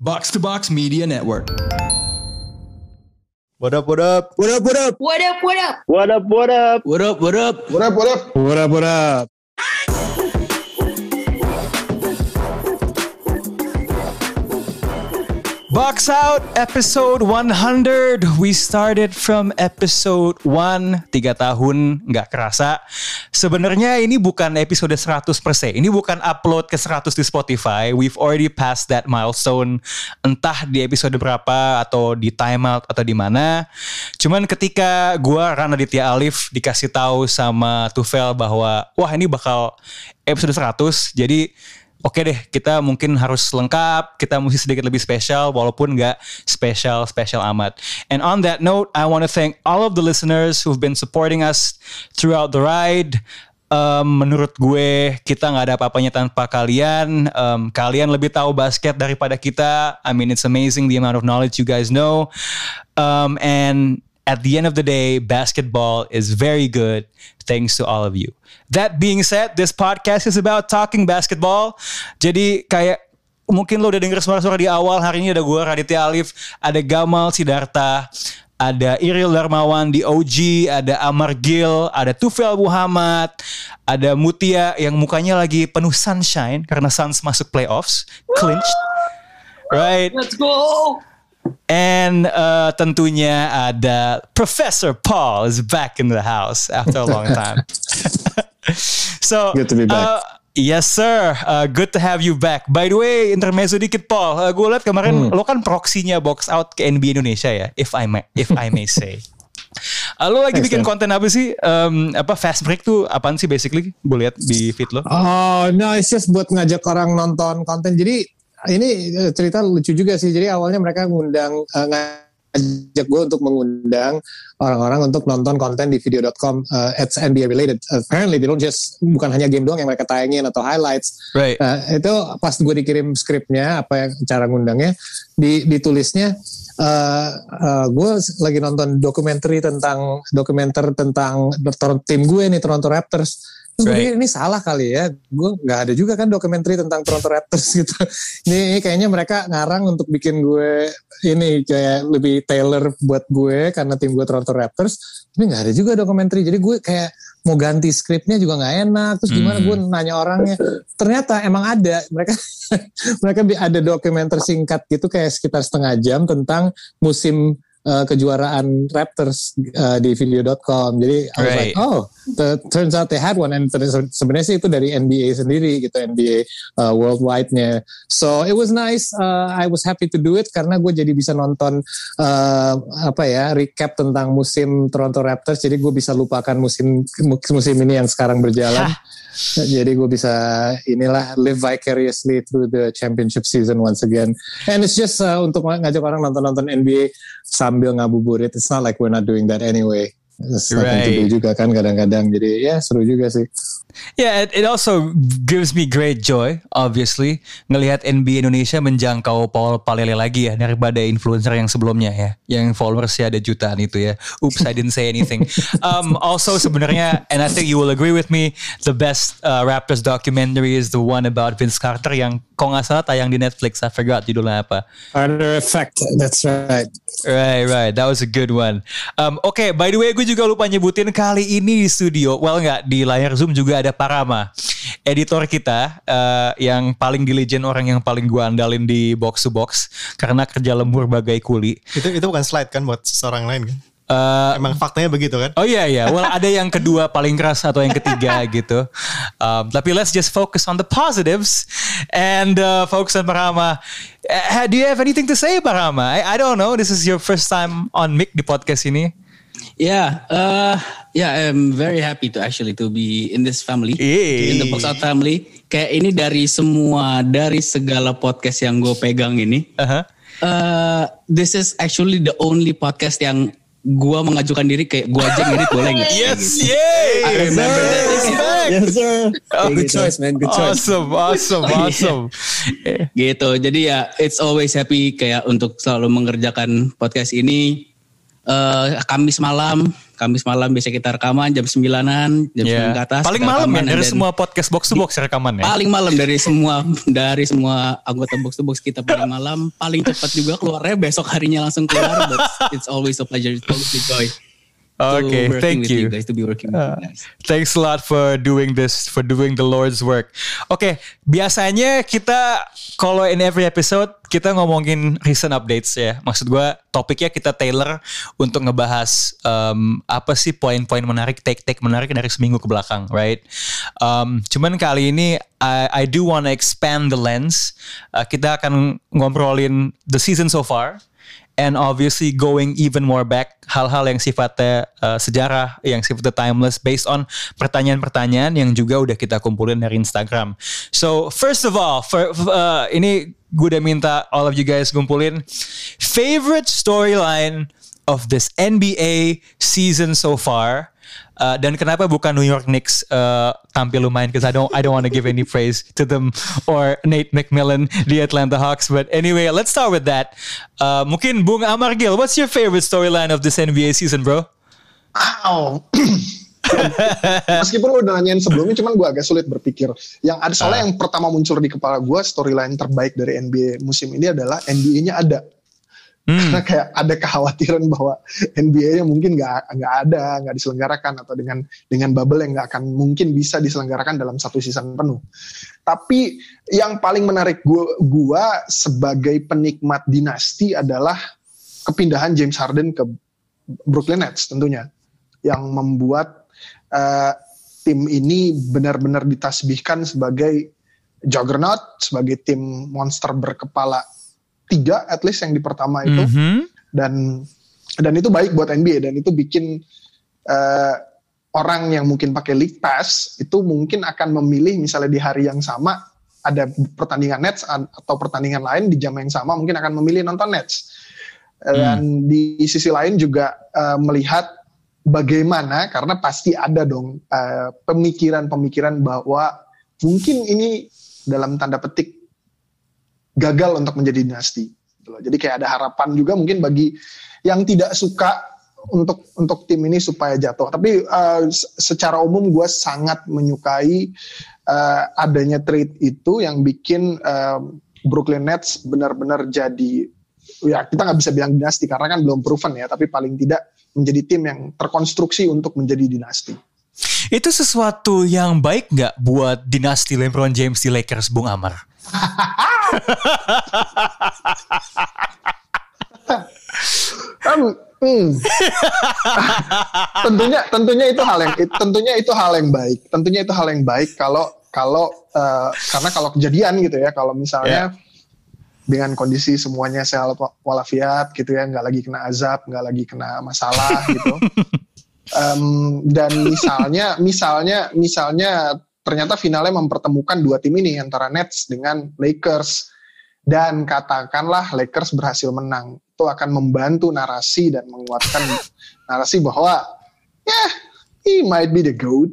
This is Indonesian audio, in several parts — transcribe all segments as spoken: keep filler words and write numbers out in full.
Box to Box Media Network. What up, what up? What up, what up? What up, what up? What up, what up? What up, what up? What up, what up? What up, what up? Box Out episode one hundred. We started from episode one. Tiga tahun gak kerasa. Sebenarnya ini bukan episode seratus persen. Ini bukan upload ke seratus di Spotify. We've already passed that milestone. Entah di episode berapa atau di timeout atau di mana. Cuman ketika gua Ran Aditya Alif dikasih tahu sama Tufel bahwa wah ini bakal episode seratus. Jadi oke deh, kita mungkin harus lengkap, kita mesti sedikit lebih spesial walaupun gak spesial-spesial amat. And on that note, I want to thank all of the listeners who've been supporting us throughout the ride. Um, menurut gue, kita gak ada apa-apanya tanpa kalian. Um, kalian lebih tahu basket daripada kita. I mean, it's amazing the amount of knowledge you guys know. Um, and at the end of the day, basketball is very good thanks to all of you. That being said, this podcast is about talking basketball. Jadi kayak mungkin lo udah denger suara-suara di awal. Hari ini ada gue, Raditya Alif, ada Gamal Sidarta, ada Iril Darmawan di O G, ada Amar Gil, ada Tufel Muhammad, ada Mutia yang mukanya lagi penuh sunshine karena Suns masuk playoffs, clinched. Right. Let's go. And uh, tentunya ada Professor Paul is back in the house after a long time. So, good to be back. Uh, yes sir, uh, good to have you back. By the way, intermezzo dikit Paul, uh, gue liat kemarin hmm. lo kan proksinya Box Out ke N B A Indonesia ya, if I may, if I may say. Uh, lo lagi bikin konten apa sih? Um, apa Fast Break tuh apaan sih basically? Gue liat di feed lo. Oh, no, it's just buat ngajak orang nonton konten. Jadi ini cerita lucu juga sih. Jadi awalnya mereka ngundang, uh, ngajak gue untuk mengundang orang-orang untuk nonton konten di video dot com uh, it's N B A related. Uh, apparently they don't just, bukan hanya game doang yang mereka tayangin atau highlights. Right. Uh, itu pas gue dikirim skripnya, apa yang cara ngundangnya, di, ditulisnya uh, uh, gue lagi nonton dokumenter tentang dokumenter tentang tim gue nih, Toronto Raptors. Terus gue pikir ini salah kali ya, gue gak ada juga kan dokumenter tentang Toronto Raptors gitu. Ini, ini kayaknya mereka ngarang untuk bikin gue ini kayak lebih tailor buat gue karena tim gue Toronto Raptors. Tapi gak ada juga dokumenter, jadi gue kayak mau ganti skripnya juga gak enak. Terus gimana hmm. gue nanya orangnya, ternyata emang ada, mereka mereka ada dokumenter singkat gitu kayak sekitar setengah jam tentang musim Uh, kejuaraan Raptors uh, di video dot com. Jadi I was right. like, oh, the, turns out they had one. And sebenarnya sih itu dari N B A sendiri gitu, N B A uh, worldwide-nya. So it was nice. Uh, I was happy to do it karena gue jadi bisa nonton uh, apa ya recap tentang musim Toronto Raptors. Jadi gue bisa lupakan musim musim ini yang sekarang berjalan. Jadi gue bisa inilah live vicariously through the championship season once again. And it's just uh, untuk ngajak orang nonton-nonton N B A sambil ngabuburit. It's not like we're not doing that anyway. It's nothing right. to do juga kan kadang-kadang. Jadi ya seru juga sih. Yeah, it, it also gives me great joy, obviously, ngelihat N B A Indonesia menjangkau Paul Palele lagi ya daripada influencer yang sebelumnya ya, yang followersnya ada jutaan itu ya. Oops, I didn't say anything. Um, also sebenarnya, and I think you will agree with me, the best uh, Raptors documentary is the one about Vince Carter yang kok nggak salah tayang di Netflix. I forgot judulnya apa. Carter Effect, that's right. Right, right. That was a good one. Um, Oke, okay, by the way, gue juga lupa nyebutin kali ini di studio, well nggak di layar Zoom juga ada Parama, editor kita uh, yang paling diligent, orang yang paling gue andalin di box to box karena kerja lembur bagai kuli. Itu itu bukan slide kan buat seorang lain kan? Uh, Emang faktanya begitu kan? Oh iya iya. Well ada yang kedua paling keras atau yang ketiga gitu. Um, tapi let's just focus on the positives and uh, focus on Parama. Uh, do you have anything to say, Parama? I, I don't know. This is your first time on mic di podcast ini. Yeah, uh, yeah, I'm very happy to actually to be in this family, Eee. in the Box Out family. Kayak ini dari semua, dari segala podcast yang gue pegang ini, uh-huh. uh, this is actually the only podcast yang gue mengajukan diri kayak gue aja ngedit boleh nggak? Yes, yay! I remember that. Respect. Yes sir. Oh, good gitu. choice man, good choice. Awesome, awesome, awesome. Gitu, jadi ya it's always happy kayak untuk selalu mengerjakan podcast ini. Uh, Kamis malam Kamis malam biasa kita rekaman jam sembilanan, jam yeah. sembilan ke atas. Paling malam ya dari semua podcast box to box rekaman ya. Paling malam dari semua dari semua anggota box to box kita paling malam, paling cepat juga keluarnya besok harinya langsung keluar. But it's always a pleasure, it's always a joy. Okay, thank you. you guys, to be working with uh, you guys. Thanks a lot for doing this, for doing the Lord's work. Oke, okay, biasanya kita kalau in every episode kita ngomongin recent updates ya. Maksud gue topiknya kita tailor untuk ngebahas um, apa sih poin-poin menarik, take-take menarik dari seminggu ke belakang, right? Um, cuman kali ini I, I do wanna expand the lens. Uh, kita akan ngobrolin the season so far. And obviously going even more back, hal-hal yang sifatnya uh, sejarah, yang sifatnya timeless, based on pertanyaan-pertanyaan yang juga udah kita kumpulin dari Instagram. So first of all, for, uh, ini gue udah minta all of you guys kumpulin favorite storyline of this N B A season so far. Uh, dan kenapa bukan New York Knicks uh, tampil lumayan? Because I don't, I don't want to give any praise to them or Nate McMillan, the Atlanta Hawks. But anyway, let's start with that. Uh, mungkin Bung Amargil, what's your favorite storyline of this N B A season, bro? Wow. Meskipun lu udah nanyain sebelumnya, cuman gue agak sulit berpikir. Yang ada soalnya uh. yang pertama muncul di kepala gue, storyline terbaik dari N B A musim ini adalah N B A-nya ada. Hmm. Karena kayak ada kekhawatiran bahwa N B A-nya mungkin nggak nggak ada, nggak diselenggarakan, atau dengan dengan bubble yang nggak akan mungkin bisa diselenggarakan dalam satu season penuh. Tapi yang paling menarik gua, gua sebagai penikmat dinasti adalah kepindahan James Harden ke Brooklyn Nets tentunya, yang membuat uh, tim ini benar-benar ditasbihkan sebagai juggernaut, sebagai tim monster berkepala tiga at least yang di pertama itu, mm-hmm. dan dan itu baik buat N B A, dan itu bikin uh, orang yang mungkin pakai League Pass itu mungkin akan memilih misalnya di hari yang sama ada pertandingan Nets atau pertandingan lain di jam yang sama, mungkin akan memilih nonton Nets. Mm. Dan di sisi lain juga uh, melihat bagaimana, karena pasti ada dong uh, pemikiran-pemikiran bahwa mungkin ini dalam tanda petik gagal untuk menjadi dinasti. Jadi kayak ada harapan juga mungkin bagi yang tidak suka untuk untuk tim ini supaya jatuh. Tapi uh, secara umum gue sangat menyukai uh, adanya trade itu yang bikin uh, Brooklyn Nets benar-benar jadi, ya kita nggak bisa bilang dinasti karena kan belum proven ya, tapi paling tidak menjadi tim yang terkonstruksi untuk menjadi dinasti. Itu sesuatu yang baik nggak buat dinasti LeBron James di Lakers, Bung Amar? um, hmm. tentunya tentunya itu hal yang tentunya itu hal yang baik tentunya itu hal yang baik kalau kalau uh, karena kalau kejadian gitu ya, kalau misalnya yeah. dengan kondisi semuanya sehat walafiat gitu ya, nggak lagi kena azab, nggak lagi kena masalah gitu, um, dan misalnya misalnya misalnya ternyata finalnya mempertemukan dua tim ini antara Nets dengan Lakers, dan katakanlah Lakers berhasil menang, itu akan membantu narasi dan menguatkan narasi bahwa ya yeah, he might be the GOAT.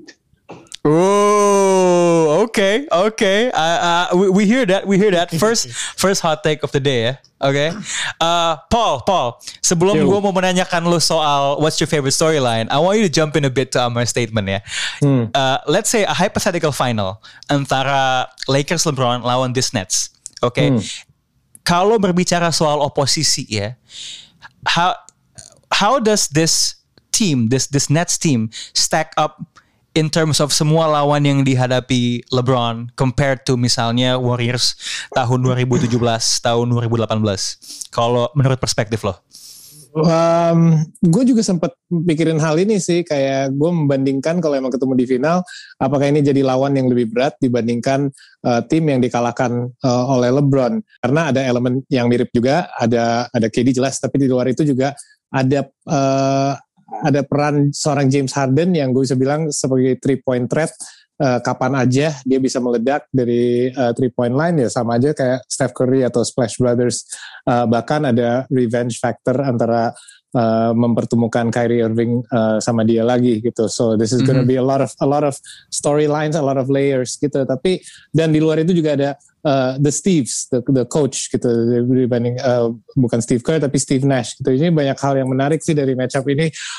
Oh, okay, okay. Uh, uh, we, we hear that, we hear that. First, first hot take of the day ya. Okay. Uh, Paul, Paul. Sebelum gue mau menanyakan lo soal what's your favorite storyline, I want you to jump in a bit to our statement ya. Hmm. Uh, let's say a hypothetical final antara Lakers LeBron lawan this Nets. Okay. Hmm. Kalau berbicara soal oposisi ya, how how does this team, this this Nets team stack up in terms of semua lawan yang dihadapi LeBron compared to misalnya Warriors tahun dua ribu tujuh belas, tahun dua ribu delapan belas. Kalau menurut perspektif lo? Um, gue juga sempat pikirin hal ini sih, kayak gue membandingkan kalau emang ketemu di final, apakah ini jadi lawan yang lebih berat dibandingkan uh, tim yang dikalahkan uh, oleh LeBron? Karena ada elemen yang mirip juga, ada ada K D jelas, tapi di luar itu juga ada uh, ada peran seorang James Harden yang gue bisa bilang sebagai three point threat. Uh, kapan aja dia bisa meledak dari uh, three point line, ya sama aja kayak Steph Curry atau Splash Brothers. Uh, bahkan ada revenge factor antara uh, mempertemukan Kyrie Irving uh, sama dia lagi gitu. So this is gonna mm-hmm. be a lot of a lot of storylines, a lot of layers gitu. Tapi dan di luar itu juga ada uh, the Steves, the, the coach gitu, dibanding uh, bukan Steve Kerr tapi Steve Nash gitu. Ini banyak hal yang menarik sih dari matchup ini.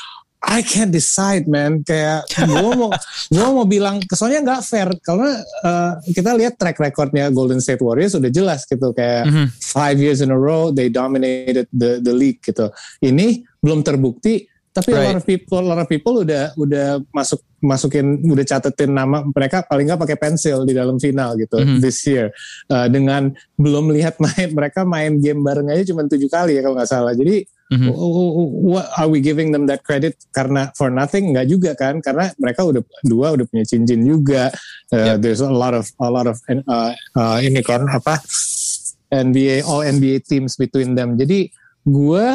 I can't decide, man. Kayak gue mau gue mau bilang, soalnya nggak fair karena uh, kita lihat track recordnya Golden State Warriors udah jelas gitu, kayak mm-hmm. five years in a row they dominated the the league gitu. Ini belum terbukti, tapi right. a lot of people, a lot of people udah udah masuk masukin, udah catetin nama mereka paling nggak pakai pensil di dalam final gitu mm-hmm. this year. Uh, dengan belum lihat main, mereka main game bareng aja cuma tujuh kali ya kalau nggak salah. Jadi mm-hmm. what are we giving them that credit karena for nothing? Nggak juga kan, karena mereka udah dua udah punya cincin juga. Uh, yep. There's a lot of a lot of uh, uh, ini kan apa N B A all N B A teams between them. Jadi gue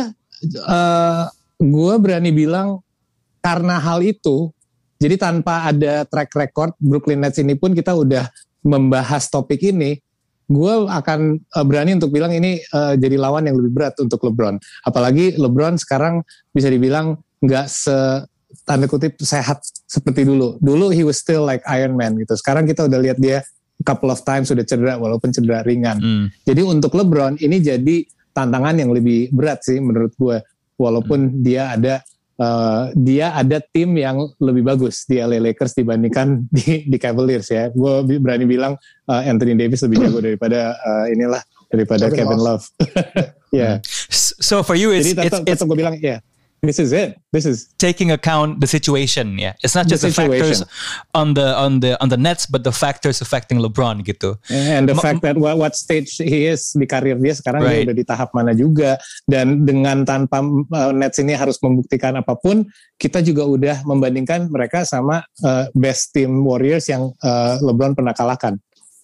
uh, gue berani bilang karena hal itu. Jadi tanpa ada track record Brooklyn Nets ini pun kita udah membahas topik ini, gue akan uh, berani untuk bilang ini uh, jadi lawan yang lebih berat untuk LeBron. Apalagi LeBron sekarang bisa dibilang nggak se tanda kutip sehat seperti dulu. Dulu he was still like Iron Man gitu. Sekarang kita udah lihat dia a couple of times sudah cedera walaupun cedera ringan. Hmm. Jadi untuk LeBron ini jadi tantangan yang lebih berat sih menurut gue. Walaupun hmm. dia ada Uh, dia ada tim yang lebih bagus di L A Lakers dibandingkan di, di Cavaliers ya. Gue berani bilang uh, Anthony Davis lebih jago daripada uh, inilah daripada Kevin, Kevin Love. Ya. yeah. So for you, it's Jadi tetap, it's, tetap gue bilang ya. Yeah. This is it. This is taking account the situation. Yeah, it's not just the, the factors on the on the on the Nets, but the factors affecting LeBron gitu. And the Ma- fact that what, what stage he is di karir dia sekarang, right. Dia udah di tahap mana juga. Dan dengan tanpa uh, Nets ini harus membuktikan apapun, kita juga udah membandingkan mereka sama uh, best team Warriors yang uh, LeBron pernah kalahkan.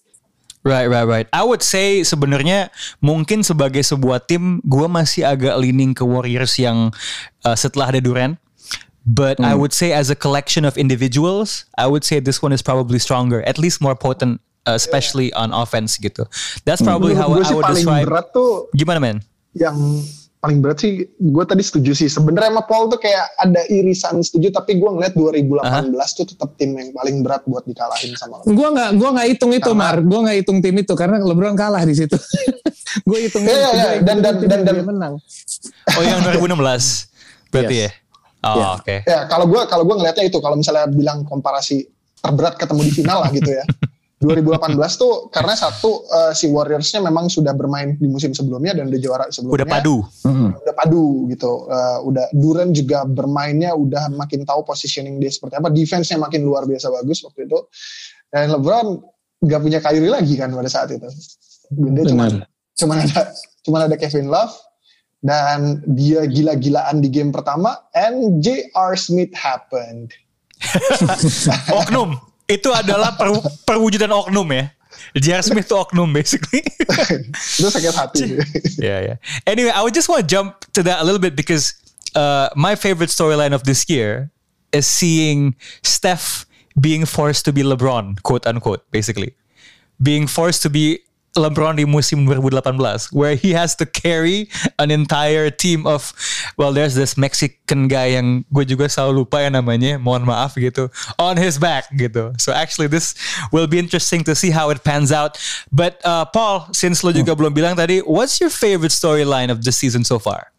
Right, right, right. I would say sebenarnya mungkin sebagai sebuah tim, gue masih agak leaning ke Warriors yang uh, setelah ada Durant. But hmm. I would say as a collection of individuals, I would say this one is probably stronger, at least more potent, uh, especially yeah. on offense gitu. That's probably hmm. how I would paling describe. Berat tuh gimana men? Yang paling berat sih, gue tadi setuju sih. Sebenarnya sama Paul tuh kayak ada irisan setuju, tapi gue ngeliat dua ribu delapan belas uh-huh. tuh tetap tim yang paling berat buat dikalahin sama LeBron. Gue nggak, gue nggak hitung itu, karena, Mar. Gue nggak hitung tim itu karena LeBron kalah di situ. Gue hitungnya yeah, yeah, dan dan dan dan menang. Oh yang dua ribu enam belas berarti yes. ya. Oh yeah. oke. Okay. Ya kalau gue kalau gue ngeliatnya itu, kalau misalnya bilang komparasi terberat ketemu di final lah gitu ya. dua ribu delapan belas tuh karena satu uh, si Warriors-nya memang sudah bermain di musim sebelumnya dan udah juara sebelumnya. Udah padu. Udah padu gitu. Uh, udah Durant juga bermainnya udah makin tahu positioning dia seperti apa. Defense-nya makin luar biasa bagus waktu itu. Dan LeBron gak punya Kyrie lagi kan pada saat itu. Dia cuma cuma ada cuma ada Kevin Love dan dia gila-gilaan di game pertama and J R Smith happened. Oknum. Itu adalah per, perwujudan oknum ya. J R Smith itu oknum basically. Itu sakit hati. yeah, yeah. Anyway, I would just want to jump to that a little bit because uh, my favorite storyline of this year is seeing Steph being forced to be LeBron, quote unquote, basically. Being forced to be LeBron di musim dua ribu delapan belas where he has to carry an entire team of, well, there's this Mexican guy yang gue juga selalu lupa ya namanya, mohon maaf gitu, on his back gitu. So actually this will be interesting to see how it pans out. But uh, Paul, since lo juga hmm. belum bilang tadi, what's your favorite storyline of this season so far?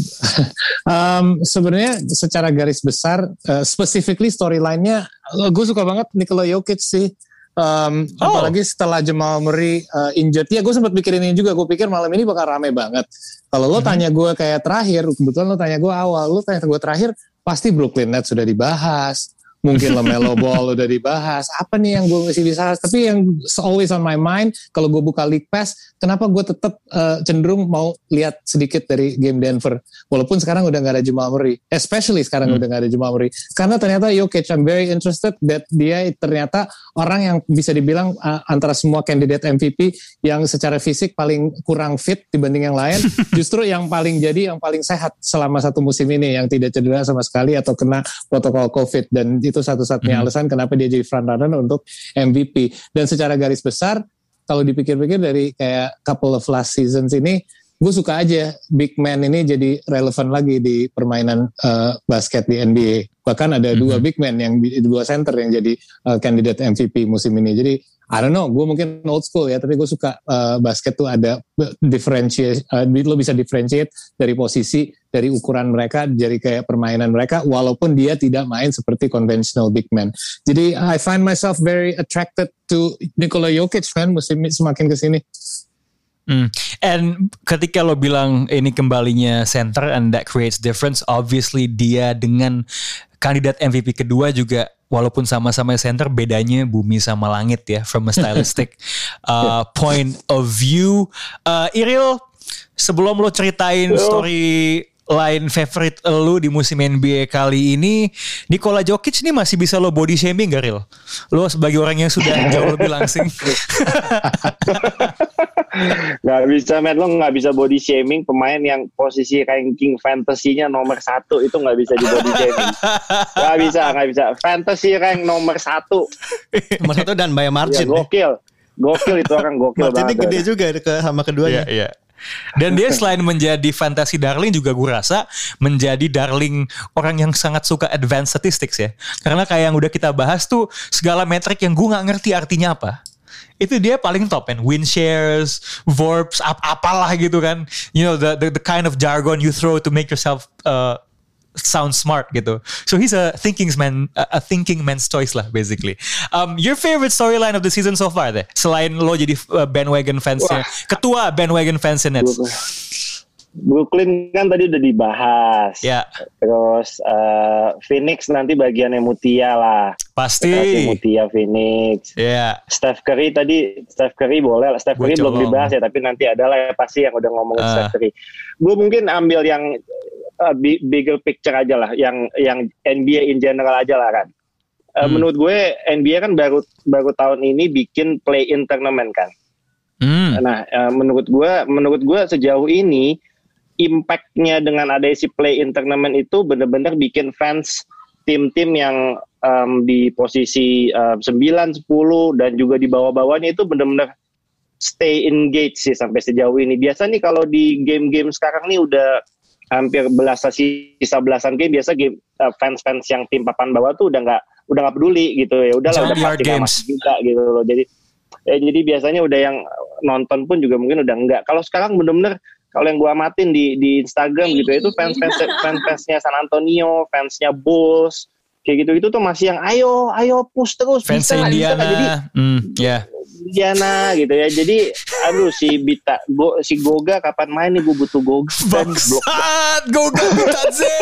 um, Sebenarnya secara garis besar, uh, specifically storyline-nya, uh, gue suka banget Nikola Jokic sih. Um, oh. Apalagi setelah Jamal Murray uh, injured. Ya gue sempat pikirin ini juga. Gue pikir malam ini bakal rame banget. Kalau lo mm-hmm. tanya gue kayak terakhir, kebetulan lo tanya gue awal, lo tanya gue terakhir, pasti Brooklyn Nets sudah dibahas. Mungkin LaMelo Ball udah dibahas. Apa nih yang gue masih bisa bahas? Tapi yang always on my mind, kalau gue buka League Pass, kenapa gue tetap uh, cenderung mau lihat sedikit dari game Denver. Walaupun sekarang udah gak ada Jamal Murray. Especially sekarang hmm. udah gak ada Jamal Murray. Karena ternyata Jokic, I'm very interested that dia ternyata orang yang bisa dibilang uh, antara semua kandidat M V P yang secara fisik paling kurang fit dibanding yang lain. Justru yang paling jadi, yang paling sehat selama satu musim ini. Yang tidak cedera sama sekali atau kena protokol COVID. Dan itu satu-satunya hmm. alasan kenapa dia jadi frontrunner untuk M V P. Dan secara garis besar, kalau dipikir-pikir dari kayak couple of last seasons ini, gue suka aja big man ini jadi relevan lagi di permainan uh, basket di N B A. Bahkan ada hmm. dua big man, yang dua center yang jadi uh, kandidat M V P musim ini. Jadi I don't know, gue mungkin old school ya, tapi gue suka uh, basket tuh ada differentiate, uh, lo bisa differentiate dari posisi, dari ukuran mereka, dari kayak permainan mereka, walaupun dia tidak main seperti conventional big man. Jadi I find myself very attracted to Nikola Jokic, man, musim semakin kesini. Hmm. And ketika lo bilang ini kembalinya center and that creates difference, obviously dia dengan kandidat M V P kedua juga walaupun sama-sama center, bedanya bumi sama langit ya from a stylistic uh, point of view. Uh, Iril, sebelum lo ceritain story line favorite lo di musim N B A kali ini, Nikola Jokic nih masih bisa lo body shaming gak, Ril? Lo sebagai orang yang sudah jauh lebih langsing. Gak bisa, man. Lo gak bisa body shaming pemain yang posisi ranking fantasinya nomor satu, itu gak bisa di body shaming. Gak bisa, gak bisa. Fantasy rank nomor satu. Nomor satu dan by margin. Ya, gokil. Gokil itu orang gokil banget. Marginnya gede juga ke, sama keduanya. Iya, iya. Dan dia selain menjadi fantasy darling juga gue rasa menjadi darling orang yang sangat suka advanced statistics ya. Karena kayak yang udah kita bahas tuh segala metrik yang gue gak ngerti artinya apa, itu dia paling top kan. Win shares, verbs, ap apalah gitu kan. You know, the, the the kind of jargon you throw to make yourself uh, sound smart gitu. So he's a thinking man, a thinking man's choice lah basically. Um, your favorite storyline of the season so far deh, selain lo jadi bandwagon fansnya, ketua bandwagon fansnya Nets. Brooklyn kan tadi udah dibahas. Ya. Terus uh, Phoenix nanti bagiannya Mutia lah. Pasti. Mutia Phoenix. Ya. Yeah. Steph Curry tadi, Steph Curry boleh lah. Steph Curry belum dibahas ya, tapi nanti adalah ya pasti yang udah ngomongin uh. Steph Curry. Gue mungkin ambil yang uh, bigger picture aja lah, yang yang N B A in general aja lah kan. Uh, hmm. Menurut gue N B A kan baru baru tahun ini bikin play-in tournament kan. Hmm. Nah, uh, menurut gue, menurut gue sejauh ini impact-nya dengan ada si play-in tournament itu benar-benar bikin fans tim-tim yang um, di posisi uh, sembilan, sepuluh dan juga di bawah-bawahnya itu benar-benar stay engaged sih sampai sejauh ini. Biasa nih kalau di game-game sekarang nih udah hampir belasan sisa belasan game, biasa game uh, fans-fans yang tim papan bawah tuh udah nggak udah nggak peduli gitu ya. Udahlah, udah pasti nggak masuk juga gitu loh. Jadi ya jadi biasanya udah yang nonton pun juga mungkin udah enggak. Kalau sekarang benar-benar kalau yang gue amatin di di Instagram gitu ya, itu fans-fans fans-fansnya San Antonio, fansnya Bulls, kayak gitu-gitu tuh masih yang ayo, ayo push terus. Fans bisa, Indiana, bisa, jadi mm, yeah. Indiana gitu ya. Jadi, aduh si Bita, go, si Goga kapan main nih, gue butuh Goga. Bangsat, Goga Bitadze.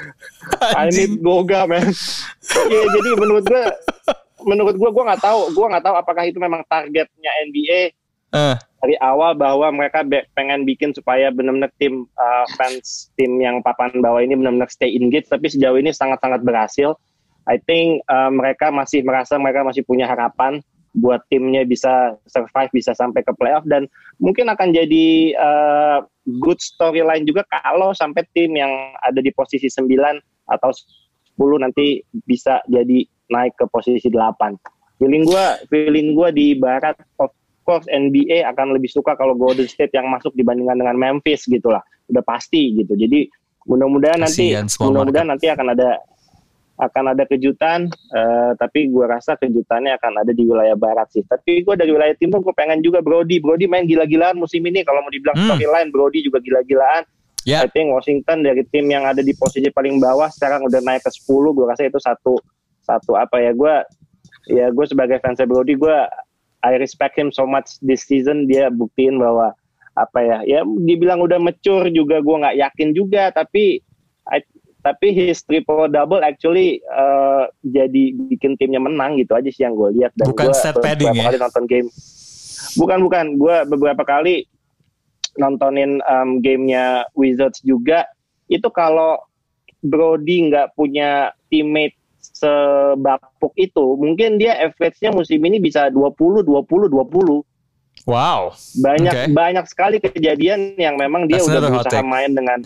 I need Goga, man. Ya, jadi menurut gue, menurut gue, gue nggak tahu, gue nggak tahu apakah itu memang targetnya N B A. Uh. Dari awal bahwa mereka be- pengen bikin supaya benar-benar tim uh, fans tim yang papan bawah ini benar-benar stay engaged, tapi sejauh ini sangat-sangat berhasil. I think uh, mereka masih merasa mereka masih punya harapan buat timnya bisa survive, bisa sampai ke playoff, dan mungkin akan jadi uh, good storyline juga kalau sampai tim yang ada di posisi sembilan atau sepuluh nanti bisa jadi naik ke posisi delapan. Feeling gue, feeling gue di barat of course N B A akan lebih suka kalau Golden State yang masuk dibandingkan dengan Memphis gitulah, udah pasti gitu. Jadi mudah-mudahan nanti mudah-mudahan nanti akan ada akan ada kejutan, uh, tapi gue rasa kejutannya akan ada di wilayah barat sih. Tapi gue dari wilayah timur gue pengen juga Brody Brody main gila-gilaan musim ini. Kalau mau dibilang hmm. storyline, Brody juga gila-gilaan. Yeah. I think Washington dari tim yang ada di posisi paling bawah sekarang udah naik ke sepuluh. Gue rasa itu satu satu apa ya, gue ya gue sebagai fans Brody, gue I respect him so much this season. Dia buktiin bahwa apa ya, ya dibilang udah mature juga gue nggak yakin juga, tapi I, tapi his triple double actually uh, jadi bikin timnya menang gitu aja sih yang gue lihat. Dan bukan set padding ya? Kali nonton game, bukan bukan gue beberapa kali nontonin um, gamenya Wizards juga. Itu kalau Brody nggak punya teammate sebapuk itu, mungkin dia average-nya musim ini bisa dua puluh dua puluh dua puluh. Wow. Banyak okay. banyak sekali kejadian yang memang dia That's udah berusaha main dengan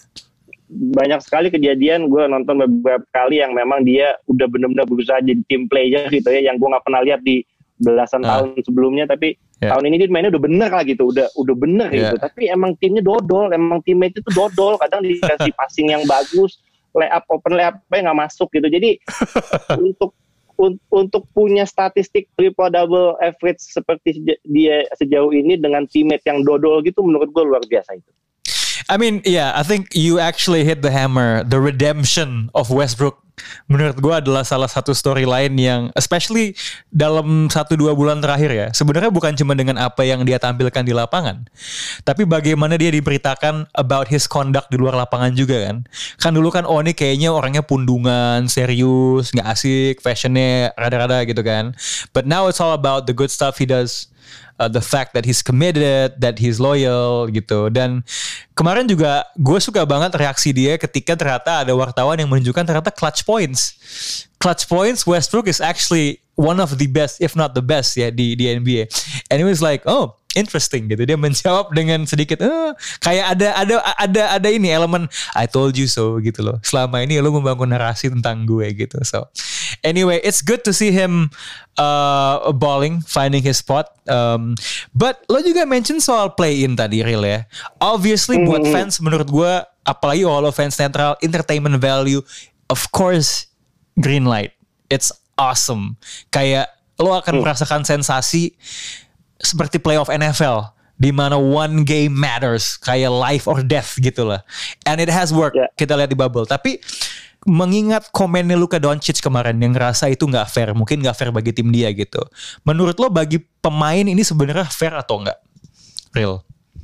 banyak sekali kejadian gue nonton beberapa kali yang memang dia udah benar-benar berusaha jadi team player gitu ya, yang gue nggak pernah lihat di belasan uh. tahun sebelumnya, tapi yeah. tahun ini dia mainnya udah bener lah gitu, udah udah bener yeah. gitu. Tapi emang timnya dodol, emang teammate itu dodol, kadang dikasih passing yang bagus, layup open layup nggak masuk gitu. Jadi untuk un- untuk punya statistik triple double average seperti dia sejauh ini dengan teammate yang dodol gitu, menurut gue luar biasa itu. I mean, yeah, I think you actually hit the hammer. The redemption of Westbrook menurut gue adalah salah satu storyline yang especially dalam satu dua bulan terakhir ya. Sebenarnya bukan cuma dengan apa yang dia tampilkan di lapangan, tapi bagaimana dia diberitakan about his conduct di luar lapangan juga kan. Kan dulu kan oh ini kayaknya orangnya pundungan, serius, gak asik, fashionnya rada-rada gitu kan. But now it's all about the good stuff he does. Uh, the fact that he's committed, that he's loyal gitu. Dan kemarin juga gue suka banget reaksi dia ketika ternyata ada wartawan yang menunjukkan ternyata clutch points. Clutch points Westbrook is actually one of the best, if not the best ya di di N B A. And he was like, oh interesting gitu. Dia menjawab dengan sedikit, eh, kayak ada ada ada ada ini elemen I told you so gitu loh. Selama ini lo membangun narasi tentang gue gitu. So anyway, it's good to see him uh, balling, finding his spot. Um, but lo juga mention soal play-in tadi, Real ya. Obviously mm. buat fans menurut gue, apalagi all fans netral, entertainment value, of course, green light. It's awesome. Kayak lo akan mm. merasakan sensasi seperti playoff N F L. Di mana one game matters. Kayak life or death gitu lah. And it has worked. Yeah. Kita lihat di bubble. Tapi mengingat komennya Luka Doncic kemarin yang ngerasa itu gak fair, mungkin gak fair bagi tim dia gitu. Menurut lo bagi pemain ini sebenarnya fair atau enggak? Real?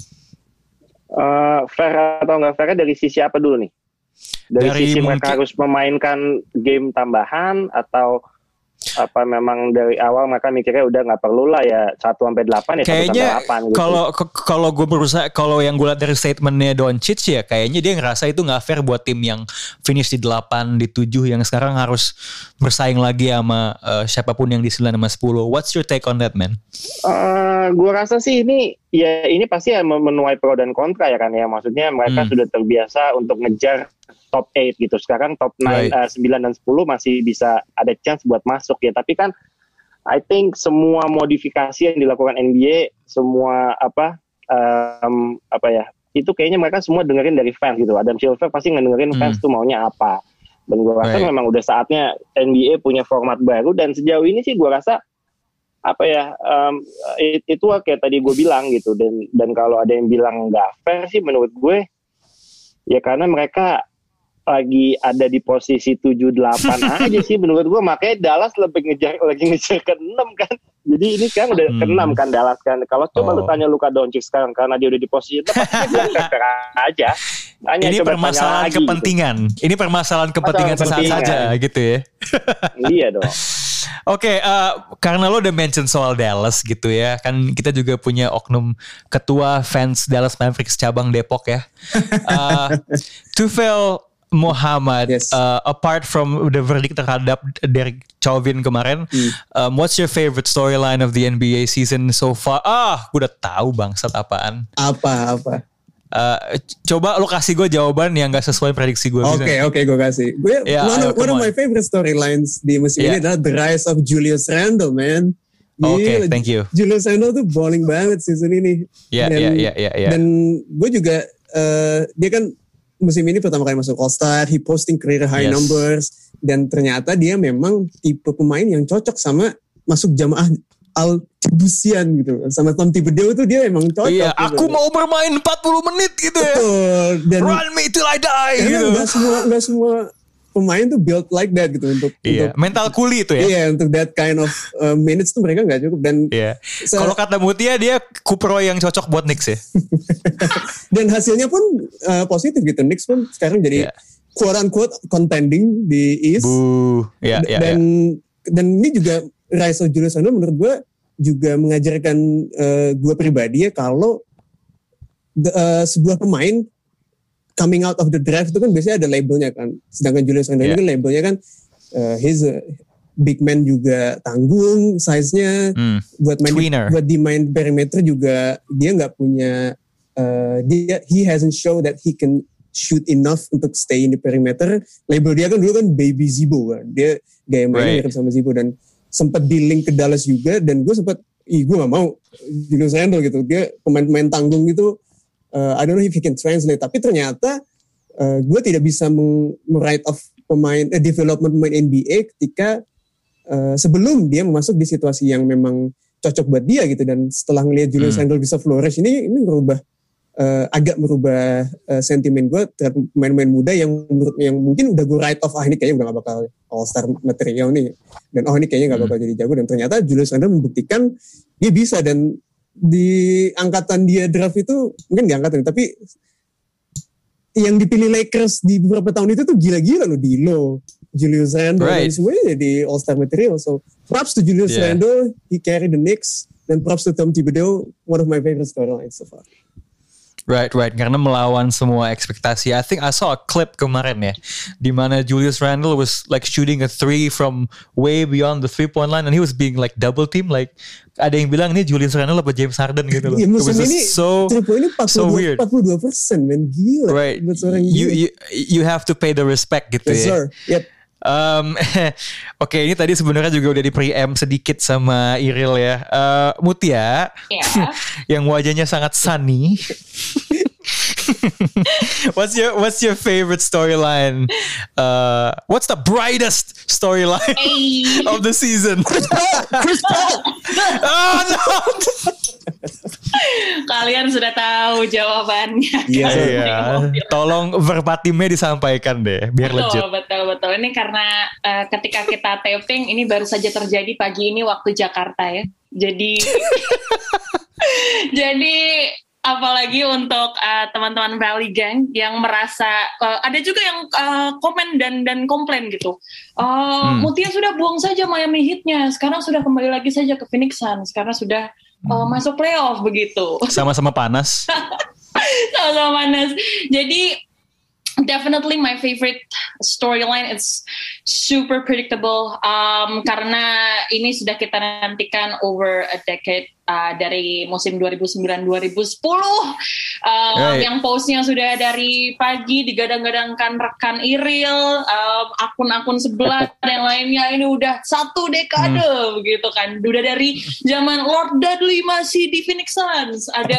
Uh, fair atau enggak fairnya dari sisi apa dulu nih? Dari, dari sisi mungkin, mereka harus memainkan game tambahan atau apa memang dari awal mereka mikirnya udah nggak perlu lah ya satu sampai delapan ya kayaknya kalau gitu. Kalau gue berusaha, kalau yang gue lihat dari statementnya Doncic ya kayaknya dia ngerasa itu nggak fair buat tim yang finish di delapan, di tujuh yang sekarang harus bersaing lagi sama uh, siapapun yang di sembilan sama sepuluh. What's your take on that, man? Uh, gue rasa sih ini ya ini pasti ya menuai pro dan kontra ya kan ya, maksudnya mereka hmm. sudah terbiasa untuk ngejar top delapan gitu. Sekarang top sembilan, right. uh, sembilan dan sepuluh masih bisa ada chance buat masuk ya. Tapi kan I think semua modifikasi yang dilakukan N B A, semua apa um, apa ya, itu kayaknya mereka semua dengerin dari fans gitu. Adam Silver pasti ngedengerin hmm. fans tuh maunya apa. Dan gue rasa right. memang udah saatnya N B A punya format baru. Dan sejauh ini sih gue rasa apa ya um, it, itu kayak tadi gue bilang gitu. Dan dan kalau ada yang bilang nggak fair sih menurut gue ya karena mereka lagi ada di posisi tujuh delapan aja sih menurut gue, makanya Dallas lebih ngejar lagi ngejar ke enam kan. Jadi ini kan udah hmm. ke enam kan Dallas kan. Kalau coba oh. lu tanya Luka Doncic sekarang karena dia udah di posisi enam pasti dia bilang fair aja. Tanya, ini permasalahan kepentingan. Gitu. Ini permasalahan kepentingan sesaat saja gitu ya. Iya dong. Oke, okay, uh, karena lo udah mention soal Dallas gitu ya, kan kita juga punya oknum ketua fans Dallas Mavericks cabang Depok ya. Uh, Tufel Muhammad, yes. uh, apart from the verdict terhadap Derek Chauvin kemarin, hmm. um, what's your favorite storyline of the N B A season so far? Ah, gue udah tahu bangsat apaan. Apa apa? Uh, coba lo kasih gue jawaban yang gak sesuai prediksi gue. Oke okay, oke okay, gue kasih. Gue yeah, one, ayo, one of my favorite storylines di musim yeah. ini adalah the rise of Julius Randle, man. Oke, okay, thank you. Julius Randle tuh balling banget season ini. Iya iya iya iya. Dan gue juga uh, dia kan musim ini pertama kali masuk All-Star, he posting career high yes. numbers, dan ternyata dia memang tipe pemain yang cocok sama masuk jamaah Al-Tibusian gitu. Sama Tom Thibodeau tuh dia emang cocok. Iya, gitu. Aku mau bermain empat puluh menit gitu ya. Betul. Dan run me till I die gitu. Gak semua, gak semua pemain tuh built like that gitu untuk, iya. untuk mental kuli itu ya. Iya, untuk that kind of uh, minutes tuh mereka gak cukup. Dan iya. So, kalau kata Mutia dia Kupro yang cocok buat Knicks ya. Dan hasilnya pun uh, positif gitu. Knicks pun sekarang jadi yeah. quote unquote contending di East. Buh. Yeah, yeah, dan yeah. dan ini juga rise of Julius Randle menurut gue juga mengajarkan uh, gue pribadi ya kalau the, uh, sebuah pemain coming out of the draft itu kan biasanya ada labelnya kan. Sedangkan Julius Randle yeah. ini kan labelnya kan uh, he's a big man juga, tanggung, size-nya mm. buat main di, buat di main perimeter juga dia nggak punya uh, dia he hasn't show that he can shoot enough untuk stay in the perimeter. Label dia kan dulu kan baby Zibo kan. Dia gaya mainnya mirip right. sama Zibo dan sempat di link ke Dallas juga, dan gue sempat ih gue gak mau Julius Randle gitu, dia pemain-pemain tanggung gitu. Uh, I don't know if he can translate, tapi ternyata uh, gue tidak bisa meng-write off pemain, eh, development pemain N B A ketika uh, sebelum dia masuk di situasi yang memang cocok buat dia gitu, dan setelah ngelihat Julius hmm. Randle bisa flourish ini ini merubah uh, agak merubah uh, sentimen gue terhadap pemain-pemain muda yang menurut yang mungkin udah gue write off, ah ini kayaknya udah gak bakal all star material nih, dan oh ini kayaknya gak bakal hmm. jadi jago, dan ternyata Julius Randle membuktikan dia bisa. Dan di angkatan dia draft itu mungkin di angkatan tapi yang dipilih Lakers di beberapa tahun itu tuh gila-gila loh, D'Lo, Julius Randle, right. dan semuanya jadi all star material. So props to Julius yeah. Randle, he carried the Knicks, dan props to Tom Thibodeau, one of my favorite storylines so far. Right, right. Karena melawan semua ekspektasi. I think I saw a clip kemarin ya, di mana Julius Randle was like shooting a three from way beyond the three point line, and he was being like double team. Like ada yang bilang ini Julius Randle apa James Harden gitu loh. Ya, musim ini so ini so weird. empat puluh dua persen men, gila. Right. You you you have to pay the respect gitu yes, ya. Sir. Yep. Um, Oke, okay, ini tadi sebenarnya juga udah di pre-em sedikit sama Iril ya. Uh, Mutia, yeah. yang wajahnya sangat sunny. what's your What's your favorite storyline? Uh, what's the brightest storyline hey. of the season? Chris Paul. Chris Paul. Oh no. Kalian sudah tahu jawabannya. Iya. Kan? Yeah. Tolong verbatimnya disampaikan deh, biar betul, legit. Betul, betul. Ini karena uh, ketika kita taping ini baru saja terjadi pagi ini waktu Jakarta ya. Jadi, jadi apalagi untuk uh, teman-teman Valley Gang yang merasa uh, ada juga yang uh, komen dan dan komplain gitu. Uh, hmm. Mutia sudah buang saja Miami Heat-nya, sekarang sudah kembali lagi saja ke Phoenix Suns karena sudah uh, masuk playoff begitu. Sama-sama panas. Sama-sama panas. Jadi definitely my favorite storyline. It's super predictable um, karena ini sudah kita nantikan over a decade. Uh, dari musim dua ribu sembilan dua ribu sepuluh uh, right. yang postnya sudah dari pagi digadang-gadangkan rekan Iril, uh, akun-akun sebelah dan lainnya, ini udah satu dekade hmm. begitu kan, udah dari zaman Lord Dudley masih di Phoenix Suns, ada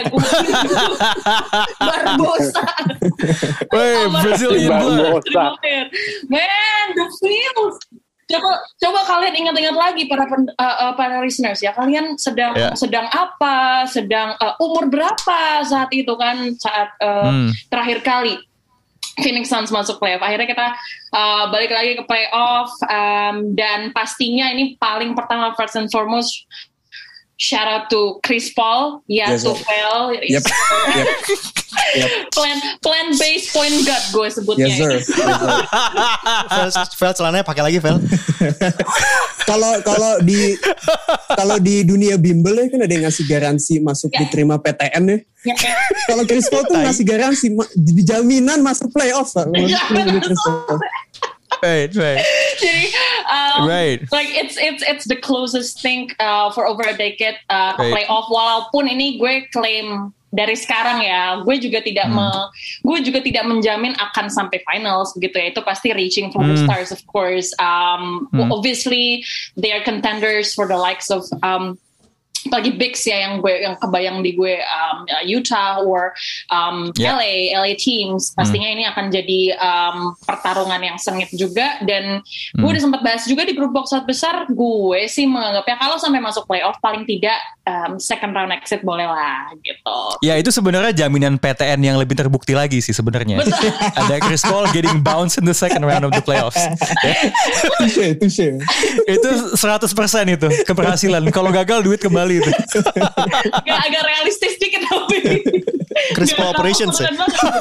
Barbosa, Wey, Brazilian Barbosa, man, the feels. Coba, coba kalian ingat-ingat lagi para pen, uh, uh, para listeners ya, kalian sedang yeah. sedang apa, sedang uh, umur berapa saat itu kan, saat uh, hmm. terakhir kali Phoenix Suns masuk playoff. Akhirnya kita uh, balik lagi ke playoff, um, dan pastinya ini paling pertama first and foremost shout out to Chris Paul, ya yes, to Vel, yep. yep. yep. plan plan base point guard gue sebutnya. Yes sir. Vel, Vel celananya pakai lagi Vel. Kalau kalau di kalau di dunia bimbel ya kan ada yang ngasih garansi masuk yeah. diterima P T N ya. Yeah. Kalau Chris Paul tuh ngasih garansi jaminan masuk playoff. Yeah, right, right. Jadi, um, right. like it's it's it's the closest thing uh, for over a decade uh, ke right. playoff. Walaupun ini gue klaim dari sekarang ya, gue juga tidak hmm. me, gue juga tidak menjamin akan sampai finals begitu ya. Itu pasti reaching for hmm. the stars, of course. Um, hmm. Obviously, they are contenders for the likes of um, apalagi Bigs ya yang gue yang kebayang di gue um, Utah or um, yeah. L A L A teams pastinya hmm. ini akan jadi um, pertarungan yang sengit juga, dan hmm. gue udah sempat bahas juga di grup box out besar, gue sih menganggapnya kalau sampai masuk playoff paling tidak um, second round exit boleh lah gitu. Ya itu sebenarnya jaminan P T N yang lebih terbukti lagi sih sebenarnya. Ada Chris Paul getting bounced in the second round of the playoffs. Touche, touche. Itu seratus persen itu keberhasilan. Kalau gagal duit kembali itu. Agak, agak realistis dikit tapi Chris Paul operations ya.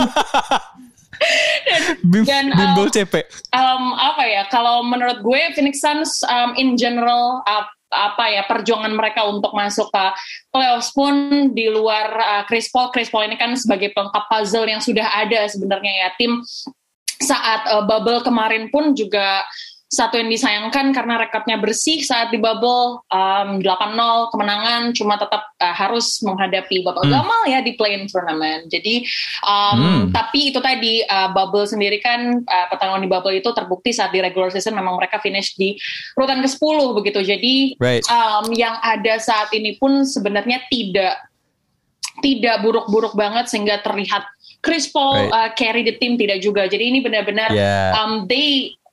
dan, dan bimbel um, C P. Um, apa ya? Kalau menurut gue Phoenix Suns um, in general uh, apa ya perjuangan mereka untuk masuk ke playoffs pun di luar uh, Chris Paul. Chris Paul ini kan sebagai pelengkap puzzle yang sudah ada sebenarnya ya, tim saat uh, bubble kemarin pun juga satu yang disayangkan karena rekornya bersih saat di bubble um, delapan nol kemenangan, cuma tetap uh, harus menghadapi babak hmm. gamal ya di play-in tournament. Jadi um, hmm. tapi itu tadi uh, bubble sendiri kan uh, pertarungan di bubble itu terbukti saat di regular season memang mereka finish di urutan ke sepuluh begitu. Jadi right. um, yang ada saat ini pun sebenarnya tidak tidak buruk-buruk banget sehingga terlihat Chris Paul right. uh, carry the team, tidak juga. Jadi ini benar-benar yeah. um, they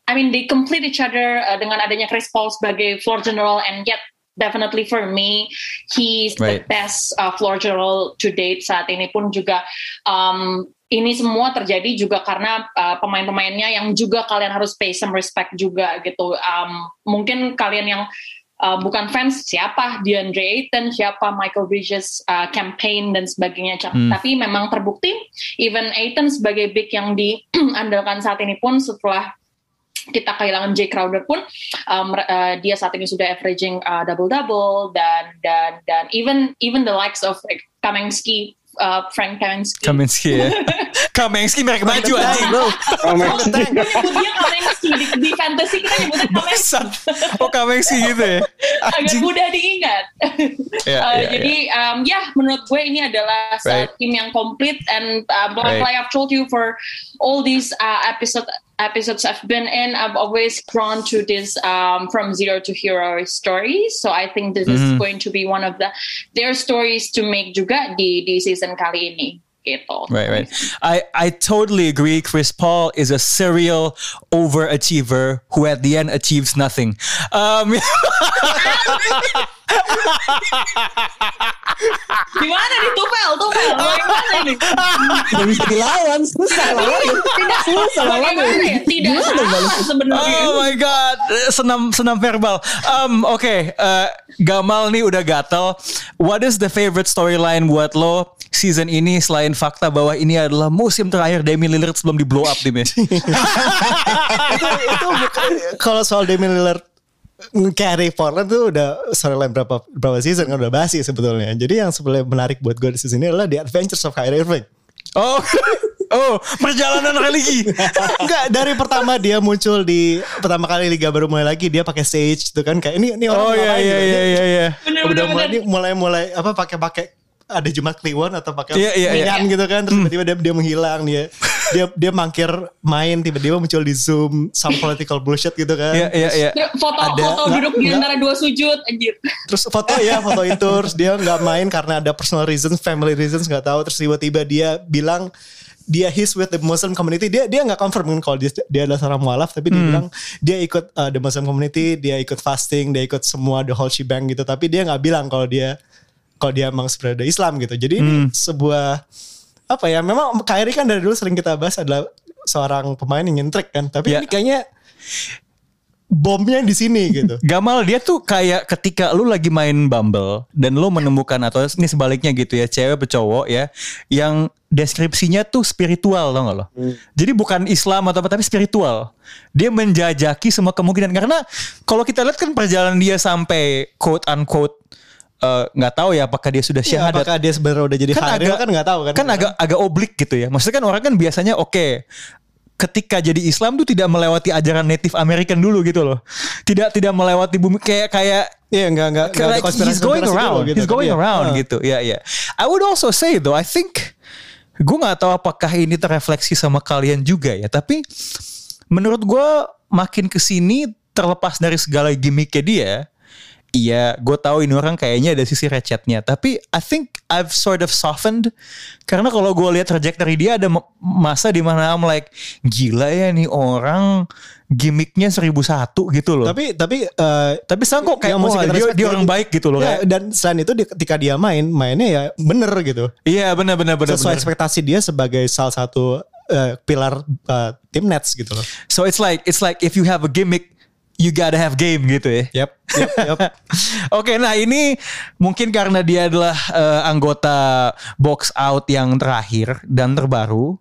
I mean they complete each other uh, dengan adanya Chris Paul sebagai floor general, and yet definitely for me he's right. the best uh, floor general to date saat ini pun juga. Um, ini semua terjadi juga karena uh, pemain-pemainnya yang juga kalian harus pay some respect juga gitu. Um, mungkin kalian yang Uh, bukan fans, siapa DeAndre Ayton, siapa Michael Bridges uh, campaign dan sebagainya. Hmm. Tapi memang terbukti, even Ayton sebagai big yang diandalkan saat ini pun setelah kita kehilangan Jay Crowder pun um, uh, dia saat ini sudah averaging uh, double-double dan dan dan even even the likes of like, Kaminsky, uh, Frank Kaminsky. Kaminsky ya. Kaminsky mereka maju anjing bro. Kaminsky. Dia Kaminsky di, di fantasy kita nyebutnya Kaminsky. Oh Kaminsky gitu ya. Agak mudah diingat. yeah, uh, yeah, jadi yeah. Um, ya menurut gue ini adalah right. tim yang komplit, and uh, like right. I've told you for all these uh, episode episodes I've been in, I've always drawn to this um, from zero to hero stories. So I think this mm-hmm. is going to be one of the their stories to make juga di di season kali ini. Gitu. Right, right. I, I totally agree. Chris Paul is a serial overachiever who at the end achieves nothing. Um, Gimana nih Tufel? Tufel, bagaimana ini? Tidak bisa dilawan, susah lawan. Tidak susah lawan. Tidak salah sebenarnya. Oh my god, senam senam verbal. Um, Oke, okay. uh, Gamal nih udah gatel. What is the favorite storyline buat lo season ini selain fakta bahwa ini adalah musim terakhir Damian Lillard sebelum di blow up timnya? itu itu bukan, kalau soal Damian Lillard carry Portland tuh udah storyline berapa berapa season kan udah basi sebetulnya. Jadi yang sebenarnya menarik buat gue di season ini adalah The Adventures of Kyrie Irving. Oh, oh, perjalanan religi. Enggak, dari pertama dia muncul di pertama kali liga baru mulai lagi dia pakai stage gitu kan kayak ini ini orang oh, iya, iya, gitu. iya, iya, iya. Udah mulai ini mulai-mulai apa pakai-pakai ada Jumat Kliwon atau pakai yeah, yeah, minyan yeah. gitu kan terus tiba-tiba dia, dia menghilang dia dia dia mangkir main tiba-tiba muncul di Zoom some political bullshit gitu kan yeah, yeah, yeah. foto ada, foto duduk di antara dua sujud anjir terus foto ya foto itu terus dia nggak main karena ada personal reasons family reasons nggak tahu terus tiba-tiba dia bilang dia he's with the Muslim community dia dia nggak confirm kalau dia dia adalah seorang mualaf tapi dia hmm. bilang dia ikut uh, the Muslim community dia ikut fasting dia ikut semua the whole shebang gitu tapi dia nggak bilang kalau dia kalau dia emang sebenarnya Islam gitu. Jadi hmm. ini sebuah apa ya? Memang Kyrie kan dari dulu sering kita bahas adalah seorang pemain yang nyentrik kan. Tapi yeah. ini kayaknya bomnya di sini gitu. Gamal dia tuh kayak ketika lu lagi main Bumble dan lu menemukan atau ini sebaliknya gitu ya, cewek atau cowok ya yang deskripsinya tuh spiritual tau gak lo? Hmm. Jadi bukan Islam atau apa tapi spiritual. Dia menjajaki semua kemungkinan karena kalau kita lihat kan perjalanan dia sampai quote unquote nggak uh, tahu ya apakah dia sudah syahadat. Ya, apakah dia sebenarnya udah jadi kan agak, kan nggak tahu kan. Kan agak agak oblik gitu ya. Maksudnya kan orang kan biasanya oke okay, ketika jadi Islam tuh tidak melewati ajaran Native American dulu gitu loh. Tidak tidak melewati bumi kayak kayak ya enggak enggak like he's going around. Gitu, he's going ya. around uh. gitu. Ya ya. I would also say though I think gue nggak tahu apakah ini terrefleksi sama kalian juga ya. Tapi menurut gue makin kesini terlepas dari segala gimmicknya dia. Iya, gue tahu ini orang kayaknya ada sisi recetnya. Tapi I think I've sort of softened. Karena kalau gue lihat trajectory dia ada masa di mana I'm like, gila ya nih orang gimmicknya seribu satu gitu loh. Tapi tapi uh, tapi sekarang kok kayak oh, dia, dia orang baik gitu loh. Ya, dan selain itu ketika dia main, mainnya ya bener gitu. Iya bener bener bener. Sesuai bener. ekspektasi dia sebagai salah satu uh, pilar uh, tim Nets gitu loh. So it's like it's like if you have a gimmick, you gotta have game gitu ya. Yep. yep, yep. Oke, nah ini mungkin karena dia adalah uh, anggota box out yang terakhir dan terbaru.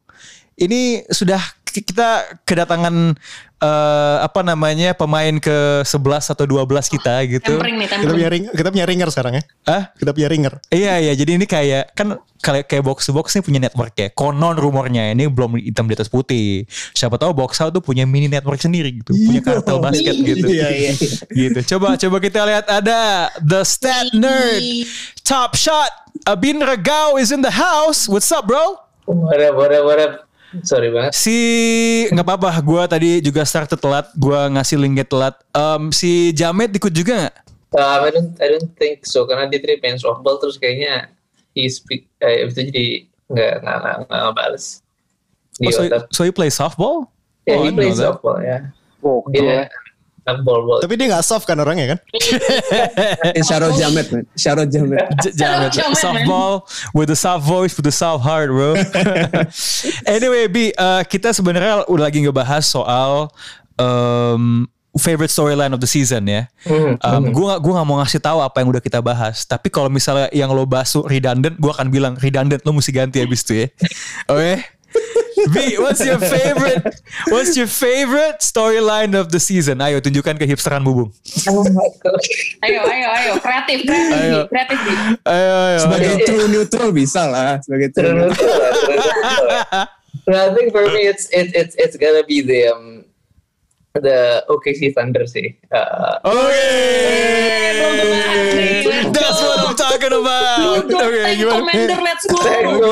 Ini sudah kita kedatangan uh, apa namanya pemain ke sebelas atau dua belas kita gitu. Tempering nih, tempering. Kita punya ring, kita punya ringer sekarang ya. Hah? Kita punya ringer. Iya iya, jadi ini kayak kan kayak kayak box to box nih punya network ya. Konon rumornya ini belum hitam di atas putih. Siapa tahu box out tuh punya mini network sendiri gitu, punya kartel basket gitu. Iya iya. Gitu. Coba coba kita lihat ada The Stat Nerd Top Shot. Abin Regao is in the house. What's up, bro? What up, what up, what up? Sorry banget. Si nggak apa-apa, gue tadi juga start telat, gue ngasih linknya telat. Um, si Jamet ikut juga nggak? Uh, I don't, I don't think so karena dia tadi main softball terus kayaknya he speak, eh, itu jadi nggak nggak nggak nggak balas. Oh, so, so you play softball? Yeah, oh, he plays softball, yeah. Oh, Dia anak bol-bol. Tapi dia gak soft kan orangnya kan? Syarot Jamet man. Syarot Jamet. J- Jamet. Softball with the soft voice, with the soft heart, bro. Anyway, B, uh, kita sebenarnya udah lagi ngebahas soal um, favorite storyline of the season ya. Mm-hmm. Um, gue gak, gue gak mau ngasih tahu apa yang udah kita bahas. Tapi kalau misalnya yang lo bahas redundant, gue akan bilang redundant, lo mesti ganti abis itu ya. Oke? Okay? B, what's your favorite? What's your favorite storyline of the season? Ayo tunjukkan ke hipsteran Bubung. Oh my god. Ayo, ayo, ayo, kreatif, kreatif, Ayo. B, kreatif, B. Ayo, ayo. Sebagai ayo. true neutral bisa lah. Sebagai true True neutral. neutral, true neutral. But I think for me it's it's it's it's gonna be the um the O K C Thunder sih. Uh, Okay. That's what I'm talking about. Go, Okay, tank gimana? commander, let's go.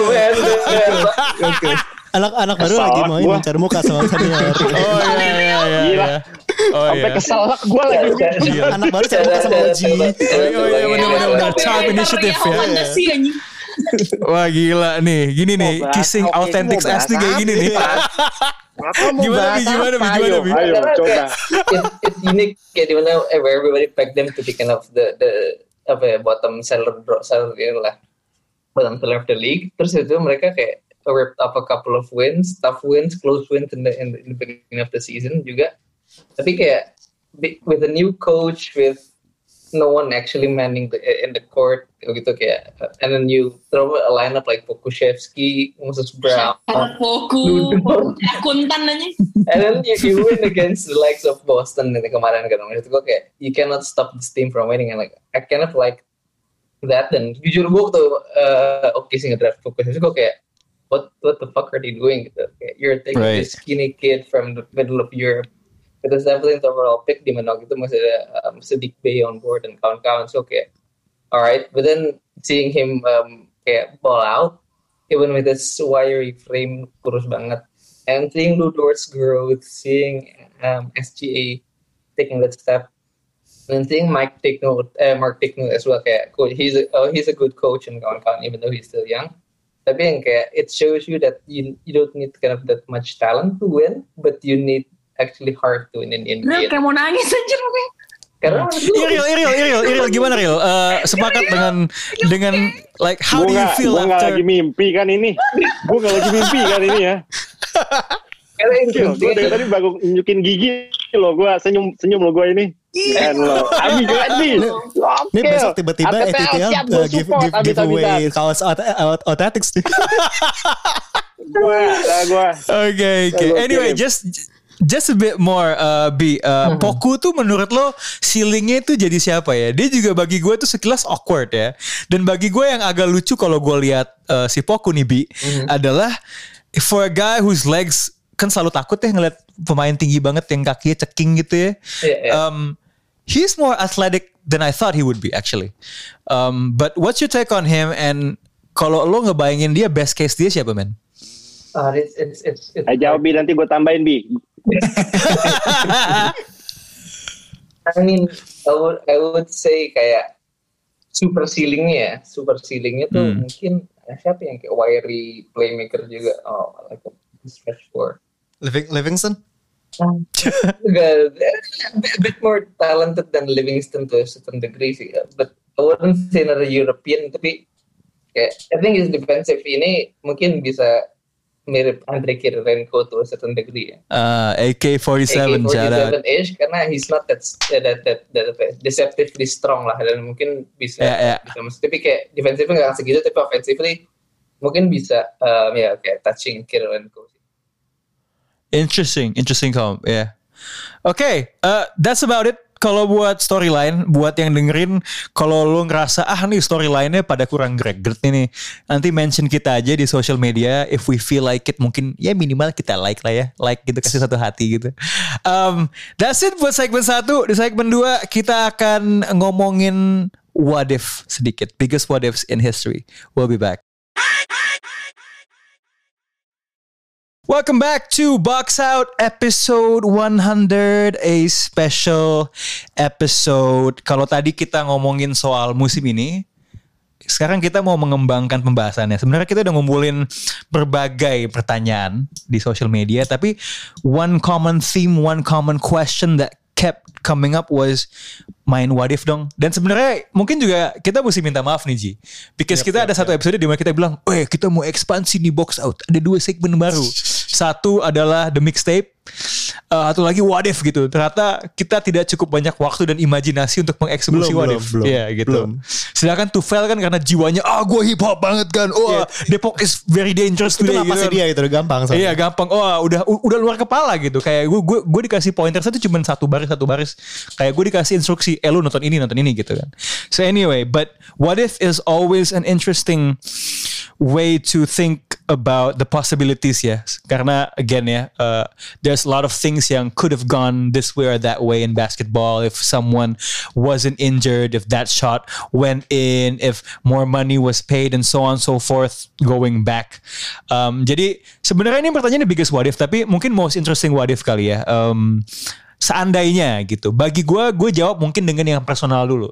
Oke. Anak-anak baru Kesal lagi lah mau gua. mencari muka sama senior. Oh iya iya iya. Gila. iya. Oh Sampai iya. kesal gue lagi. Gila. Anak baru cari muka sama O G. Oh iya benar benar benar. Child Operator initiative yang ya. fantasi, anjing. Wah gila nih. Gini nih, Mau bahas kissing apa? authentic Mau ass nih kayak bahas gini nih. Apa mau Gimana, bahas Bi? Gimana, Bi? apa? Gimana, Ayo, Bi? ayo, Karena coba. kayak it- it's unique kayak dimana where everybody peg them to be kind of the the apa ya bottom seller seller lah bottom seller of the league. Terus itu mereka kayak ripped up a couple of wins, tough wins, close wins in the in the, in the beginning of the season juga. Tapi kayak with a new coach, with no one actually manning the, in the court gitu kayak, and then you throw a lineup like Pokusevski, Moses Brown, Foku, Ludo. Kuntan aja. and then you, you win against the likes of Boston ini kemarin kan. Maksud gue kayak you cannot stop this team from winning, and like I kind of like that. Dan jujur gue tuh uh, oke sih ngedraft Pokusevski, gue kayak what what the fuck are they doing gitu. Kayak, you're taking Right. this skinny kid from the middle of Europe with a seventeenth overall pick di mana gitu masih ada um, Sadiq Bey on board dan kawan-kawan. So kayak alright, but then seeing him um, kayak ball out even with his wiry frame kurus banget, and seeing Lou Dort's growth, seeing um, S G A taking that step, and seeing Mike take note, uh, Mark take note as well kayak cool, he's a, oh, he's a good coach and kawan-kawan even though he's still young. Tapi yang kayak it shows you that you you don't need kind of that much talent to win, but you need actually hard to win in N B A. Gue kayak mau nangis anjir gue. Karena Iril, Iril, Iril, Iril, gimana Iril? Uh, sepakat dengan dengan like how do Gue you nggak, feel gue nggak after? lagi mimpi kan ini. Gue nggak lagi mimpi kan ini ya. karena yang Gue penting dari tadi baru nunjukin gigi lo, gue senyum senyum lo gue ini. Dan lo, abi abi. Ini besok tiba-tiba E T T L uh, give, give, giveaway kaos aut- aut- Authentics nih. Gue, gue. Oke, oke. Anyway, just just a bit more uh, B. Uh, Poku tuh menurut lo ceilingnya itu jadi siapa ya? Dia juga bagi gue tuh sekilas awkward ya. Dan bagi gue yang agak lucu kalau gue lihat uh, si Poku nih B adalah for a guy whose legs kan selalu takut ya ngeliat pemain tinggi banget yang kakinya ceking gitu ya. Yeah, yeah. Um, he's more athletic than I thought he would be actually. Um, but what's your take on him? And kalau lo ngebayangin dia best case dia siapa men? uh, it's it's it's, it's Eh, jawab Bi, nanti gue tambahin Bi. I mean, I would I would say kayak super ceilingnya ya, super ceilingnya tuh Hmm. mungkin eh, siapa yang kayak wiry playmaker juga, oh like a stretch four. Living, Livingston? Enggak, a bit more talented than Livingston to a certain degree sih, but I wouldn't say another European, tapi kayak I think his defensive ini mungkin bisa mirip Andre Kirilenko to a certain degree ya. Uh, A K forty-seven, shout out. ish karena he's not that that that, that, that deceptively strong lah, dan mungkin bisa Yeah, yeah. bisa mas- tapi kayak defensifnya nggak segitu, tapi offensively mungkin bisa um, ya kayak touching Kirilenko. Interesting, interesting comment. Yeah. Okay, uh, that's about it. Kalau buat storyline, buat yang dengerin, kalau lo ngerasa ah nih storyline-nya pada kurang greget ini, nanti mention kita aja di social media. If we feel like it, mungkin ya minimal kita like lah ya, like gitu, kasih satu hati gitu. Um, that's it buat segmen satu. Di segmen dua kita akan ngomongin what if sedikit, biggest what ifs in history. We'll be back. Welcome back to Box Out episode one hundred, a special episode. Kalau tadi kita ngomongin soal musim ini, sekarang kita mau mengembangkan pembahasannya. Sebenarnya kita udah ngumpulin berbagai pertanyaan di social media, tapi one common theme, one common question that kept coming up was main what if dong. Dan sebenarnya mungkin juga kita mesti minta maaf nih Ji, because yep, kita yep, ada yep. satu episode di mana kita bilang, eh kita mau ekspansi nih Box Out, ada dua segmen baru. Satu adalah the mixtape, uh, satu lagi what if gitu. Ternyata kita tidak cukup banyak waktu dan imajinasi untuk mengeksekusi what if. Iya yeah, gitu. Belum. Sedangkan Tufel kan karena jiwanya, ah gue hip hop banget kan. Oh yeah. Depok is very dangerous itu today. Itu napasnya gitu. Dia itu udah gampang. Iya yeah, gampang. Oh udah udah luar kepala gitu. Kayak gue gue gue dikasih pointer satu cuma satu baris satu baris. Kayak gue dikasih instruksi, eh lu nonton ini nonton ini gitu kan. So anyway, but what if is always an interesting way to think about the possibilities ya. Karena again ya, uh, there's a lot of things yang could have gone this way or that way in basketball if someone wasn't injured, if that shot went in, if more money was paid and so on and so forth going back. Um, jadi sebenarnya ini pertanyaan the biggest what if, tapi mungkin most interesting what if kali ya. Um, seandainya gitu. Bagi gue, gue jawab mungkin dengan yang personal dulu.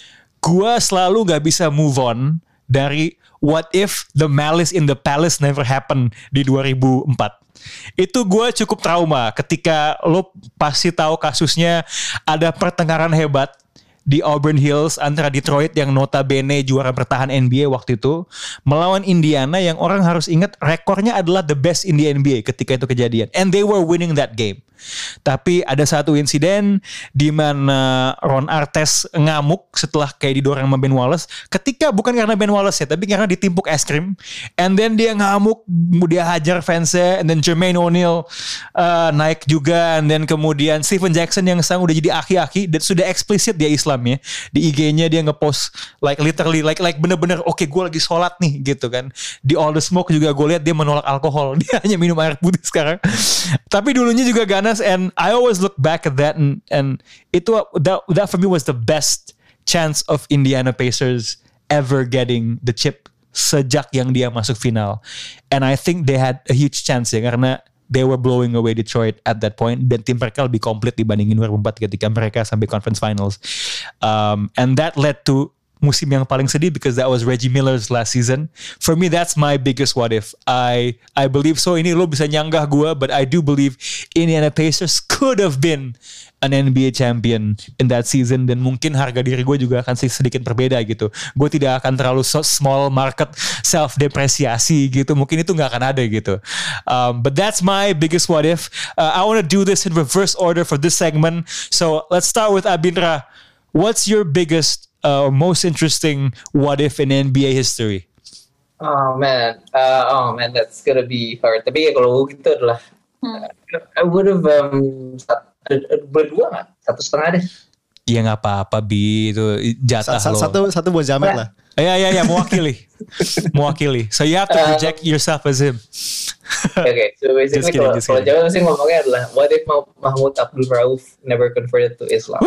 Gue selalu gak bisa move on dari what if the malice in the palace never happened di dua ribu empat. Itu gue cukup trauma ketika lo pasti tahu kasusnya ada pertengkaran hebat di Auburn Hills antara Detroit yang notabene juara bertahan N B A waktu itu melawan Indiana yang orang harus ingat rekornya adalah the best in the N B A ketika itu kejadian, and they were winning that game. Tapi ada satu insiden di mana Ron Artest ngamuk setelah kayak didorong sama Ben Wallace. Ketika bukan karena Ben Wallace ya, tapi karena ditimpuk es krim. And then dia ngamuk, dia hajar fansnya. And then Jermaine O'Neal uh, naik juga. And then kemudian Stephen Jackson yang sekarang udah jadi aki-aki dan sudah eksplisit dia Islam ya. Di I G-nya dia ngepost like literally like like bener-bener oke okay, gue lagi sholat nih gitu kan. Di All the Smoke juga gue lihat dia menolak alkohol. Dia hanya minum air putih sekarang. Tapi dulunya juga ganas. And I always look back at that and and itu that that for me was the best chance of Indiana Pacers ever getting the chip sejak yang dia masuk final. And I think they had a huge chance ya karena they were blowing away Detroit at that point dan tim mereka lebih komplit dibandingin dua ribu empat ketika mereka sampai conference finals. Um, and that led to musim yang paling sedih because that was Reggie Miller's last season. For me, that's my biggest what if. I I believe so. Ini lo bisa nyanggah gue, but I do believe Indiana Pacers could have been an N B A champion in that season. Dan mungkin harga diri gue juga akan sedikit berbeda gitu. Gue tidak akan terlalu small market self-depresiasi gitu. Mungkin itu gak akan ada gitu. Um, but that's my biggest what if. Uh, I want to do this in reverse order for this segment. So let's start with Abindra. What's your biggest Uh, most interesting what if in N B A history? Oh man, uh, oh man, that's gonna be hard. Tapi ya kalau gitu adalah, hmm. uh, I would have um, berdua nggak, satu setengah deh. Ya nggak apa-apa Bi, itu jatah satu, lo. Satu satu buat Jamet lah. Ya ya ya mewakili, mewakili. So you have to project uh, yourself as him. Oke, okay, so basically kalau kalau Jawa sih ngomongnya adalah what if Mahmud Abdul Rauf never converted to Islam?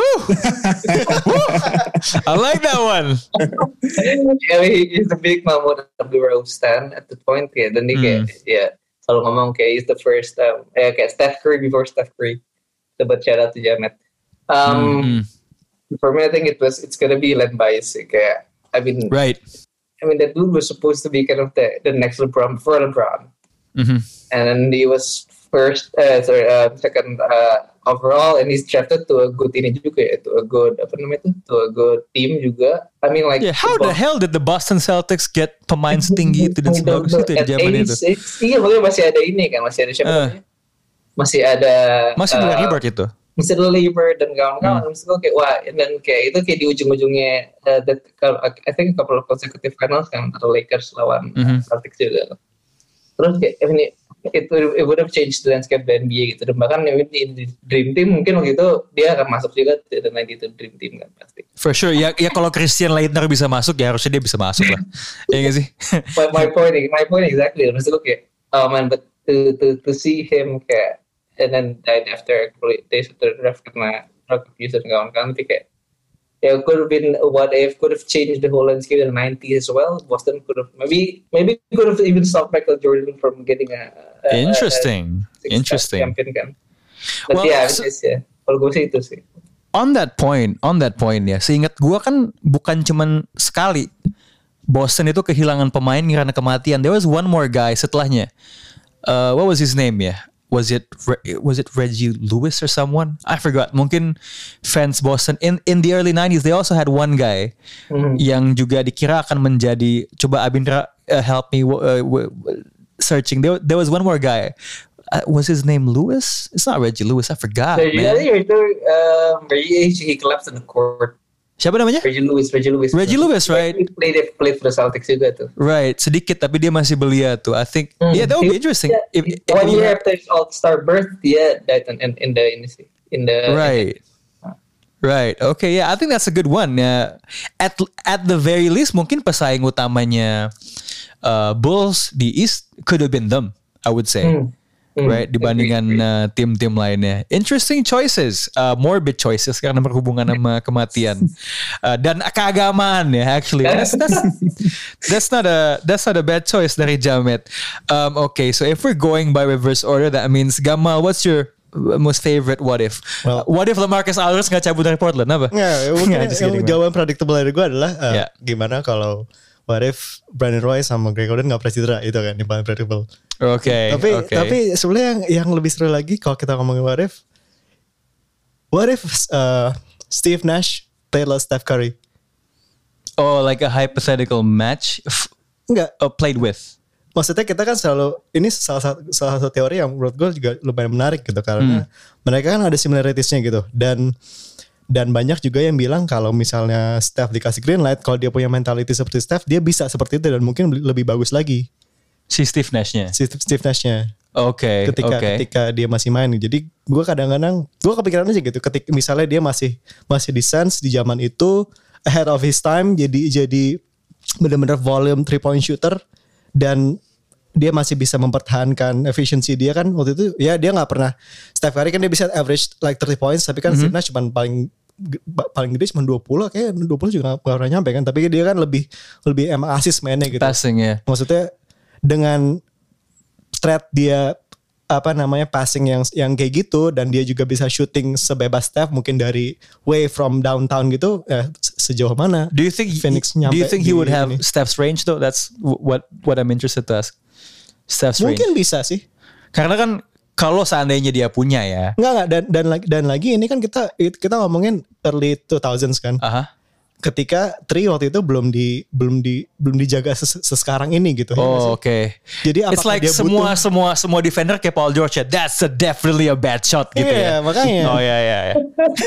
I like that one. Yeah, he's a big Mahmud Abdul Rauf stan at the point kayak dan dia kayak hmm. ya selalu ngomong kayak he's the first um, eh, kayak Steph Curry before Steph Curry. Sobat shout out to Jamet. Um, hmm. For me, I think it was it's gonna be led by kayak I mean, right. I mean that dude was supposed to be kind of the the next LeBron before LeBron. Mm-hmm. And then he was first, uh, sorry, uh, second uh, overall, and he's drafted to a good ini juga ya, to a good apa namanya itu, to a good team juga. I mean like, yeah, how the hell did the Boston Celtics get pemain setinggi itu dan sebagus itu di zaman itu? Iya, makanya masih ada ini kan, masih ada siapa uh, namanya? Masih ada. Masih ada uh, Rebirth itu. Masih ada Labor dan kawan-kawan. Hmm. Maksud gue kayak wah, dan kayak itu kayak di ujung-ujungnya, uh, that, I think a couple of consecutive finals kan, atau Lakers lawan mm-hmm. Celtics juga. Terus kayak ini it, it would have changed the landscape the N B A gitu. Dan bahkan di Dream Team mungkin waktu itu dia akan masuk juga dan nanti itu Dream Team kan pasti. For sure. Ya, ya kalau Christian Laettner bisa masuk ya harusnya dia bisa masuk lah. Ya nggak sih? my, my point, my point exactly. Maksud gue kayak, oh man, but to to to see him kayak and then died after days after the draft karena drug abuse dan kawan-kawan, tapi kayak yeah, could have been what if, could have changed the whole landscape in the nineties as well. Boston could have maybe maybe could have even stopped Michael Jordan from getting a, a interesting, a, a interesting champion kan. But well, yeah, so, it's, yeah. Kalau gue sih itu sih. On that point, on that point ya, seingat gue kan bukan cuman sekali Boston itu kehilangan pemain karena kematian. There was one more guy setelahnya. Uh, what was his name ya? Was it was it Reggie Lewis or someone? I forgot. Mungkin fans Boston in in the early nineties they also had one guy mm. yang juga dikira akan menjadi. Coba Abindra uh, help me uh, w- w- searching. There, there was one more guy. Uh, was his name Lewis? It's not Reggie Lewis. I forgot. So, man. Yeah, itu um, Reggie he collapsed on the court. Siapa namanya? Reggie Lewis, Reggie Lewis. Reggie Lewis, right? He played, played for the Celtics juga tuh. Right, sedikit tapi dia masih belia tuh. I think, hmm. yeah, that would be interesting. Yeah, if, if one if year have, after his All-Star berth, dia died in, in, in the in the in the. Right, right. Okay, yeah, I think that's a good one. Yeah, at at the very least, mungkin pesaing utamanya uh, Bulls di East could have been them. I would say. Hmm. Right, dibandingkan uh, tim-tim lainnya. Interesting choices, uh, morbid choices karena berhubungan sama kematian uh, dan keagamaan ya. Actually, that's, that's that's not a that's not a bad choice dari Jamet. Um, okay, so if we're going by reverse order, that means Gamal, what's your most favorite what if? Well, uh, what if LaMarcus Aldridge nggak cabut dari Portland? Apa? Ya, mungkin yang kidding, jawaban predictable dari gue adalah uh, yeah. gimana kalau what if Brandon Roy sama Greg Oden nggak pernah cedera, itu kan yang paling predictable. Oke. Okay, tapi okay. tapi sebenarnya yang yang lebih seru lagi kalau kita ngomongin what if, what if uh, Steve Nash played like Steph Curry? Oh, like a hypothetical match? Enggak. Oh, played with. Maksudnya kita kan selalu, ini salah satu salah satu teori yang menurut gue juga lumayan menarik gitu karena hmm. mereka kan ada similarities-nya gitu dan dan banyak juga yang bilang kalau misalnya Steph dikasih green light, kalau dia punya mentality seperti Steph, dia bisa seperti itu dan mungkin lebih bagus lagi. Si Steve Nash-nya? Si Steve Nash-nya. Oke, okay, ketika okay. ketika dia masih main. Jadi gue kadang-kadang, gue kepikiran aja gitu. Ketika misalnya dia masih masih di Suns di zaman itu, ahead of his time, jadi jadi benar-benar volume three point shooter dan dia masih bisa mempertahankan efisiensi dia kan waktu itu. Ya dia nggak pernah. Steph Curry kan dia bisa average like thirty points, tapi kan mm-hmm. Steve Nash cuma paling paling gede cuma dua puluh, kayak dua puluh juga gak pernah nyampe kan, tapi dia kan lebih lebih emang assist mainnya gitu. Passing ya. Maksudnya dengan threat dia apa namanya passing yang yang kayak gitu dan dia juga bisa shooting sebebas Steph mungkin dari way from downtown gitu, ya sejauh mana? Do you think Phoenix nyampe? Do you think he would have ini? Steph's range though? That's what what I'm interested to ask. Steph's mungkin range. Bisa sih. Karena kan kalau seandainya dia punya ya. Enggak enggak dan dan lagi dan lagi ini kan kita kita ngomongin early two thousands kan. Aha. Ketika Tri waktu itu belum di belum di belum dijaga ses, sesekarang ini gitu. Oh, oke. Okay. Jadi it's like dia semua butuh, semua semua defender kayak Paul George ya. That's a definitely a bad shot gitu yeah, ya. Oh Makanya. ya yeah, ya. Yeah, yeah.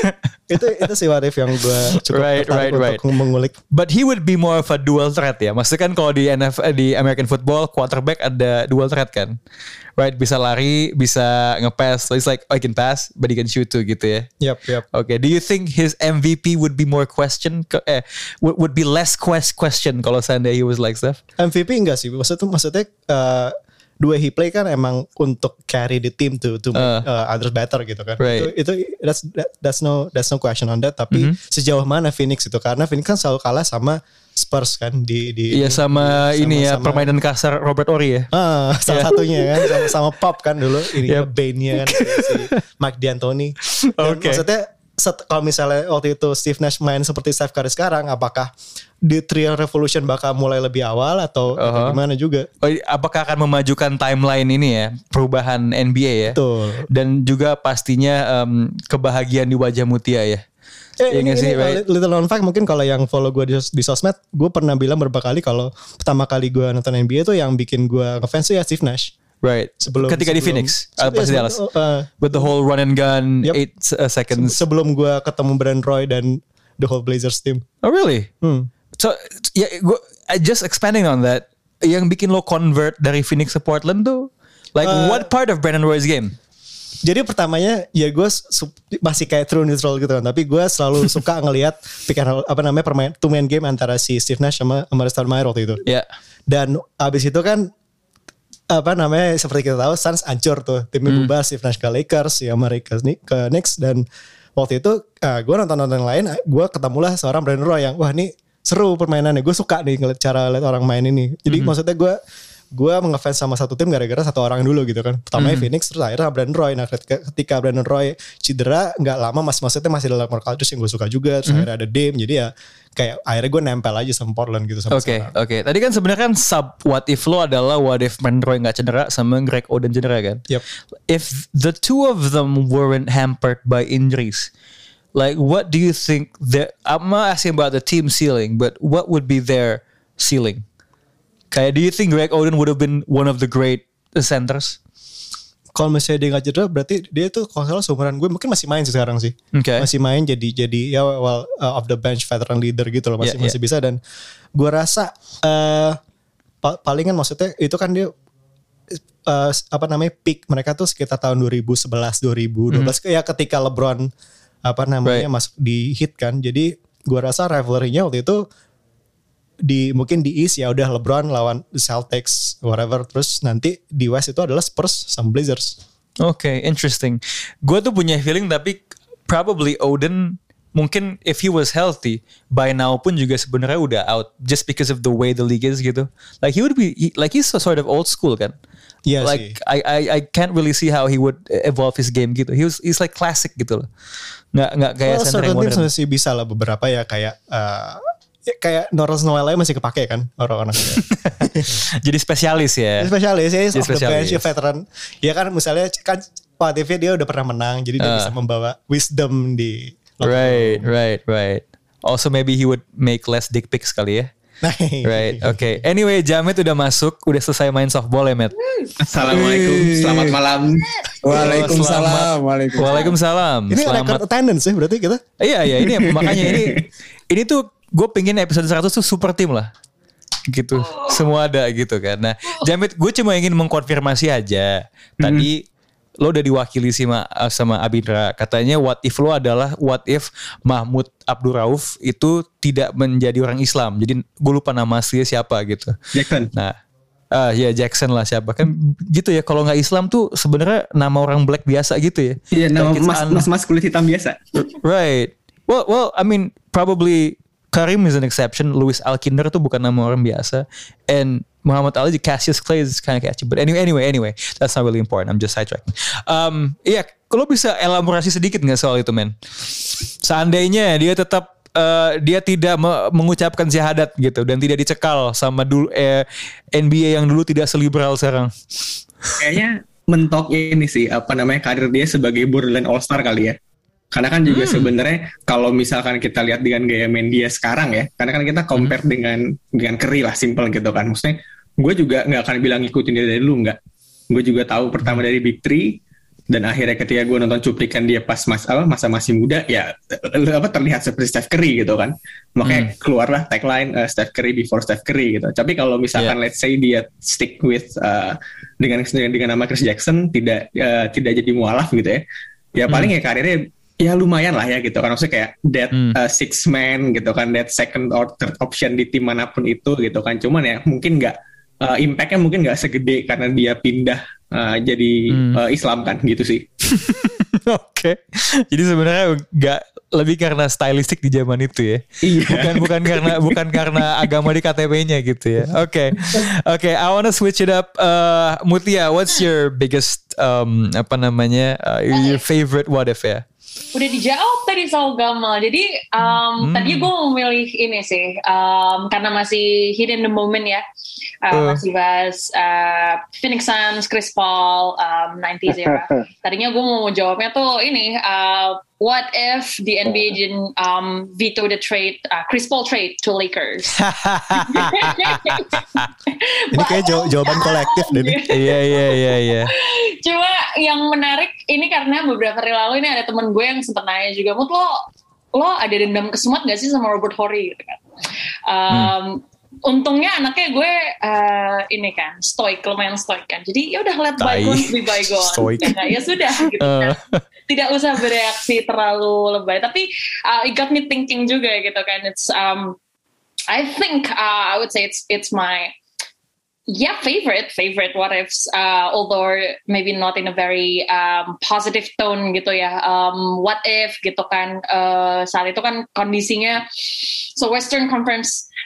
itu itu sih what if yang gue cukup right, right, right. untuk mengulik. But he would be more of a dual threat ya. Maksudnya kan kalau di N F L di American football quarterback ada dual threat kan. Right, bisa lari, bisa nge-pass. So it's like I can pass, but he can shoot too gitu ya. Yep, yep. Okay, do you think his M V P would be more question? Eh, would, would be less quest question kalau seandainya he was like Steph? M V P enggak sih. Maksudnya maksudnya uh, the way he play kan emang untuk carry the team to to make uh, uh, others better gitu kan. Right. Itu itu that's that, that's no that's no question on that. Tapi mm-hmm. sejauh mana Phoenix itu, karena Phoenix kan selalu kalah sama Spurs kan di di iya sama, di, sama ini ya sama, permainan kasar Robert Horry ya. Ah, salah yeah. satunya kan sama, sama Pop kan dulu ini yep. Bane-nya kan si, si Mike D'Antoni. Okay. Maksudnya set, kalau misalnya waktu itu Steve Nash main seperti Steph Curry sekarang, apakah di Trial Revolution bakal mulai lebih awal atau, uh-huh. atau gimana juga? Oh, apakah akan memajukan timeline ini ya, perubahan N B A ya? Betul. Dan juga pastinya um, kebahagiaan di wajah Mutia ya. Eh, ya ini, sih, ini right? Little known fact mungkin kalau yang follow gue di, di sosmed, gue pernah bilang beberapa kali kalau pertama kali gue nonton N B A itu yang bikin gue ngefans tuh ya Steve Nash. Right. Sebelum ketika sebelum, di Phoenix, uh, pas di Dallas, uh, with the whole run and gun, yep. eight uh, seconds. Sebelum gue ketemu Brandon Roy dan the whole Blazers team. Oh really? Hmm. So ya, gue just expanding on that, yang bikin lo convert dari Phoenix ke Portland tuh, like uh, what part of Brandon Roy's game? Jadi pertamanya ya gue su- masih kayak true neutral gitu kan, tapi gue selalu suka ngelihat pick and roll, apa namanya permain two man game antara si Steve Nash sama sama Stoudemire waktu itu. Iya. Yeah. Dan abis itu kan apa namanya seperti kita tahu Suns hancur tuh, timnya hmm. bubar, Steve Nash ke Lakers, ya mereka ke, ke Knicks, dan waktu itu uh, gue nonton-nonton yang lain, gue ketemulah seorang Brandon Roy yang wah ini seru permainannya, gue suka nih ngeliat cara lihat orang main ini. Jadi mm-hmm. maksudnya gue gue ngefans sama satu tim gara-gara satu orang dulu gitu kan. Pertamanya Hmm. Phoenix, terus akhirnya Brandon Roy. Nah ketika, ketika Brandon Roy cedera nggak lama, mas maksudnya masih dalam culture yang gue suka juga. Terus Hmm. akhirnya ada Dame, jadi ya kayak akhirnya gue nempel aja sama Portland gitu sampai Oke, sekarang. oke. Tadi kan sebenarnya kan sub what if lo adalah what if Brandon Roy nggak cedera sama Greg Oden cedera kan? Yep. If the two of them weren't hampered by injuries, like what do you think that? I'm not asking about the team ceiling, but what would be their ceiling? Kayak, do you think Greg Oden would have been one of the great centers? Kalau misalnya dia nggak cedera, berarti dia tuh kalau salah seumuran gue mungkin masih main sih sekarang sih. Oke. Masih main jadi jadi ya well uh, of the bench veteran leader gitu loh, masih Yeah, masih bisa. Dan gue rasa uh, pa- palingan maksudnya itu kan dia uh, apa namanya peak mereka tuh sekitar tahun dua ribu sebelas dua ribu dua belas ya ketika LeBron apa namanya Right. masuk di hit kan. Jadi gue rasa rivalry-nya waktu itu di mungkin di East ya udah LeBron lawan the Celtics whatever, terus nanti di West itu adalah Spurs sama Blazers. Oke, interesting. Gue tuh punya feeling tapi probably Oden mungkin if he was healthy by now pun juga sebenarnya udah out just because of the way the league is gitu. Like he would be he, like he's sort of old school kan. Iya Like sih. I, I I can't really see how he would evolve his game gitu. He was he's like classic gitu loh. Nggak nggak kayak Well, center yang certain teams modern. masih bisa lah beberapa ya kayak uh, ya kayak Norris Noel aja masih kepake kan orang-orang. Jadi spesialis ya. Spesialis ya, Jadi off the bench ya spesialis. veteran. Ya kan misalnya kan Pak T V dia udah pernah menang, jadi dia Uh. bisa membawa wisdom di. Right, right, right. Also maybe he would make less dick pics kali ya. Right, oke. Okay. Anyway, Jamit udah masuk, udah selesai main softball ya, Matt. Assalamualaikum, selamat malam. Waalaikumsalam. Waalaikumsalam. Waalaikumsalam. Ini Selamat. record attendance ya berarti kita. Iya, iya, ini makanya ini ini tuh gue pengen episode seratus tuh super team lah. Gitu. Semua ada gitu kan. Nah, Jamit, gue cuma ingin mengkonfirmasi aja. Tadi lo udah diwakili sama sama Abindra. Katanya what if lo adalah what if Mahmud Abdul Rauf itu tidak menjadi orang Islam. Jadi gue lupa nama aslinya siapa gitu. Jackson. Nah, ah ya Jackson lah siapa kan gitu ya. Kalau nggak Islam tuh sebenarnya nama orang black biasa gitu ya. Iya, nama Like it's mas, un- mas mas kulit hitam biasa. Right. Well, well, I mean, probably Karim is an exception. Louis Alkinder tuh bukan nama orang biasa. And Muhammad Ali, Cassius Clay is kind of catchy. But anyway, anyway, anyway, that's not really important. I'm just sidetracking. Um, iya, kalau bisa elaborasi sedikit nggak soal itu, men? Seandainya dia tetap uh, dia tidak me- mengucapkan syahadat gitu dan tidak dicekal sama dulu eh, N B A yang dulu tidak seliberal sekarang. Kayaknya mentok ini sih apa namanya karir dia sebagai borderline all star kali ya. Karena kan juga hmm. sebenarnya kalau misalkan kita lihat dengan gaya main dia sekarang ya, karena kan kita compare hmm. dengan dengan Curry lah, simple gitu kan. Maksudnya gue juga nggak akan bilang ngikutin dia dari dulu, nggak. Gue juga tahu pertama dari Big Three dan akhirnya ketika gue nonton cuplikan dia pas mas apa masa masih muda ya apa terlihat seperti Steph Curry gitu kan. Makanya hmm. keluarlah tagline uh, Steph Curry before Steph Curry gitu. Tapi kalau misalkan yeah. let's say dia stick with uh, dengan dengan nama Chris Jackson tidak uh, tidak jadi mualaf gitu ya. Ya paling hmm. ya karirnya ya lumayan lah ya gitu kan, maksudnya kayak that hmm. uh, six man gitu kan, that second or third option di tim manapun itu gitu kan. Cuman ya mungkin nggak uh, impactnya mungkin nggak segede karena dia pindah uh, jadi hmm. uh, Islam kan gitu sih. Oke, okay. Jadi sebenarnya nggak lebih karena stylistik di zaman itu ya, iya. bukan bukan karena bukan karena agama di K T P-nya gitu ya. Oke, okay. oke. Okay, I wanna switch it up. Uh, Mutia, what's your biggest um, apa namanya uh, your favorite what if ya? Udah dijawab tadi soal Gamal. Jadi um, hmm. tadi gue memilih ini sih um, karena masih hidden the moment ya. Uh, uh. Masih bahas uh, Phoenix Suns, Chris Paul, um, nineties era. Tadinya gue mau jawabnya tuh ini uh, what if the N B A didn't um, veto the trade uh, Chris Paul trade to Lakers? Ini kayak jaw- jawaban kolektif deh. Iya iya iya iya. Cuma yang menarik ini karena beberapa hari lalu ini ada teman gue yang sempat nanya juga, Mut lo lo ada dendam kesemut gak sih sama Robert Horry gitu kan? Um, hmm. Untungnya anaknya gue uh, ini kan stoik, lumayan stoik kan. Jadi ya udah let bygones be bygones. Ya, ya sudah gitu kan. Tidak usah bereaksi terlalu lebay. Tapi uh, it got me thinking juga gitu kan. It's um I think uh, I would say it's it's my yeah favorite favorite what ifs. Uh, although maybe not in a very um, positive tone gitu ya. Um, what if gitu kan. Uh, saat itu kan kondisinya so Western Conference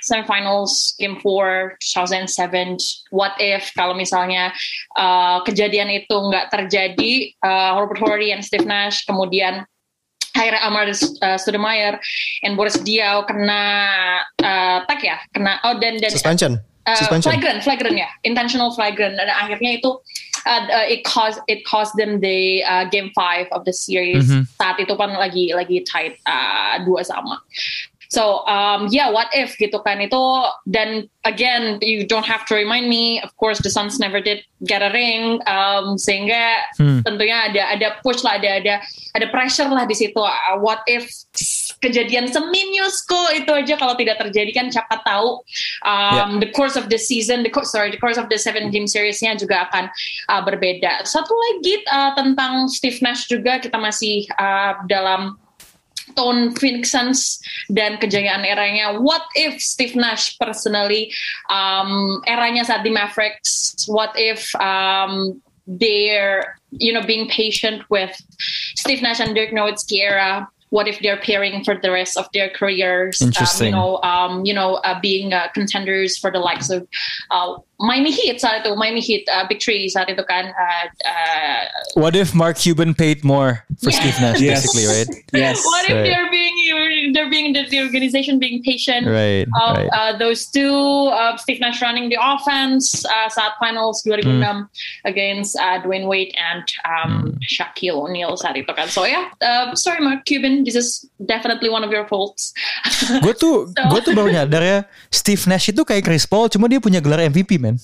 semifinals game four two thousand seven. What if kalau misalnya uh, kejadian itu nggak terjadi, uh, Robert Horry and Steve Nash kemudian akhirnya Amar uh, Stoudemire and Boris Diaw kena uh, tag ya, kena oh dan dan suspension. Uh, suspension. flagrant, flagrant ya, intentional flagrant, dan akhirnya itu uh, uh, it caused it caused them the uh, game five of the series. Mm-hmm. Saat itu kan lagi lagi tight uh, dua sama. So um, yeah, what if gitu kan itu, dan again you don't have to remind me. Of course the Suns never did get a ring, um, sehingga hmm. tentunya ada ada push lah, ada ada ada pressure lah di situ. Uh, what if kejadian seminusku itu aja kalau tidak terjadi kan siapa tahu um, yeah. the course of the season, the course sorry the course of the seven game seriesnya juga akan uh, berbeda. Satu lagi uh, tentang Steve Nash juga, kita masih uh, dalam tone Phoenix Suns dan kejayaan eranya. What if Steve Nash personally um, eranya saat di Mavericks, what if um, they're you know being patient with Steve Nash and Dirk Nowitzki era, what if they're pairing for the rest of their careers, Interesting. um, you know um, you know uh, being uh, contenders for the likes of uh, Miami Heat saat itu, Miami Heat uh, Big Three saat itu kan. Uh, uh, what if Mark Cuban paid more for yeah. Steve Nash, yes. basically, right? Yes. What if right. they're being they're being the, the organization being patient right, of right. Uh, those two, uh, Steve Nash running the offense uh, saat finals two thousand six mm. against uh, Dwayne Wade and um, mm. Shaquille O'Neal saat itu kan. So yeah, uh, sorry Mark Cuban, this is definitely one of your faults. Gue tuh so. gue tuh baru nyadar ya, Steve Nash itu kayak Chris Paul, cuma dia punya gelar M V P man.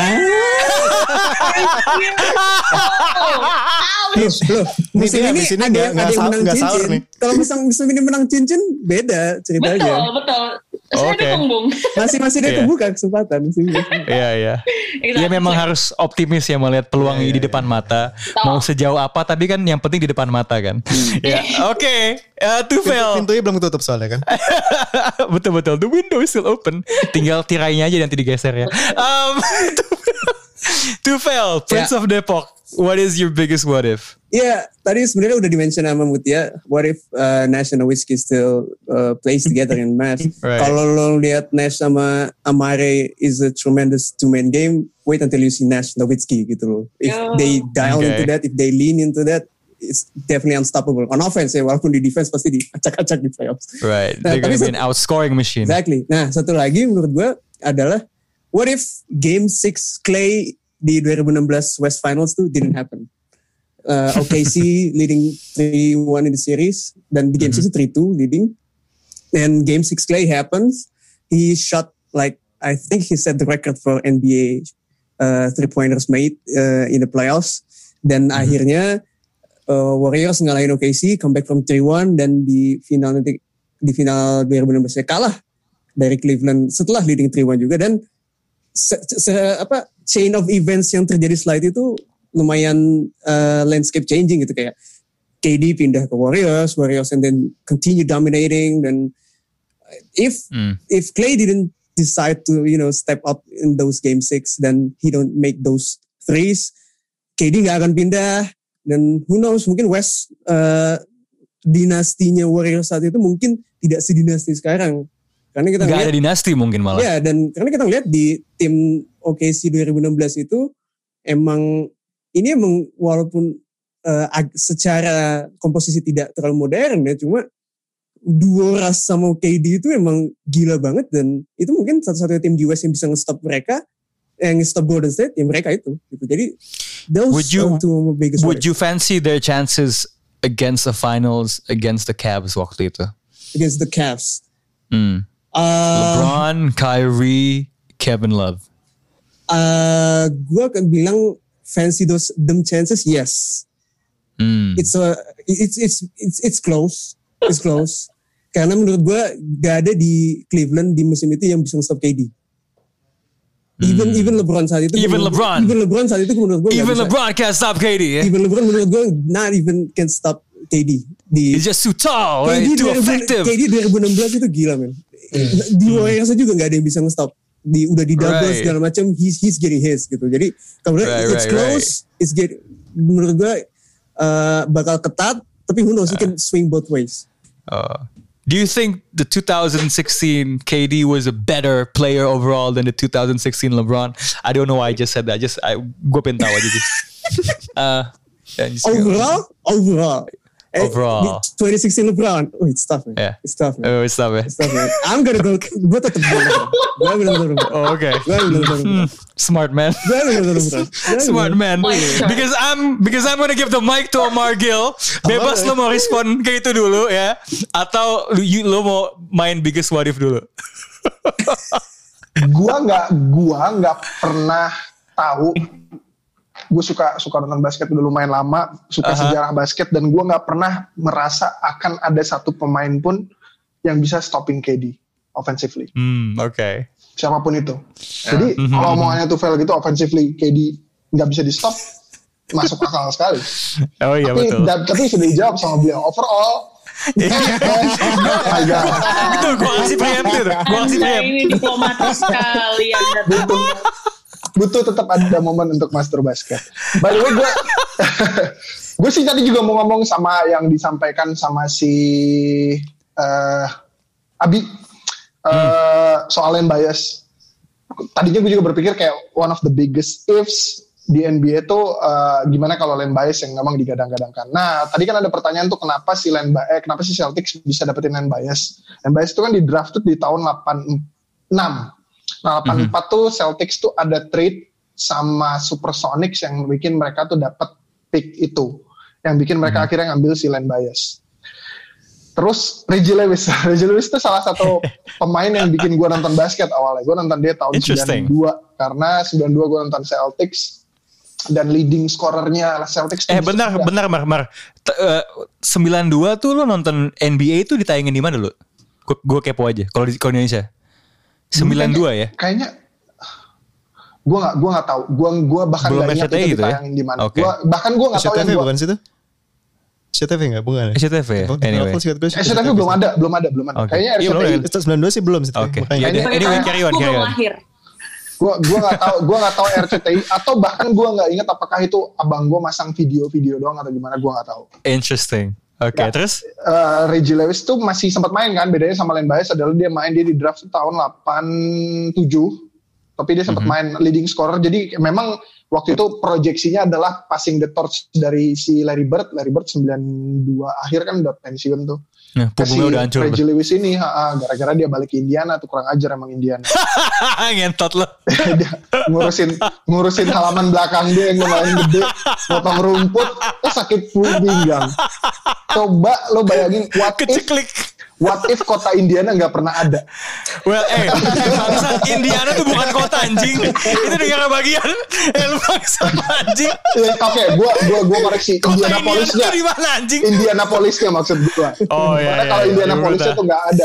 Loh, musim ini, ini ada, gak, ada yang menang cincin. Kalau musim ini menang cincin beda ceritanya. Betul, betul. Saya okay. dukung. Masih masih dia yeah. kebuka kesempatan musim ini. Iya iya. Dia memang harus optimis ya melihat peluang yeah, yeah, di depan yeah. mata. So. Mau sejauh apa, tapi kan yang penting di depan mata kan. Ya, oke. Tufel. Pintunya belum tutup soalnya kan. Betul betul. The window is still open. Tinggal tirainya aja nanti digeser ya. Um, Tufel, Prince yeah. of Depok. What is your biggest what if? Ya, yeah, tadi sebenarnya udah di-mention sama Mutia. What if uh, Nash and Nowitzki still uh, plays together in match? Right. Kalau lo lihat Nash sama Amare is a tremendous two-man game, wait until you see Nash Nowitzki gitu loh. If oh. they dial okay. into that, if they lean into that, it's definitely unstoppable. On offense ya, walaupun di defense pasti diacak-acak di playoffs. Right, nah, they're gonna be an outscoring machine. Exactly. Nah, satu lagi menurut gue adalah, what if Game six Clay di twenty sixteen West Finals tuh didn't happen. Uh, O K C leading three one in the series, dan di Game mm-hmm. six three two leading. And Game six Clay happens. He shot like, I think he set the record for N B A uh, three-pointers made uh, in the playoffs. Dan mm-hmm. akhirnya uh, Warriors ngalahin O K C, comeback from three one, dan di final nanti di final twenty sixteen kalah dari Cleveland setelah leading three one juga. Dan se, se, apa chain of events yang terjadi setelah itu lumayan uh, landscape changing gitu, kayak K D pindah ke Warriors, Warriors and then continue dominating. Dan if mm. if Clay didn't decide to you know step up in those game six, then he don't make those threes, K D nggak akan pindah. Dan who knows, mungkin West uh, dinastinya Warriors saat itu mungkin tidak sedinasti sekarang. Karena kita nggak ada dinasti mungkin malah. Ya, dan karena kita lihat di tim O K C twenty sixteen itu emang ini emang walaupun uh, secara komposisi tidak terlalu modern ya, cuma duo Russ sama K D itu emang gila banget, dan itu mungkin satu-satunya tim di West yang bisa nge-stop mereka, yang nge-stop Golden State, ya mereka itu. Gitu. Jadi those would you, are two biggest would you fancy their chances against the finals against the Cavs waktu itu? Against the Cavs. Hmm. Uh, LeBron, Kyrie, Kevin Love. Uh, gue akan bilang fancy those them chances, yes. Mm. It's a it's it's it's it's close, it's close. Karena menurut gue gak ada di Cleveland di musim itu yang bisa stop K D. Even mm. even LeBron saat itu. Even menurut, LeBron. Even LeBron saat itu menurut gue. Even LeBron can't stop K D. Eh? Even LeBron menurut gue not even can stop K D. Di, He's just too tall, right? Too effective. K D twenty sixteen itu gila men. Mm. Di Warriors juga nggak ada yang bisa nge-stop. Di udah di double right. segala macam, he's he's getting his gitu. Jadi kalau right, it's right, close, right. it's get menurut gue uh, bakal ketat, tapi who knows, uh. he can swing both ways. Oh. Do you think the twenty sixteen K D was a better player overall than the twenty sixteen LeBron? I don't know why I just said that. Just I gue pengen tahu aja sih. uh, yeah, overall, overall. Overall. twenty sixteen LeBron. Oh, it's tough, man. Yeah. It's tough, man. Oh, it's tough, man. It's tough, man. I'm gonna go. Gue tetap LeBron. Gue ambil LeBron. Oh, okay. Gue ambil LeBron. Smart man. Gue ambil LeBron. Smart man. Because I'm because I'm gonna give the mic to Omar Gill. Bebas lo mau respon ke itu dulu ya, atau you, lo mau main biggest what if dulu. Gua nggak, gua nggak pernah tahu. Gue suka suka nonton basket udah lumayan lama, suka uh-huh. sejarah basket, dan gue nggak pernah merasa akan ada satu pemain pun yang bisa stopping K D offensively. Hmm, oke. Okay. Siapapun itu. Jadi uh, kalau omongannya tuh fail gitu offensively K D nggak bisa di stop, masuk akal sekali. Oh iya tapi, betul. Da, tapi sudah dijawab sama beliau overall. Itu gue kasih preemptif tuh. Gue kasih preemptif. Ini diplomatis sekali Anda. Butuh, butuh tetap ada momen untuk master basket. By the way, gue gue sih tadi juga mau ngomong sama yang disampaikan sama si uh, Abi uh, hmm. soal Len Bias. Tadinya gue juga berpikir kayak one of the biggest ifs di N B A itu uh, gimana kalau Len Bias yang memang digadang-gadangkan. Nah, tadi kan ada pertanyaan tuh kenapa si Len Bias, eh, kenapa si Celtics bisa dapetin Len Bias? Len Bias itu kan di draft tuh di tahun delapan puluh enam. Nah, delapan puluh empat mm-hmm. tuh Celtics tuh ada trade sama Supersonics yang bikin mereka tuh dapat pick itu, yang bikin mereka mm-hmm. akhirnya ngambil si Len Bias. Terus Reggie Lewis, Reggie Lewis itu salah satu pemain yang bikin gue nonton basket awalnya. Gue nonton dia tahun sembilan puluh dua karena sembilan puluh dua gue nonton Celtics dan leading scorernya Celtics. Eh benar, juga. benar, Mar, Mar. T- uh, sembilan puluh dua tuh lo nonton N B A itu ditayangin di mana lo? Gue kepo aja. Kalau di Indonesia. sembilan puluh dua ya? Kayaknya gue nggak gue nggak tahu. Gue gue bahkan nggak ingat itu gitu ditayangin ya? di mana. Okay. Gua bahkan gue nggak tahu yang gue. Bukan situ? S C T V nggak? Bukan. S C T V ya? Anyway. S C T V belum ada, belum ada, belum ada. Okay. Kayaknya R C T I. Iya, sembilan puluh dua sih belum. Oke. Okay. Anyway, carry on, carry on. Gue gue nggak tahu, gue nggak tahu R C T I atau bahkan gue nggak ingat apakah itu abang gue masang video-video doang atau gimana, gue nggak tahu. Interesting. Oke, okay, nah, terus? Uh, Reggie Lewis tuh masih sempat main kan, bedanya sama Len Bias adalah dia main dia di draft tahun delapan puluh tujuh, tapi dia sempat mm-hmm. main leading scorer. Jadi memang waktu itu proyeksinya adalah passing the torch dari si Larry Bird. Larry Bird sembilan puluh dua akhir kan udah pensiun tuh. Nah, punggungnya udah hancur. Reggie Lewis ini ha, ha, gara-gara dia balik ke Indiana tuh, kurang ajar emang Indiana. Ngentot lo. Dia ngurusin ngurusin halaman belakang dia yang lumayan gede, potong rumput, eh sakit pinggang. Coba lo bayangin what Keceklik. if what if kota Indiana nggak pernah ada. Well, eh, bangsa Indiana tuh bukan kota anjing, itu negara bagian. Eh, lu bangsa anjing. Oke, okay, gua gua gua koreksi. Indianapolisnya. Indiana di mana anjing? Indianapolisnya maksud gua. Oh iya. Karena kalau iya, Indianapolisnya iya, tuh nggak ada.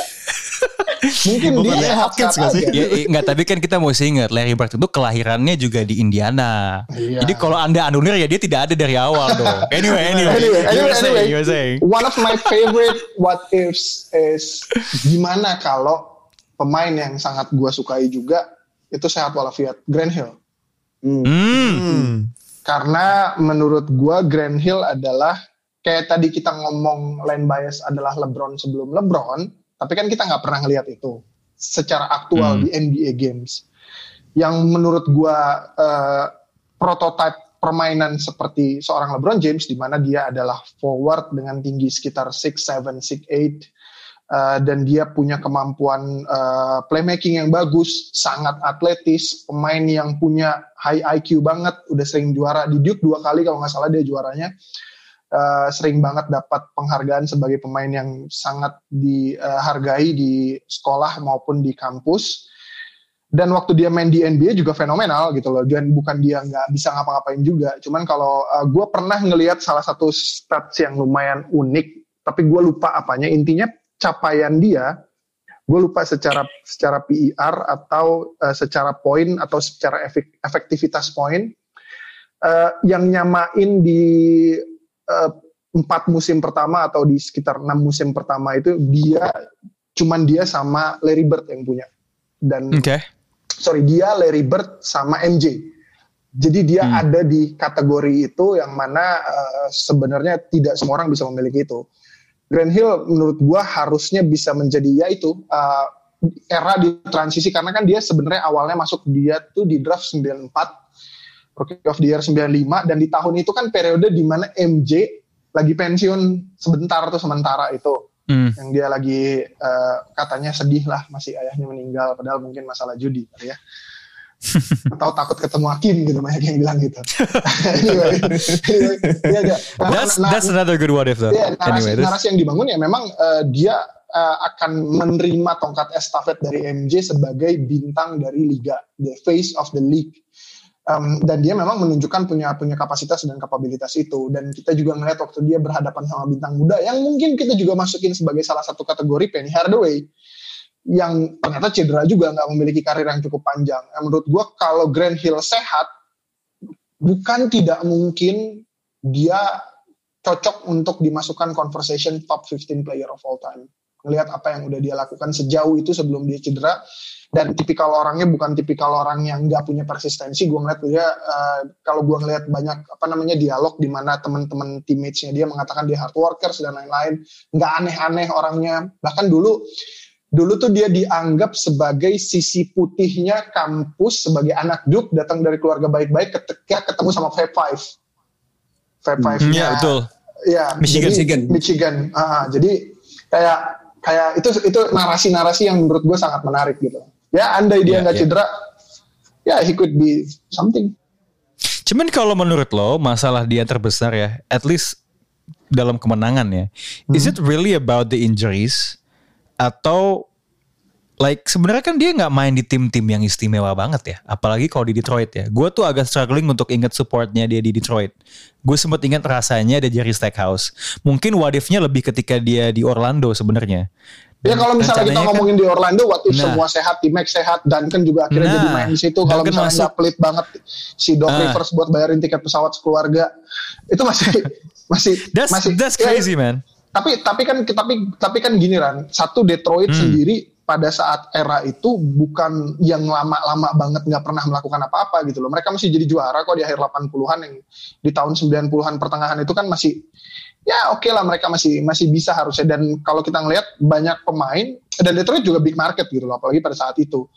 Mungkin dia Hopkins nggak sih? Ya, enggak, tapi kan kita mesti ingat Larry Bird itu kelahirannya juga di Indiana. Iya. Jadi kalau Anda anulir ya dia tidak ada dari awal dong. Anyway, anyway. Anyway, anyway, anyway. You were saying. One of my favorite what ifs is gimana kalau pemain yang sangat gua sukai juga itu sehat walafiat, Grant Hill. Hmm. Hmm. Karena menurut gua Grant Hill adalah kayak tadi kita ngomong Len Bias adalah LeBron sebelum LeBron, tapi kan kita nggak pernah ngelihat itu secara aktual hmm. di N B A games. Yang menurut gua uh, prototype permainan seperti seorang LeBron James, di mana dia adalah forward dengan tinggi sekitar six seven, six eight, uh, dan dia punya kemampuan uh, playmaking yang bagus, sangat atletis, pemain yang punya high I Q banget, udah sering juara di Duke dua kali kalau nggak salah dia juaranya. Uh, sering banget dapat penghargaan sebagai pemain yang sangat dihargai di sekolah maupun di kampus. Dan waktu dia main di N B A juga fenomenal gitu loh. Dan bukan dia nggak bisa ngapa-ngapain juga. Cuman kalau uh, gue pernah ngelihat salah satu stats yang lumayan unik, tapi gue lupa apanya. Intinya capaian dia, gue lupa secara secara P E R atau uh, secara poin atau secara efek, efektivitas poin uh, yang nyamain di Uh, empat musim pertama atau di sekitar enam musim pertama itu dia cuman dia sama Larry Bird yang punya, dan okay. sorry dia Larry Bird sama M J, jadi dia hmm. ada di kategori itu yang mana uh, sebenarnya tidak semua orang bisa memiliki itu. Grant Hill menurut gue harusnya bisa menjadi ya itu uh, era di transisi, karena kan dia sebenarnya awalnya masuk dia tuh di draft sembilan puluh empat, Rookie of the Year sembilan puluh lima, dan di tahun itu kan periode di mana M J lagi pensiun sebentar tuh sementara itu, hmm. yang dia lagi uh, katanya sedih lah masih ayahnya meninggal, padahal mungkin masalah judi kali ya. Atau takut ketemu hakim gitu, banyak yang bilang gitu. anyway, anyway ya, that's, nah, that's another good what if though. Ya, narasi, anyway, narasi yang dibangun ya memang uh, dia uh, akan menerima tongkat estafet dari M J sebagai bintang dari liga, the face of the league. Um, dan dia memang menunjukkan punya punya kapasitas dan kapabilitas itu. Dan kita juga ngeliat waktu dia berhadapan sama bintang muda yang mungkin kita juga masukin sebagai salah satu kategori, Penny Hardaway, yang ternyata cedera juga, nggak memiliki karir yang cukup panjang. Nah, menurut gue kalau Grant Hill sehat, bukan tidak mungkin dia cocok untuk dimasukkan conversation top fifteen player of all time. Ngelihat apa yang udah dia lakukan sejauh itu sebelum dia cedera, dan tipikal orangnya bukan tipikal orang yang nggak punya persistensi. Gue ngeliat dia, uh, kalau gue ngeliat banyak apa namanya dialog di mana teman-teman teammates-nya dia mengatakan dia hard workers dan lain-lain, nggak aneh-aneh orangnya. Bahkan dulu Dulu tuh dia dianggap sebagai sisi putihnya kampus, sebagai anak Duke, datang dari keluarga baik-baik ketika ketemu sama Fab Five. Fab Five-nya. Iya, betul. Ya, Michigan. Jadi, Michigan. Michigan. Uh, jadi kayak kayak itu itu narasi-narasi yang menurut gue sangat menarik gitu. Ya, andai dia nggak yeah, yeah. cedera, ya yeah, he could be something. Cuman kalau menurut lo, masalah dia terbesar ya, at least dalam kemenangan ya, hmm. is it really about the injuries? Atau like sebenarnya kan dia nggak main di tim-tim yang istimewa banget ya, apalagi kalau di Detroit ya. Gue tuh agak struggling untuk ingat supportnya dia di Detroit. Gue sempat ingat rasanya ada Jerry Stackhouse. Mungkin what if-nya lebih ketika dia di Orlando sebenarnya. Ya kalau misalnya kita ngomongin kan, di Orlando, what if nah, semua sehat, T-Max sehat, Duncan juga akhirnya nah, jadi main di situ. Kalau misalnya nggak pelit banget si Doc nah, Rivers buat bayarin tiket pesawat sekeluarga, itu masih masih that's, masih that's crazy ya, man. Tapi tapi kan tapi tapi kan gini Ran, satu Detroit hmm. sendiri pada saat era itu bukan yang lama-lama banget nggak pernah melakukan apa-apa gitu loh. Mereka masih jadi juara kok di akhir delapan puluhan, yang di tahun sembilan puluhan pertengahan itu kan masih ya oke okay lah, mereka masih masih bisa harusnya. Dan kalau kita ngelihat banyak pemain, dan Detroit juga big market gitu loh, apalagi pada saat itu.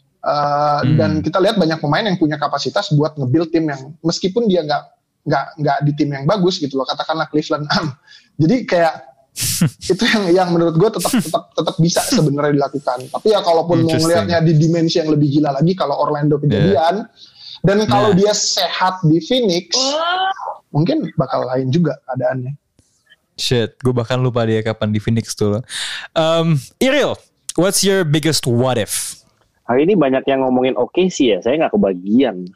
Uh, hmm. Dan kita lihat banyak pemain yang punya kapasitas buat nge-build tim yang meskipun dia nggak nggak nggak di tim yang bagus gitu loh, katakanlah Cleveland. Jadi kayak itu yang yang menurut gue tetap tetap tetap bisa sebenarnya dilakukan. Tapi ya kalaupun mau ngelihatnya di dimensi yang lebih gila lagi, kalau Orlando kejadian yeah. dan kalau yeah. dia sehat di Phoenix, mungkin bakal lain juga keadaannya. Shit, gue bahkan lupa dia kapan di Phoenix tuh. Um, Iril, what's your biggest what if? Hari ini banyak yang ngomongin O K C ya, saya nggak kebagian.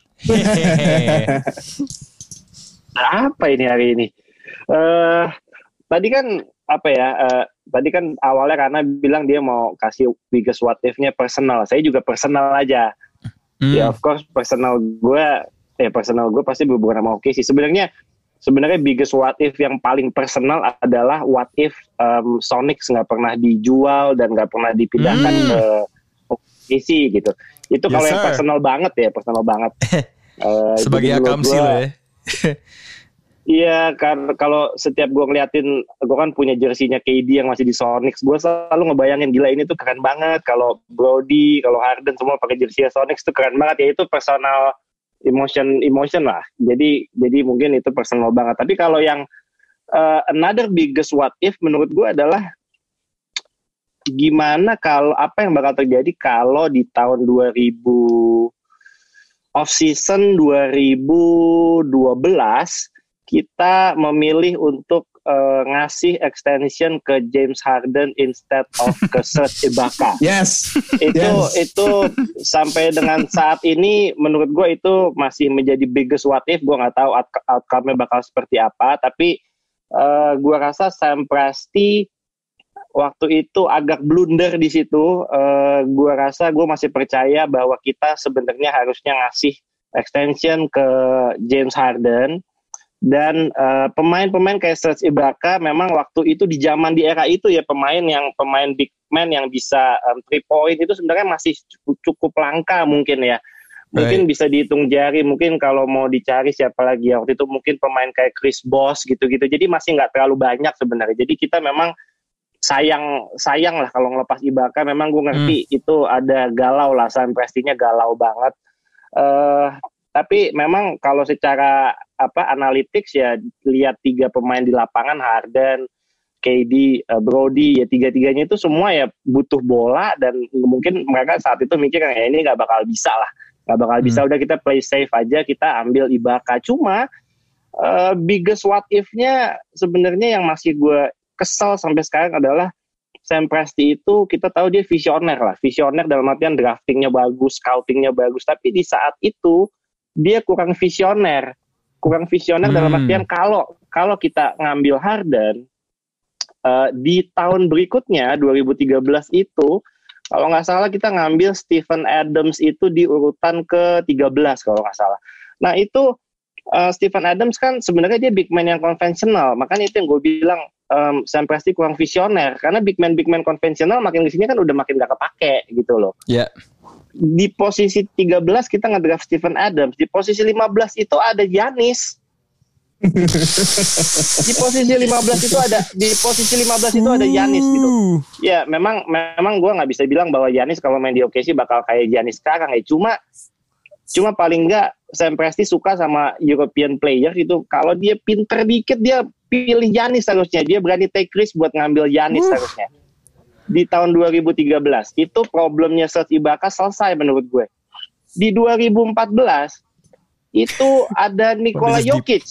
Apa ini hari ini? Uh, tadi kan apa ya? Uh, tadi kan awalnya karena bilang dia mau kasih biggest what if-nya personal. Saya juga personal aja. Hmm. Ya of course personal gue, ya personal gue pasti berhubungan sama O K C. Sebenarnya sebenarnya biggest what if yang paling personal adalah what if um, Sonics nggak pernah dijual dan nggak pernah dipindahkan hmm. ke O K C gitu. Itu yes, kalau yang personal banget ya, personal banget. uh, Sebagai akamsi lo ya. Iya, kan kalau setiap gue ngeliatin, gue kan punya jersinya K D yang masih di Sonics, gue selalu ngebayangin gila ini tuh keren banget. Kalau Brody, kalau Harden semua pakai jersinya Sonics tuh keren banget. Ya itu personal emotion, emotion lah. Jadi, jadi mungkin itu personal banget. Tapi kalau yang uh, another biggest what if menurut gue adalah gimana kalau apa yang bakal terjadi kalau di tahun dua ribu off season dua ribu dua belas kita memilih untuk uh, ngasih extension ke James Harden instead of ke Serge Ibaka. Yes. Itu yes. itu sampai dengan saat ini menurut gue itu masih menjadi biggest what if. Gue nggak tahu out- outcome-nya bakal seperti apa. Tapi uh, gue rasa Sam Presti waktu itu agak blunder di situ. Uh, gue rasa gue masih percaya bahwa kita sebenarnya harusnya ngasih extension ke James Harden. Dan uh, pemain-pemain kayak Serge Ibaka memang waktu itu di zaman di era itu ya, pemain yang pemain big man yang bisa um, three point itu sebenarnya masih cukup, cukup langka mungkin ya. mungkin Right. bisa dihitung jari. Mungkin kalau mau dicari siapa lagi ya waktu itu, mungkin pemain kayak Chris Bosh gitu-gitu. Jadi masih nggak terlalu banyak sebenarnya. Jadi kita memang sayang sayang lah kalau ngelepas Ibaka. Memang gue ngerti hmm. itu ada galau lah, Sam Prestinya galau banget. Uh, tapi memang kalau secara apa analytics ya, lihat tiga pemain di lapangan, Harden, K D, uh, Brody, ya tiga-tiganya itu semua ya butuh bola, dan mungkin mereka saat itu mikir ya ini nggak bakal bisa lah, nggak bakal bisa, Hmm. udah kita play safe aja, kita ambil Ibaka. Cuma uh, biggest what if-nya sebenarnya yang masih gue kesel sampai sekarang adalah Sam Presti itu kita tahu dia visioner lah, visioner dalam artian draftingnya bagus, scoutingnya bagus, tapi di saat itu dia kurang visioner, kurang visioner hmm. dalam artian kalau kalau kita ngambil Harden uh, di tahun berikutnya dua ribu tiga belas itu, kalau nggak salah kita ngambil Steven Adams itu di urutan ke tiga belas kalau nggak salah. Nah itu uh, Steven Adams kan sebenarnya dia big man yang konvensional, makanya itu yang gue bilang um, Sam Presti kurang visioner, karena big man big man konvensional makin kesini kan udah makin gak kepake gitu loh. Ya. Yeah. Di posisi tiga belas kita ngedraft Steven Adams, di posisi lima belas itu ada Giannis. Di posisi lima belas itu ada di posisi lima belas itu ada Giannis gitu. Ya, memang memang gue nggak bisa bilang bahwa Giannis kalau main di O K C bakal kayak Giannis sekarang ya. Cuma cuma paling nggak Sam Presti suka sama European player itu. Kalau dia pinter dikit dia pilih Giannis harusnya. Dia berani take risk buat ngambil Giannis uh. harusnya. Di tahun dua ribu tiga belas itu problemnya Serge Ibaka selesai menurut gue. Di dua ribu empat belas itu ada Nikola Jokic.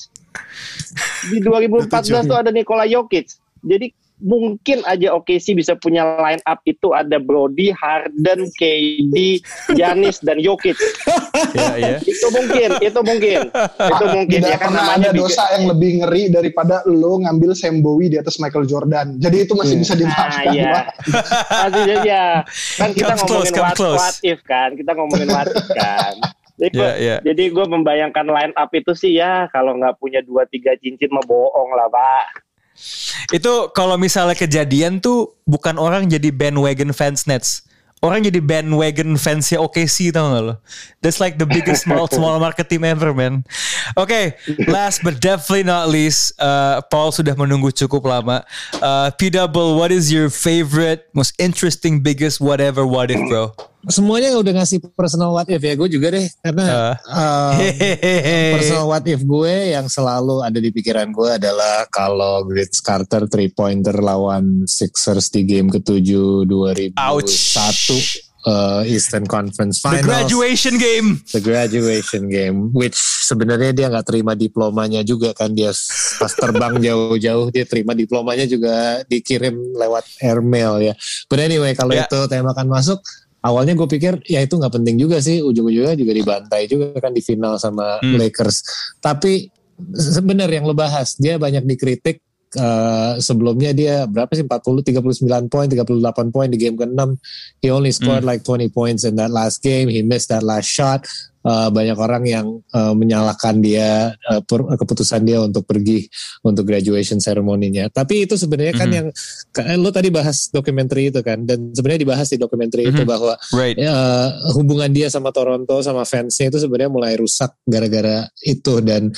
Di dua ribu empat belas itu ada Nikola Jokic. Jadi mungkin aja O K C bisa punya line up itu ada Brody, Harden, K D, Giannis dan Jokic. Ya, ya. Itu mungkin, itu mungkin, itu mungkin. Tidak Ya kan pernah namanya ada dosa bikin, yang lebih ngeri daripada lo ngambil Sam Bowie di atas Michael Jordan. Jadi itu masih bisa dimaafkan. Nah, iya. Masih aja. Kan kita Comes ngomongin close, what, close. what if kan, kita ngomongin what if kan. Jadi gue, Yeah, yeah. jadi gue membayangkan line up itu sih ya, kalau nggak punya dua tiga cincin mah bohong lah Pak. Itu kalau misalnya kejadian tuh bukan orang jadi bandwagon fans Nets, orang jadi bandwagon fansnya O K C, tau gak lo? That's like the biggest small small market team ever, man. Oke, okay, last but definitely not least, uh, Paul sudah menunggu cukup lama. Uh, P-Double, what is your favorite, most interesting, biggest whatever what if, bro? Semuanya udah ngasih personal what if ya, gue juga deh, karena uh, um, personal what if gue yang selalu ada di pikiran gue adalah kalau Vince Carter three pointer lawan Sixers di game ketujuh dua ribu satu uh, Eastern Conference Finals, the graduation game, the graduation game, which sebenarnya dia nggak terima diplomanya juga kan, dia pas terbang jauh-jauh dia terima diplomanya juga dikirim lewat airmail ya. But anyway, kalau yeah. itu tembakan masuk, awalnya gue pikir ya itu nggak penting juga sih, ujung-ujungnya juga dibantai juga kan di final sama hmm. Lakers. Tapi sebenarnya yang lo bahas, dia banyak dikritik. Uh, sebelumnya dia berapa sih, empat puluh, tiga puluh sembilan poin, tiga puluh delapan poin di game keenam. He only scored hmm. like twenty points in that last game. He missed that last shot. Uh, banyak orang yang uh, menyalahkan dia, uh, per, keputusan dia untuk pergi untuk graduation ceremony-nya. Tapi itu sebenarnya kan mm-hmm. yang lo tadi bahas dokumenter itu kan, dan sebenarnya dibahas di dokumenter mm-hmm. itu bahwa right. uh, hubungan dia sama Toronto sama fansnya itu sebenarnya mulai rusak gara-gara itu. Dan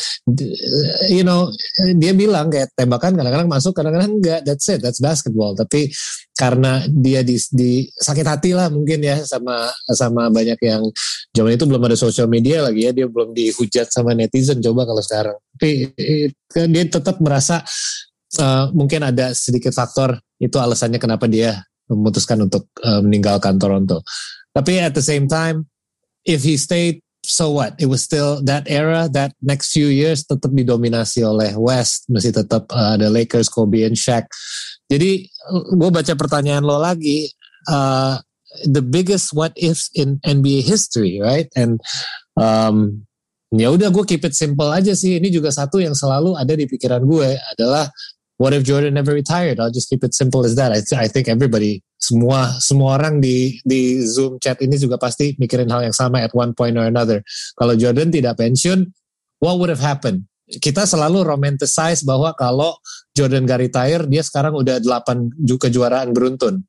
you know, dia bilang kayak tembakan kadang-kadang masuk, kadang-kadang enggak. That's it, that's basketball. Tapi karena dia di, di sakit hati lah mungkin ya sama sama banyak yang zaman itu belum ada social media lagi ya, dia belum dihujat sama netizen, coba kalau sekarang. Tapi dia tetap merasa uh, mungkin ada sedikit faktor itu alasannya kenapa dia memutuskan untuk uh, meninggalkan Toronto. Tapi at the same time, if he stayed, so what? It was still that era, that next few years tetap didominasi oleh West, masih tetap uh, ada Lakers, Kobe and Shaq. Jadi gue baca pertanyaan lo lagi, uh, the biggest what ifs in N B A history, right? And um, ya udah gue keep it simple aja sih. Ini juga satu yang selalu ada di pikiran gue adalah what if Jordan never retired? I'll just keep it simple as that. I, th- I think everybody, semua semua orang di di Zoom chat ini juga pasti mikirin hal yang sama at one point or another. Kalau Jordan tidak pensiun, what would have happened? Kita selalu romanticize bahwa kalau Jordan gak retire, dia sekarang udah delapan kejuaraan beruntun.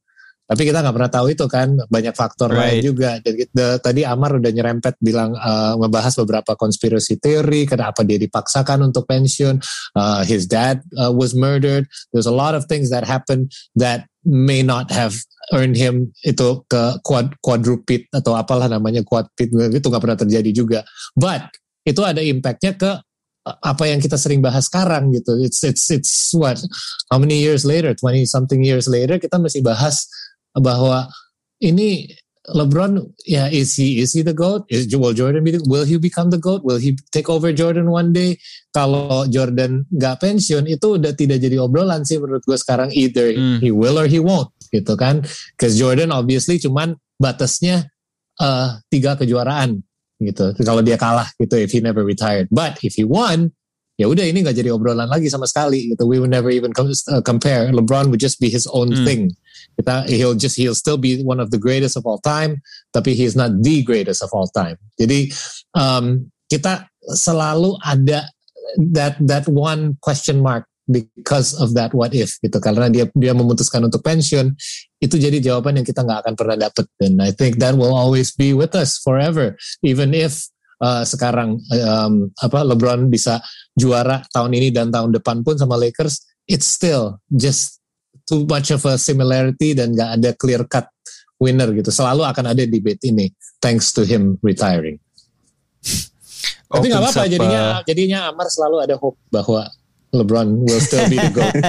Tapi kita nggak pernah tahu itu kan, banyak faktor right. lain juga. Dan kita, tadi Amar udah nyerempet bilang uh, ngebahas beberapa konspirasi teori, kenapa dia dipaksakan untuk pensiun, uh, his dad uh, was murdered. There's a lot of things that happened that may not have earned him itu ke quad, quadrupit atau apalah namanya quadpit, itu nggak pernah terjadi juga. But itu ada impactnya ke apa yang kita sering bahas sekarang gitu. It's it's it's what how many years later, twenty something years later kita masih bahas bahwa ini LeBron ya yeah, is he is he the GOAT? Is will Jordan be the, will he become the GOAT? Will he take over Jordan one day? Kalau Jordan nggak pensiun itu udah tidak jadi obrolan sih menurut gue sekarang, either hmm. he will or he won't gitu kan. Because Jordan obviously cuman batasnya uh, tiga kejuaraan gitu. Kalau dia kalah gitu, if he never retired. But if he won, ya udah ini nggak jadi obrolan lagi sama sekali gitu. We would never even compare. LeBron would just be his own hmm. thing. Kita, he'll just he'll still be one of the greatest of all time, tapi he's not the greatest of all time. Jadi um, kita selalu ada that that one question mark because of that what if gitu, karena dia dia memutuskan untuk pensiun, itu jadi jawaban yang kita nggak akan pernah dapet. And I think that will always be with us forever, even if uh, sekarang um, apa LeBron bisa juara tahun ini dan tahun depan pun sama Lakers, it's still just too much of a similarity dan nggak ada clear cut winner gitu. Selalu akan ada debate ini thanks to him retiring. Tapi nggak apa-apa, jadinya jadinya Amar selalu ada hope bahwa LeBron will still be the GOAT.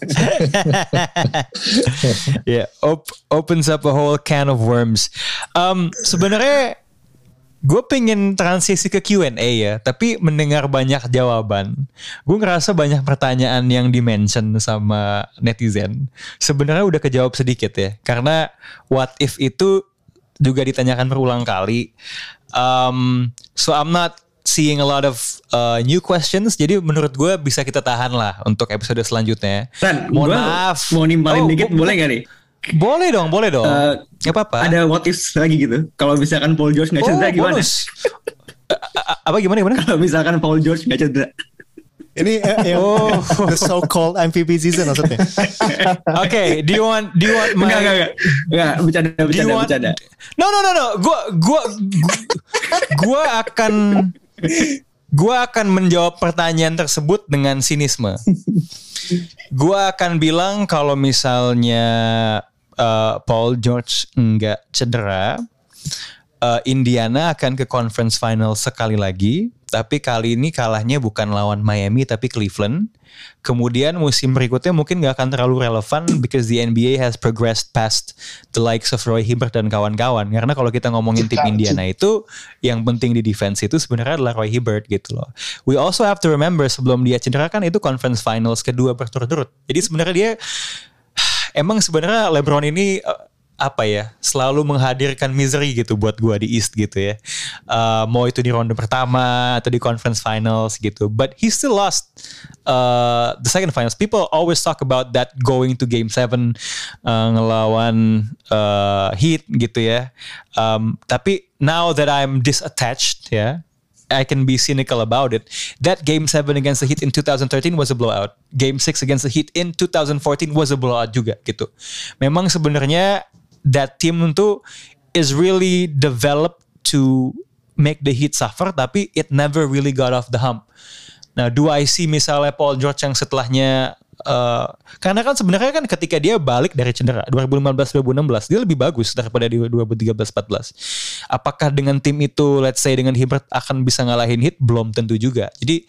Yeah, op- opens up a whole can of worms. Um, sebenarnya gue pengen transisi ke Q and A ya, tapi mendengar banyak jawaban, gue ngerasa banyak pertanyaan yang di-mention sama netizen sebenarnya udah kejawab sedikit ya, karena what if itu juga ditanyakan berulang kali. Um, so I'm not seeing a lot of uh, new questions, jadi menurut gue bisa kita tahan lah untuk episode selanjutnya. Ran, mohon maaf, mau nimpalin oh, dikit bo- boleh gak nih? Boleh dong, boleh dong. Uh, gak apa-apa. Ada what if lagi gitu. Kalau misalkan Paul George gak cedera oh, gimana? Apa gimana gimana? Kalau misalkan Paul George gak cedera. Ini uh, yang oh. the so-called M V P season maksudnya. Oke, okay, do you want do you want my enggak enggak enggak. Enggak, bercanda bercanda want, bercanda. No no no no. Gua gua gua akan gua akan menjawab pertanyaan tersebut dengan sinisme. Gua akan bilang kalau misalnya uh, Paul George enggak cedera, uh, Indiana akan ke conference final sekali lagi. Tapi kali ini kalahnya bukan lawan Miami tapi Cleveland. Kemudian musim berikutnya mungkin gak akan terlalu relevan because the N B A has progressed past the likes of Roy Hibbert dan kawan-kawan. Karena kalau kita ngomongin tim Indiana itu, yang penting di defense itu sebenarnya adalah Roy Hibbert gitu loh. We also have to remember sebelum dia cedera kan itu conference finals kedua berturut-turut. Jadi sebenarnya dia, emang sebenarnya LeBron ini apa ya, selalu menghadirkan misery gitu buat gue di East gitu ya. Uh, mau itu di ronde pertama atau di conference finals gitu. But he still lost uh, the second finals. People always talk about that going to game seven uh, ngelawan uh, Heat gitu ya. Um, tapi now that I'm disattached ya, I can be cynical about it. That game seven against the Heat in twenty thirteen was a blowout. Game six against the Heat in twenty fourteen was a blowout juga gitu. Memang sebenarnya that team itu is really developed to make the Heat suffer, tapi it never really got off the hump. Nah, do I see misalnya Paul George yang setelahnya, uh, karena kan sebenarnya kan ketika dia balik dari cedera dua ribu lima belas dua ribu enam belas dia lebih bagus daripada di dua ribu tiga belas empat belas. Apakah dengan tim itu, let's say dengan Hibbert akan bisa ngalahin Heat? Belum tentu juga. Jadi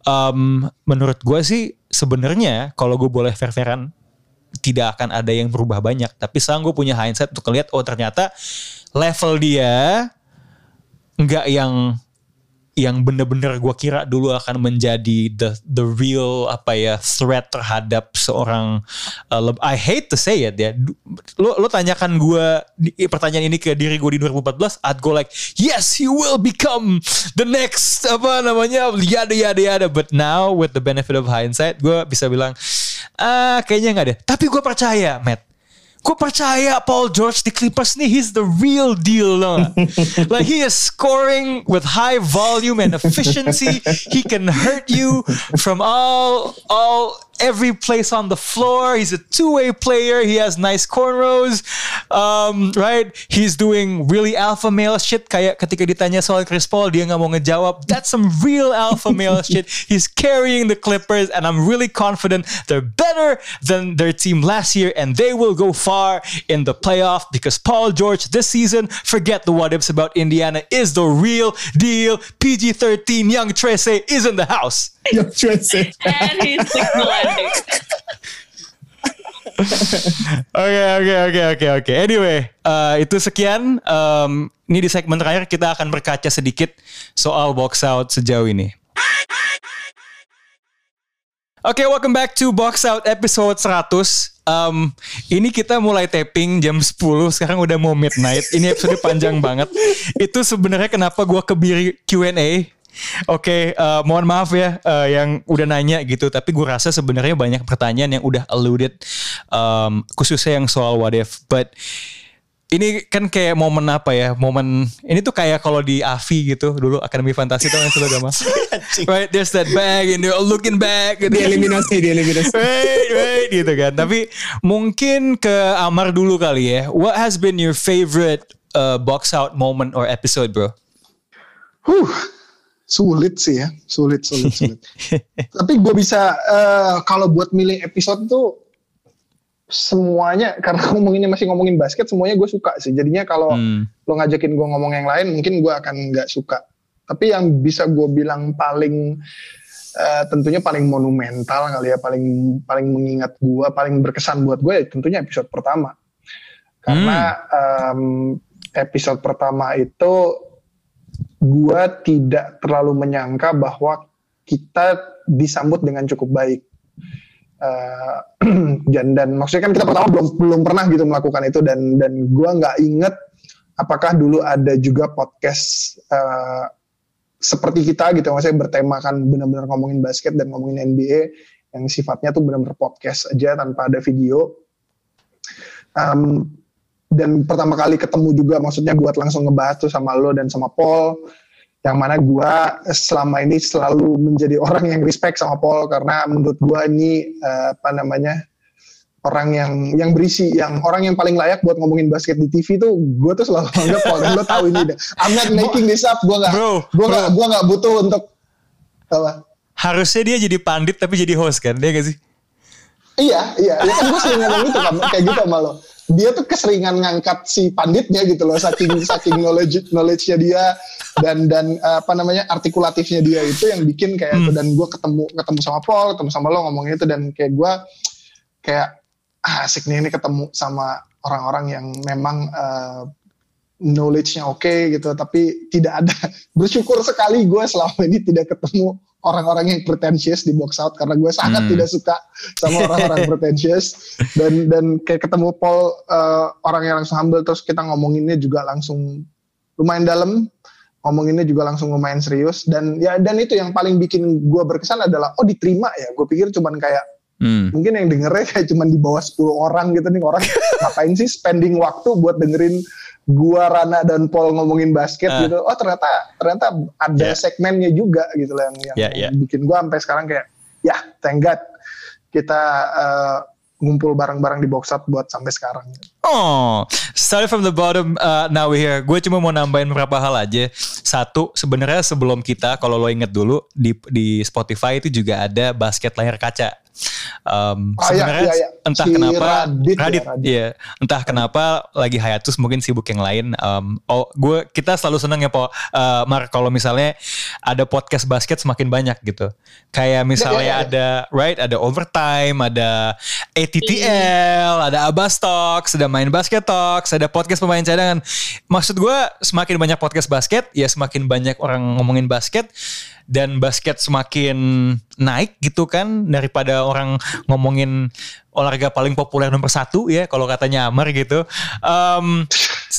um, menurut gue sih sebenarnya kalau gue boleh fair-fairan, tidak akan ada yang berubah banyak. Tapi sekarang gue punya hindsight untuk ngeliat, oh ternyata level dia nggak yang yang bener-bener gue kira dulu akan menjadi the the real apa ya threat terhadap seorang uh, I hate to say it ya. Lo lo tanyakan gue pertanyaan ini ke diri gue di dua ribu empat belas, I'd go like yes he will become the next apa namanya yada yada yada. But now with the benefit of hindsight gue bisa bilang ah kayaknya nggak deh. Tapi gue percaya Matt. Gue percaya Paul George di Clippers nih, he's the real deal loh. Like he is scoring with high volume and efficiency. He can hurt you from all all every place on the floor. He's a two-way player. He has nice cornrows, um, right? He's doing really alpha male shit. Kayak ketika ditanya soal Chris Paul, dia nggak mau ngejawab. That's some real alpha male shit. He's carrying the Clippers, and I'm really confident they're better than their team last year, and they will go far in the playoff because Paul George this season, forget the what ifs about Indiana, is the real deal. P G thirteen Young Trece is in the house. Young Trece. And he's signal landing. Oke oke oke oke oke. Anyway, uh, itu sekian. Um, ini di segmen terakhir kita akan berkaca sedikit soal box out sejauh ini. Oke, okay, welcome back to Box Out episode seratus. Um, ini kita mulai taping jam sepuluh, sekarang udah mau midnight. Ini episode panjang banget. Itu sebenarnya kenapa gue kebiri Q and A. Oke, okay, uh, mohon maaf ya uh, yang udah nanya gitu. Tapi gue rasa sebenarnya banyak pertanyaan yang udah alluded, um, khususnya yang soal what if. But ini kan kayak momen apa ya? Momen ini tuh kayak kalau di A V I gitu dulu Akademi Fantasi tuh yang sudah gak masuk. Right, there's that bag and they're looking back. Gitu. Dieliminasi, dieliminasi. Right, right gitu kan. Tapi mungkin ke Amar dulu kali ya. What has been your favorite uh, box out moment or episode, bro? Huh. Sulit sih ya, sulit, sulit, sulit. Tapi gue bisa, uh, kalau buat milih episode tuh, semuanya, karena ngomonginnya masih ngomongin basket, semuanya gue suka sih. Jadinya kalau hmm. lo ngajakin gue ngomong yang lain, mungkin gue akan gak suka. Tapi yang bisa gue bilang paling, uh, tentunya paling monumental kali ya, paling paling mengingat gue, paling berkesan buat gue, ya tentunya episode pertama. Karena hmm. um, episode pertama itu, gue tidak terlalu menyangka bahwa kita disambut dengan cukup baik. Uh, dan, dan maksudnya kan kita pertama belum belum pernah gitu melakukan itu, dan dan gue nggak inget apakah dulu ada juga podcast uh, seperti kita gitu, maksudnya bertemakan benar-benar ngomongin basket dan ngomongin N B A yang sifatnya tuh benar-benar podcast aja tanpa ada video. Um, Dan pertama kali ketemu juga, maksudnya buat langsung ngebahas tuh sama lo dan sama Paul, yang mana gue selama ini selalu menjadi orang yang respect sama Paul, karena menurut gue ini uh, apa namanya orang yang yang berisi, yang orang yang paling layak buat ngomongin basket di T V tuh gue tuh selalu anggap Paul. Dan lo tahu ini deh, I'm not making this up, gue nggak gue nggak gue nggak butuh untuk apa. Harusnya dia jadi pandit tapi jadi host kan, dia gak sih? Iya iya, ya kan gue sering ngomong itu kan, kayak gitu sama lo. Dia tuh keseringan ngangkat si panditnya gitu loh, saking saking knowledge knowledge-nya dia dan dan apa namanya artikulatifnya dia itu yang bikin kayak hmm. itu. Dan gue ketemu ketemu sama Paul, ketemu sama lo ngomongin itu, dan kayak gue kayak ah, asik nih ini ketemu sama orang-orang yang memang uh, knowledge-nya oke okay, gitu, tapi tidak ada. Bersyukur sekali gue selama ini tidak ketemu orang-orang yang pretentious di box out, karena gue sangat hmm. tidak suka sama orang-orang pretentious. Dan dan kayak ketemu Paul, uh, orang yang langsung humble, terus kita ngomonginnya juga langsung lumayan dalam, ngomonginnya juga langsung lumayan serius. Dan ya dan itu yang paling bikin gue berkesan adalah oh diterima ya. Gue pikir cuman kayak hmm. mungkin yang dengernya kayak cuman di bawah sepuluh orang gitu nih, orang ngapain sih spending waktu buat dengerin gua, Rana dan Paul ngomongin basket uh. gitu. Oh ternyata ternyata ada yeah. segmennya juga gitu loh yang, yang yeah, yeah. bikin gua sampai sekarang kayak ya thank God kita uh, ngumpul bareng-bareng di box out buat sampai sekarang. Oh, started from the bottom, uh, now we're here. Gue cuma mau nambahin beberapa hal aja. Satu, sebenarnya sebelum kita, kalau lo inget dulu di di Spotify itu juga ada basket layar kaca. Um, oh, sebenarnya iya, iya, iya. entah si kenapa Radit, Radit, ya, Radit. ya, entah kenapa lagi hiatus, mungkin sibuk yang lain. Um, oh, gue kita selalu seneng ya, Po, uh, Mar, kalau misalnya ada podcast basket semakin banyak gitu. Kayak misalnya ya, ya, ya. ada right, ada Overtime, ada A T T L, ada Abbas Talks, ada Main Basket Talks, ada podcast pemain cadangan. Maksud gue semakin banyak podcast basket, ya semakin banyak orang ngomongin basket. Dan basket semakin naik gitu kan, daripada orang ngomongin olahraga paling populer nomor satu ya kalau katanya Amar gitu. Um,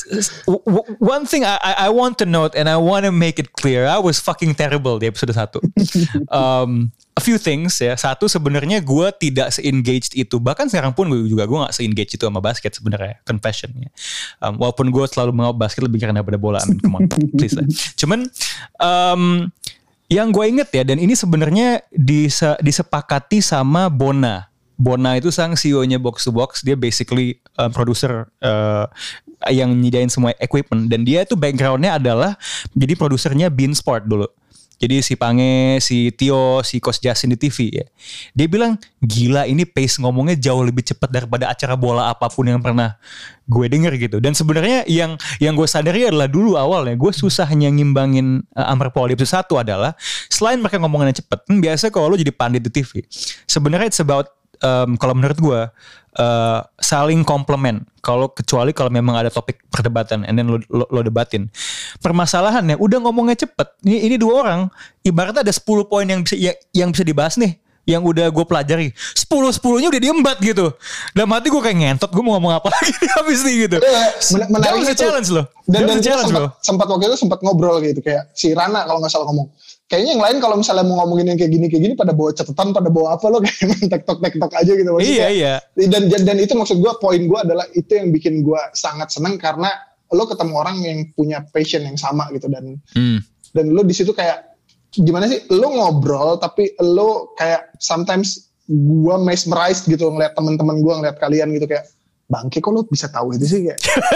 one thing I, I want to note and I want to make it clear, I was fucking terrible di episode satu. Um, a few things ya. Satu, sebenarnya gue tidak se-engaged itu. Bahkan sekarang pun gue juga gue gak se-engaged itu sama basket sebenarnya. Confessionnya. Um, walaupun gue selalu mau basket lebih karena pada bola. I mean, come on, please lah. Cuman um, Yang gue inget ya, dan ini sebenarnya dise, disepakati sama Bona. Bona itu sang C E O-nya Box to Box. Dia basically uh, produser uh, yang nyediain semua equipment. Dan dia itu background-nya adalah jadi produsernya Bein Sport dulu. Jadi si Pange, si Tio, si Coach Justin di T V ya. Dia bilang, gila ini pace ngomongnya jauh lebih cepat daripada acara bola apapun yang pernah gue denger gitu. Dan sebenarnya yang yang gue sadari adalah dulu awalnya gue susahnya ngimbangin uh, Amper Paul di episode satu adalah selain mereka ngomongnya cepet, kan biasa kalau lo jadi pandit di T V. Sebenarnya it's about um, kalau menurut gue uh, saling komplement. Kalau kecuali kalau memang ada topik perdebatan, and then lo, lo, lo debatin. Permasalahannya udah ngomongnya cepet. Ini ini dua orang, ibaratnya ada sepuluh poin yang bisa yang, yang bisa dibahas nih, yang udah gue pelajari. sepuluh sepuluhnya udah diembat gitu. Dalam hati gue kayak ngentot, gue mau ngomong apa lagi habis nih gitu. Men- That was a challenge loh. Dan dan challenge sempat, sempat waktu itu sempat ngobrol gitu kayak si Rana kalau nggak salah ngomong. Kayaknya yang lain kalau misalnya mau ngomongin yang kayak gini kayak gini pada bawa catatan, pada bawa apa lo kayak main tektok tektok aja gitu maksudnya. Iya iya. Dan dan itu maksud gue, poin gue adalah itu yang bikin gue sangat seneng karena lo ketemu orang yang punya passion yang sama gitu dan hmm. dan lo di situ kayak gimana sih lo ngobrol tapi lo kayak sometimes gue mesmerized gitu ngeliat teman-teman gue ngeliat kalian gitu kayak bangke kok lo bisa tahu itu sih kayak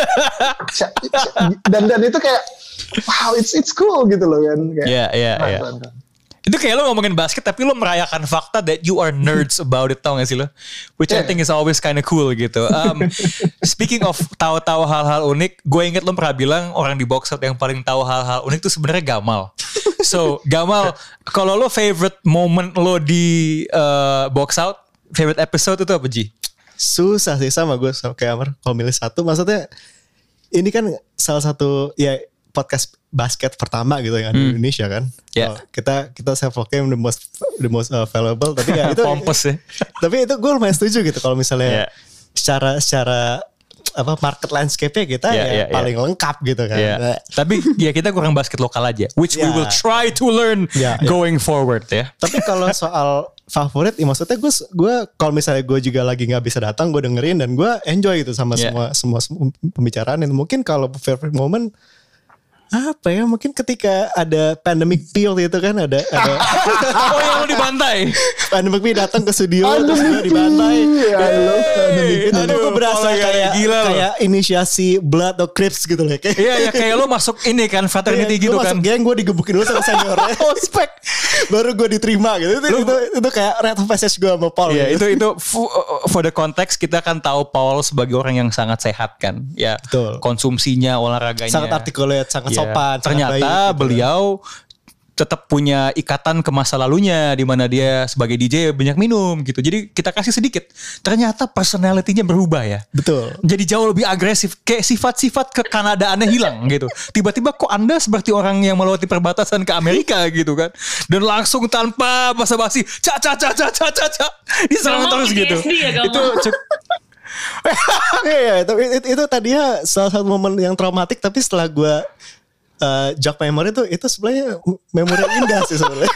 dan dan itu kayak wow it's it's cool gitu loh kan kayak yeah, yeah, yeah. Itu kayak lo ngomongin basket tapi lo merayakan fakta that you are nerds about it, tau gak sih lo? Which yeah. I think is always kind of cool gitu. Um, speaking of tahu-tahu hal-hal unik, gue inget lo pernah bilang orang di Box Out yang paling tahu hal-hal unik itu sebenarnya Gamal. So Gamal, kalau lo favorite moment lo di uh, Box Out, favorite episode itu apa Ji? Susah sih sama gue sama kayak Amar. Kalau milih satu, maksudnya ini kan salah satu ya podcast basket pertama gitu yang ada di hmm. Indonesia kan. Yeah. Oh, kita kita self proclaim the most the most uh, valuable tapi ya itu pompous ya. Tapi itu gue lumayan setuju gitu kalau misalnya yeah. secara secara apa market landscape-nya kita yeah, ya yeah, paling yeah. lengkap gitu kan. Yeah. Nah, tapi ya kita kurang basket lokal aja, which yeah. we will try to learn yeah, going yeah. forward ya. Tapi kalau soal favorit, ya maksudnya gue gue kalau misalnya gue juga lagi nggak bisa datang, gue dengerin dan gue enjoy gitu sama yeah. semua, semua semua pembicaraan. Dan mungkin kalau favorite moment apa ya, mungkin ketika ada pandemic pill itu kan ada ada oh yang lu dibantai pandemic pill datang ke studio terus gue dibantai. Hey, itu gue berasa kayak gila kayak loh. Inisiasi blood atau crips gitu loh kayak iya ya kayak lo masuk ini kan fraternity iya, gitu kan masuk geng, gue digebukin dulu sama seniornya ospek baru gue diterima gitu itu, lu, itu, itu kayak red passage gue sama Paul iya, gitu. itu itu for the context kita kan tahu Paul sebagai orang yang sangat sehat kan ya. Betul. Konsumsinya olahraganya sangat articulate sangat yeah. sopan. Ternyata baik, gitu. Beliau tetap punya ikatan ke masa lalunya di mana dia sebagai D J banyak minum gitu. Jadi kita kasih sedikit. Ternyata personality-nya berubah ya. Betul. Jadi jauh lebih agresif. Kayak sifat-sifat kekanadaannya hilang gitu. Tiba-tiba kok Anda seperti orang yang melewati perbatasan ke Amerika gitu kan. Dan langsung tanpa basa-basi ca ca ca ca ca ca ca diserang terus gitu. Ya, itu cuk- Iya, itu, itu, itu tadinya salah satu momen yang traumatik tapi setelah gue uh, jog memory itu itu sebenarnya memori indah sih sebenarnya.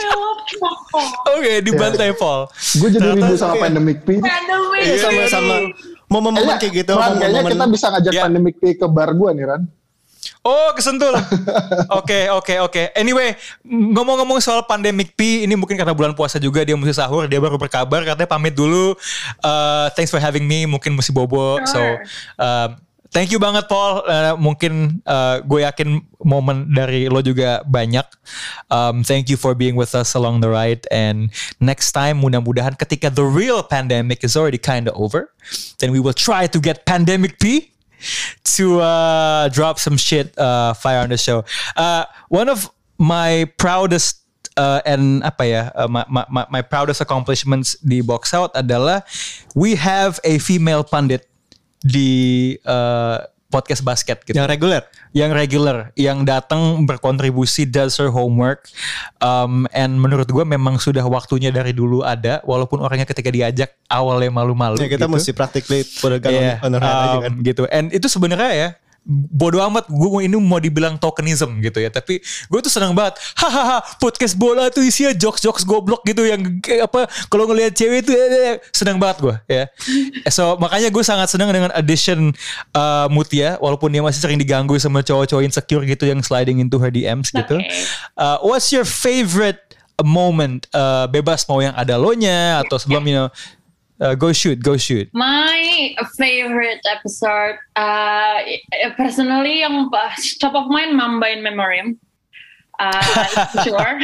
Oke, okay, dibantai Paul. Gue jadi rindu sama pandemic P. Iya, sama-sama momen-momen kayak gitu. Ran, kayaknya kita bisa ngajak yeah. pandemic P ke bar gue nih Ran. Oh kesentul. Oke oke oke. Anyway, ngomong-ngomong soal pandemic P, ini mungkin karena bulan puasa juga dia mesti sahur, dia baru berkabar katanya pamit dulu. Uh, thanks for having me. Mungkin mesti bobo. Sure. So uh, thank you banget Paul. Uh, mungkin uh, gue yakin momen dari lo juga banyak. Um, thank you for being with us along the ride. And next time mudah-mudahan ketika the real pandemic is already kind of over, then we will try to get pandemic P to uh, drop some shit uh, fire on the show. Uh, one of my proudest uh, and apa ya uh, my, my my proudest accomplishments di Box Out adalah we have a female pundit di uh, podcast basket gitu. Yang reguler, yang reguler, yang datang berkontribusi, does her homework, um, and menurut gue memang sudah waktunya dari dulu ada, walaupun orangnya ketika diajak awalnya malu-malu. Ya kita gitu. Mesti practically put a gun yeah, on her head um, aja kan. Gitu. And itu sebenarnya ya, bodo amat gue ini mau dibilang tokenism gitu ya, tapi gue tuh senang banget. Hahaha, podcast bola tuh isinya jokes-jokes goblok gitu yang apa kalau ngelihat cewek itu eh, senang banget gue ya. So makanya gue sangat senang dengan addition uh, Mutia, walaupun dia masih sering diganggu sama cowok-cowok insecure gitu yang sliding into her D Ms gitu. Okay. Uh, what's your favorite moment? Uh, bebas mau yang ada lo-nya atau sebelum you know. Uh, go shoot, go shoot. My favorite episode, uh, personally, yang top of mind, Mamba in Memoriam. Uh, sure.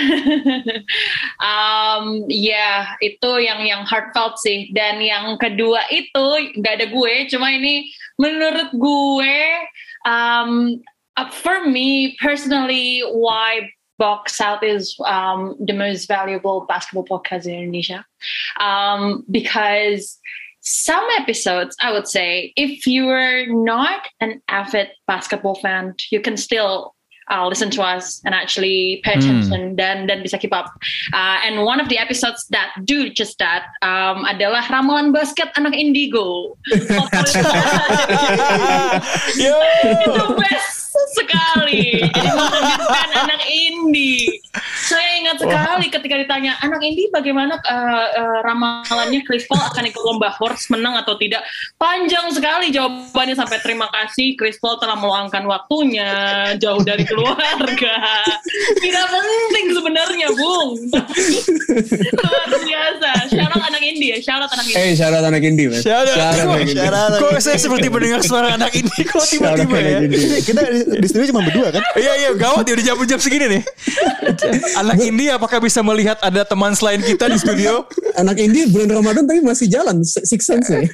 um, ya, yeah, itu yang yang heartfelt sih. Dan yang kedua itu nggak ada gue, cuma ini menurut gue, um, uh, for me personally, why Box Out is um, the most valuable basketball podcast in Indonesia. Um, because some episodes, I would say, if you're not an avid basketball fan, you can still uh, listen to us and actually pay attention mm. dan dan bisa keep up. Uh, and one of the episodes that do just that um, adalah ramalan basket anak Indigo. Itu best sekali. Jadi menghadirkan anak indie. Saya ingat sekali ketika ditanya anak indie bagaimana uh, uh, ramalannya Chris Paul akan ikut lomba horse menang atau tidak. Panjang sekali jawabannya sampai terima kasih Chris Paul telah meluangkan waktunya jauh dari keluarga. Tidak penting sebenarnya, Bung. Luar biasa. Shout out anak indie ya. Shout out anak indie. Eh, hey, shout out anak indie, Mas. Shout out. Kok saya seperti mendengar suara anak indie kok tiba-tiba ya. Kita di studio cuma berdua kan? Iya iya gawat ya udah jam-jam segini nih. Anak indie apakah bisa melihat ada teman selain kita di studio? Anak indie bulan Ramadan tapi masih jalan Six Sense ya.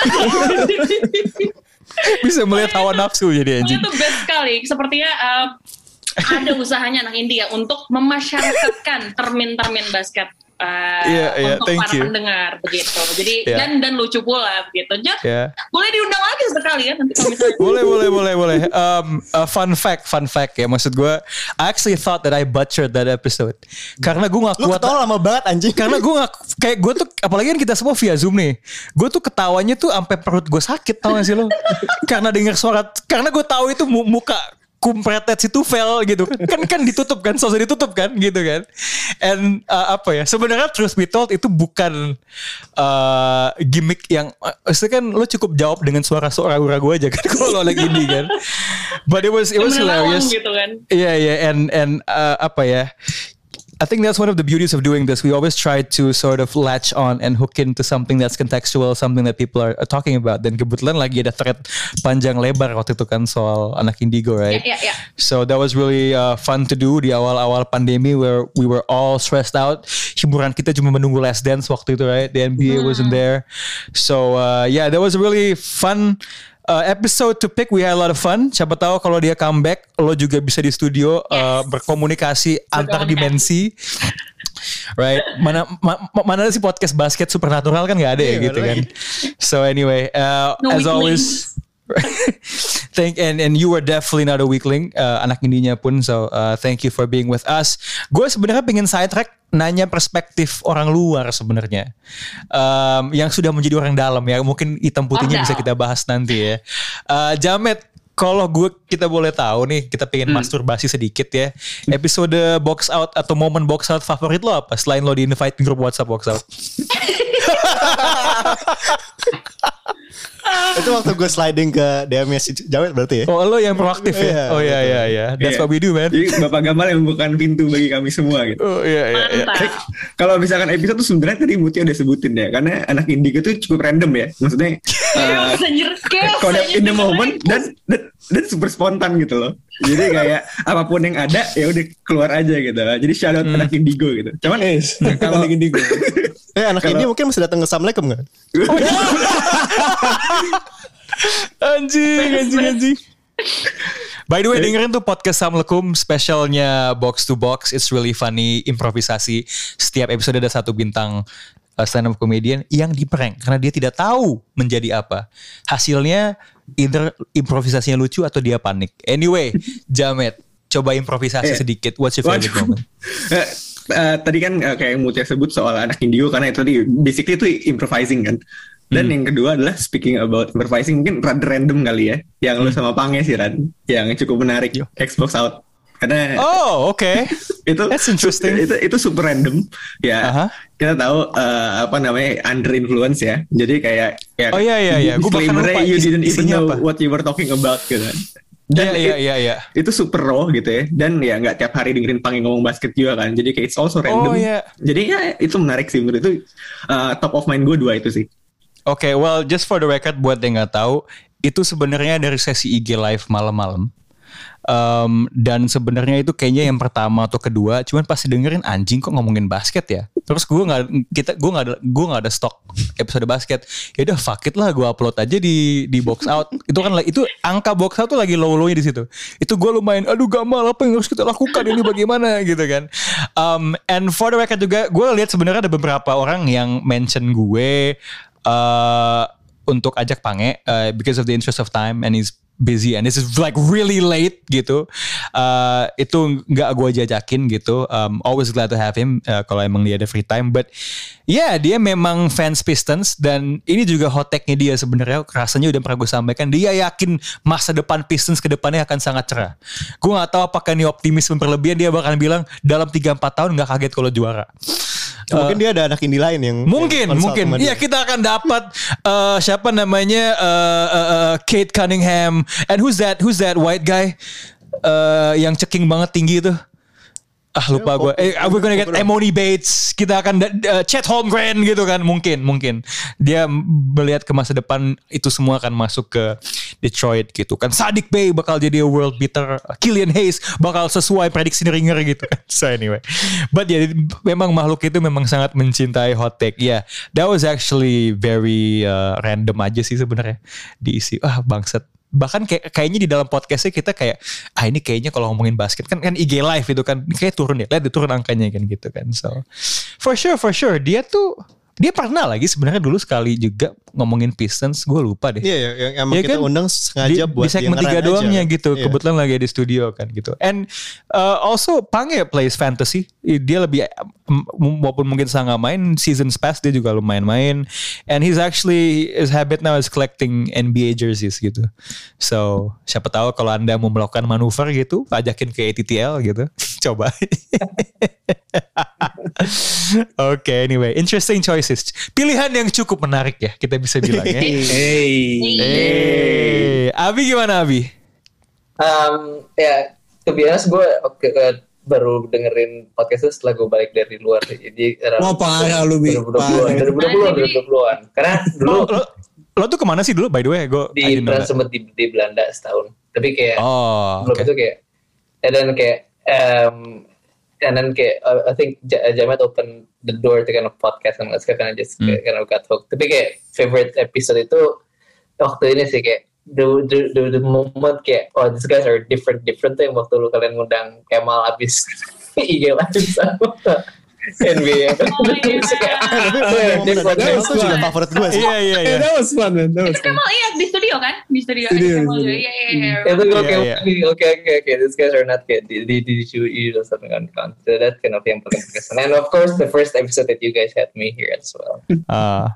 Bisa melihat hawa nafsu jadi anjing. Itu best sekali. Sepertinya uh, ada usahanya anak indie ya untuk memasyarakatkan termin-termin basket. Uh, yeah, yeah, untuk para you. pendengar begitu. Jadi yeah. dan dan lucu pula begitu. Jadi yeah. boleh diundang lagi sekali ya nanti kalau misalnya. boleh boleh boleh boleh. Um, uh, fun fact fun fact ya maksud gue. I actually thought that I butchered that episode. Karena gue gak kuat. Lu ketawa lama banget anjing. Karena gue gak kayak gue tuh apalagi kan kita semua via Zoom nih. Gue tuh ketawanya tuh sampai perut gue sakit tau gak sih lo? Karena denger suara. Karena gue tahu itu muka kumpretet si Tufel gitu kan kan ditutup kan sosok ditutup kan gitu kan and uh, apa ya sebenarnya truth be told itu bukan uh, gimmick yang maksudnya kan lo cukup jawab dengan suara-suara gue aja kan kalau lagi ini kan but it was it was hilarious gitu kan. yeah yeah and and uh, apa ya I think that's one of the beauties of doing this. We always try to sort of latch on and hook into something that's contextual, something that people are, are talking about. Dan kebetulan lagi ada thread panjang lebar waktu itu kan soal anak Indigo, right? Yeah, yeah, yeah. So that was really uh, fun to do di awal-awal pandemi where we were all stressed out. Hiburan kita cuma menunggu Last Dance waktu itu, right? The N B A mm. wasn't there. So uh, yeah, that was a really fun Uh, episode to pick. We had a lot of fun. Siapa tahu kalau dia comeback, lo juga bisa di studio yes. uh, berkomunikasi antar dimensi. Right? Mana ma, mana sih podcast basket supernatural kan nggak ada ya gitu kan. So anyway, uh, no as always. Thank and and you were definitely not a weakling, uh, anak indinya pun. So uh, thank you for being with us. Gue sebenarnya pengen sidetrack nanya perspektif orang luar sebenarnya, um, yang sudah menjadi orang dalam ya. Mungkin hitam putihnya oh, bisa kita bahas nanti ya. Uh, Jamet, kalau gue kita boleh tahu nih, kita pengen hmm. masturbasi sedikit ya. Episode box out atau momen box out favorit lo apa? Selain lo di invite grup WhatsApp box out. Itu waktu gue sliding ke D M-nya si Jamet berarti ya? Oh lo yang proaktif ya? Yeah, oh iya iya iya. That's yeah. what we do man. Jadi Bapak Gamal yang membukakan pintu bagi kami semua gitu. Oh iya iya. iya. Kalau misalkan episode tuh sebenarnya tadi Mutia udah sebutin ya. Karena anak Indigo tuh cukup random ya. Maksudnya uh, connect in the moment dan, dan dan super spontan gitu loh. Jadi kayak apapun yang ada ya udah keluar aja gitu. Jadi shout out hmm. anak Indigo gitu. Cuman yes, kalau anak Indigo. Eh anak Indi mungkin masih datang ke Assalamualaikum gak? Oh, iya. Anjing, anjing, anjing. By the way, dengerin tuh podcast Assalamualaikum spesialnya Box to Box. It's really funny, improvisasi. Setiap episode ada satu bintang uh, stand up comedian yang diprank karena dia tidak tahu menjadi apa. Hasilnya either improvisasinya lucu atau dia panik. Anyway, Jamet, coba improvisasi sedikit. What's your favorite Waduh. moment? Uh, tadi kan uh, kayak yang Mutia sebut soal anak Indigo karena itu tadi basically itu improvising kan. Dan hmm. yang kedua adalah speaking about improvising, mungkin rada random kali ya, yang hmm. lu sama Pange sih Ran, yang cukup menarik. Yo. Xbox Out. Karena oh oke okay. itu that's interesting. Itu itu super random ya. Uh-huh. Kita tahu uh, apa namanya under influence ya. Jadi kayak ya, oh iya iya iya. Gue bahkan lupa you didn't even know apa? what you were talking about gitu. Dan iya iya iya. Itu super raw gitu ya. Dan ya nggak tiap hari dengerin Pange ngomong basket juga kan. Jadi kayak it's also random. Oh, yeah. Jadi ya itu menarik sih menurut itu uh, top of mind gue dua itu sih. Oke, okay, well just for the record buat yang nggak tahu, itu sebenarnya dari sesi I G live malam-malam. Um, dan sebenarnya itu kayaknya yang pertama atau kedua, cuman pas dengerin anjing kok ngomongin basket ya. Terus gue nggak kita gue nggak ada gue nggak ada stok episode basket. Ya udah fuck it lah, gue upload aja di di box out. Itu kan itu angka box out tuh lagi low-lownya di situ. Itu gue lumayan, aduh Gamal apa yang harus kita lakukan ini bagaimana gitu kan. Um, and for the record juga gue lihat sebenarnya ada beberapa orang yang mention gue uh, untuk ajak Pange uh, because of the interest of time and he's busy and this is like really late gitu. Uh, itu nggak gue jajakin gitu. Um, always glad to have him uh, kalau emang dia ada free time. But ya yeah, dia memang fans Pistons dan ini juga hot take-nya dia sebenarnya. Rasanya udah pernah gue sampaikan. Dia yakin masa depan Pistons ke depannya akan sangat cerah. Gue nggak tahu apakah ini optimisme berlebihan. Dia bakal bilang dalam tiga empat tahun nggak kaget kalau juara. Ya, mungkin uh, dia ada anak indie lain yang mungkin yang mungkin iya kita akan dapat uh, siapa namanya uh, uh, uh, Kate Cunningham and who's that who's that white guy uh, yang ceking banget tinggi itu ah lupa gue eh we're gonna get Emoni Bates, kita akan uh, Chet Holmgren gitu kan, mungkin mungkin dia melihat ke masa depan itu semua akan masuk ke Detroit gitu kan. Saddiq Bey bakal jadi a world beater, Killian Hayes bakal sesuai prediksi Ringer gitu kan. So anyway, but ya yeah, memang makhluk itu memang sangat mencintai hot take ya. Yeah, that was actually very uh, random aja sih sebenarnya diisi. Ah bangsat. Bahkan kayak kayaknya di dalam podcastnya kita kayak ah ini kayaknya kalau ngomongin basket kan kan I G live itu kan kayak turun ya, lihat turun angkanya kan gitu kan. So for sure for sure dia tuh dia pernah lagi sebenarnya dulu sekali juga ngomongin Pistons, gue lupa deh. Iya, yeah, yang emang ya kita kan? Undang sengaja di, buat di segmen tiga doangnya aja. Gitu. Yeah. Kebetulan lagi di studio kan gitu. And uh, also Pange plays fantasy. Dia lebih walaupun mungkin sangat main seasons past dia juga lumayan main. And he's actually his habit now is collecting N B A jerseys gitu. So siapa tahu kalau Anda mau melakukan manuver gitu, ajakin ke A T T L gitu. Coba. Oke, okay, anyway, interesting choices. Pilihan yang cukup menarik ya, kita bisa bilang ya. Hey. Hey. Abi gimana Abi? Um, ya, to be honest gue okay, uh, baru dengerin podcastnya setelah gue balik dari luar. Jadi wah parah lu Bi. dua ribu dua puluhan Karena dulu lo, lo, lo tuh kemana sih dulu by the way? Gue di sempat di, di Belanda setahun. Tapi kayak oh, belum okay. itu kayak dan kayak um, and then kayak uh, I think Jamet open the door to kind of podcast and let's kind of just hmm. kind of got hooked. Tapi kayak favorite episode itu waktu ini sih kayak the the the, the moment kayak oh these guys are different different tuh yang waktu lu kalian ngundang Kemal abis I G live sama N B A. Itu juga favorit gue sih. Iya iya iya. That was fun man. That was fun. Kemal iya di studio kan? Di studio. Iya iya iya. Itu gue kayak oke oke oke these guys are not kayak di di di show you or something kan. So that kind of yang paling berkesan. And of course the first episode that you guys had me here as well. Ah.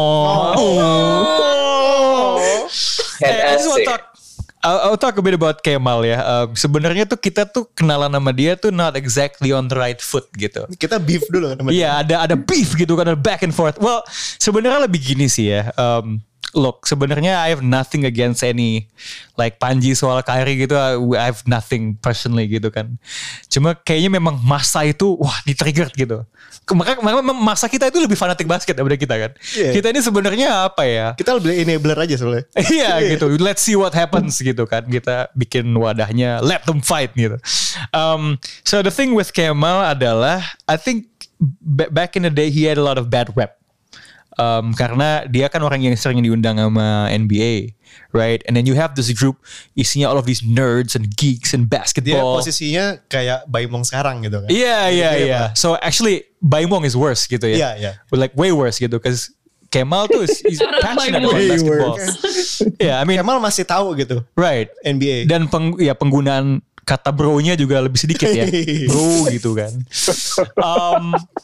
Oh. Had asik. I'll, I'll talk a bit about Kemal ya. Um, sebenarnya tuh kita tuh kenalan sama dia tuh not exactly on the right foot gitu. Kita beef dulu kan. Iya ada ada beef gitu kan, ada back and forth. Well sebenarnya lebih gini sih ya. Um, look sebenarnya I have nothing against any like Panji soal Kyrie gitu. I have nothing personally gitu kan. Cuma kayaknya memang masa itu wah di-triggered gitu. Maka masa kita itu lebih fanatik basket daripada kita kan. Yeah. Kita ini sebenarnya apa ya? Kita lebih enabler aja soalnya. Iya gitu. Let's see what happens gitu kan. Kita bikin wadahnya let them fight gitu. Um, so the thing with Kemal adalah I think back in the day he had a lot of bad rep. Um, karena dia kan orang yang sering diundang sama N B A, right? And then you have this group isinya all of these nerds and geeks and basketball. Dia posisinya kayak Baimong sekarang gitu kan? Iya iya iya. So actually Baimong is worse gitu ya? Iya yeah, iya. Yeah. Like way worse gitu, because Kemal tuh is he's passionate about basketball. Yeah, I mean Kemal masih tahu gitu, right? N B A dan peng, ya penggunaan kata bro-nya juga lebih sedikit ya, bro gitu kan. Um,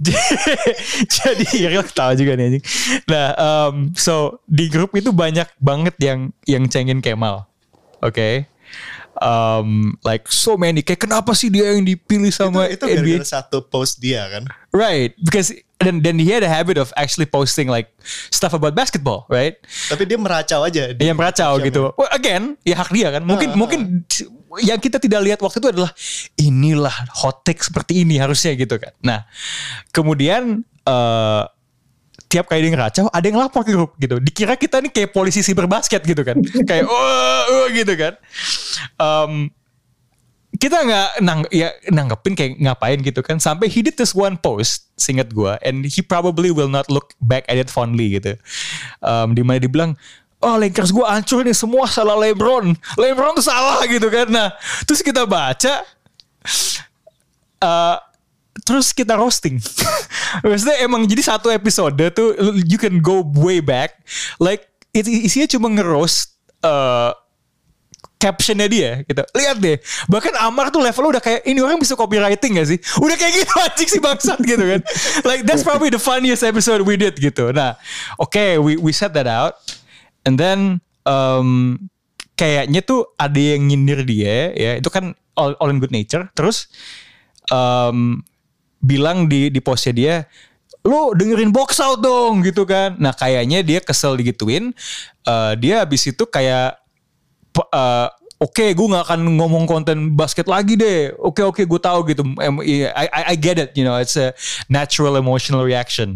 Jadi Iril ketawa juga nih anjing. Nah, um, so di grup itu banyak banget yang yang cengin Kemal. Oke. Okay? Um, like so many, kayak kenapa sih dia yang dipilih sama itu, itu N B A? Gara-gara satu post dia kan, right? Because then then he had a habit of actually posting like stuff about basketball, right? Tapi dia meracau aja. Dia meracau gitu. Well, again, ya hak dia kan. Mungkin uh, mungkin uh. yang kita tidak lihat waktu itu adalah inilah hot take seperti ini harusnya gitu kan. Nah, kemudian uh, tiap kali dia ngeracau, ada yang lapor ke grup gitu. Dikira kita nih kayak polisi cyber basket gitu kan. Kayak oh, oh gitu kan. Um, kita nggak nang, ya, nanggepin kayak ngapain gitu kan. Sampai he did this one post, seingat gue. And he probably will not look back at it fondly gitu. Um, dimana dia bilang, oh Lakers gue hancur nih, semua salah LeBron. LeBron tuh salah gitu kan. Nah, terus kita baca. Uh, Terus kita roasting. Maksudnya emang jadi satu episode tuh you can go way back. Like it, isinya cuma nge-roast uh, captionnya dia gitu. Lihat deh. Bahkan Amar tuh levelnya udah kayak ini orang bisa copywriting gak sih? Udah kayak gitu anjing sih bangsat gitu kan. Like that's probably the funniest episode we did gitu. Nah oke okay, we, we set that out. And then um, kayaknya tuh ada yang nyindir dia ya. Itu kan all, all in good nature. Terus um, bilang di di postnya dia, lo dengerin Box Out dong gitu kan. Nah kayaknya dia kesel digituin. Uh, dia abis itu kayak, uh, oke okay, gue nggak akan ngomong konten basket lagi deh. Oke okay, oke okay, gue tahu gitu. I, I I get it, you know, it's a natural emotional reaction.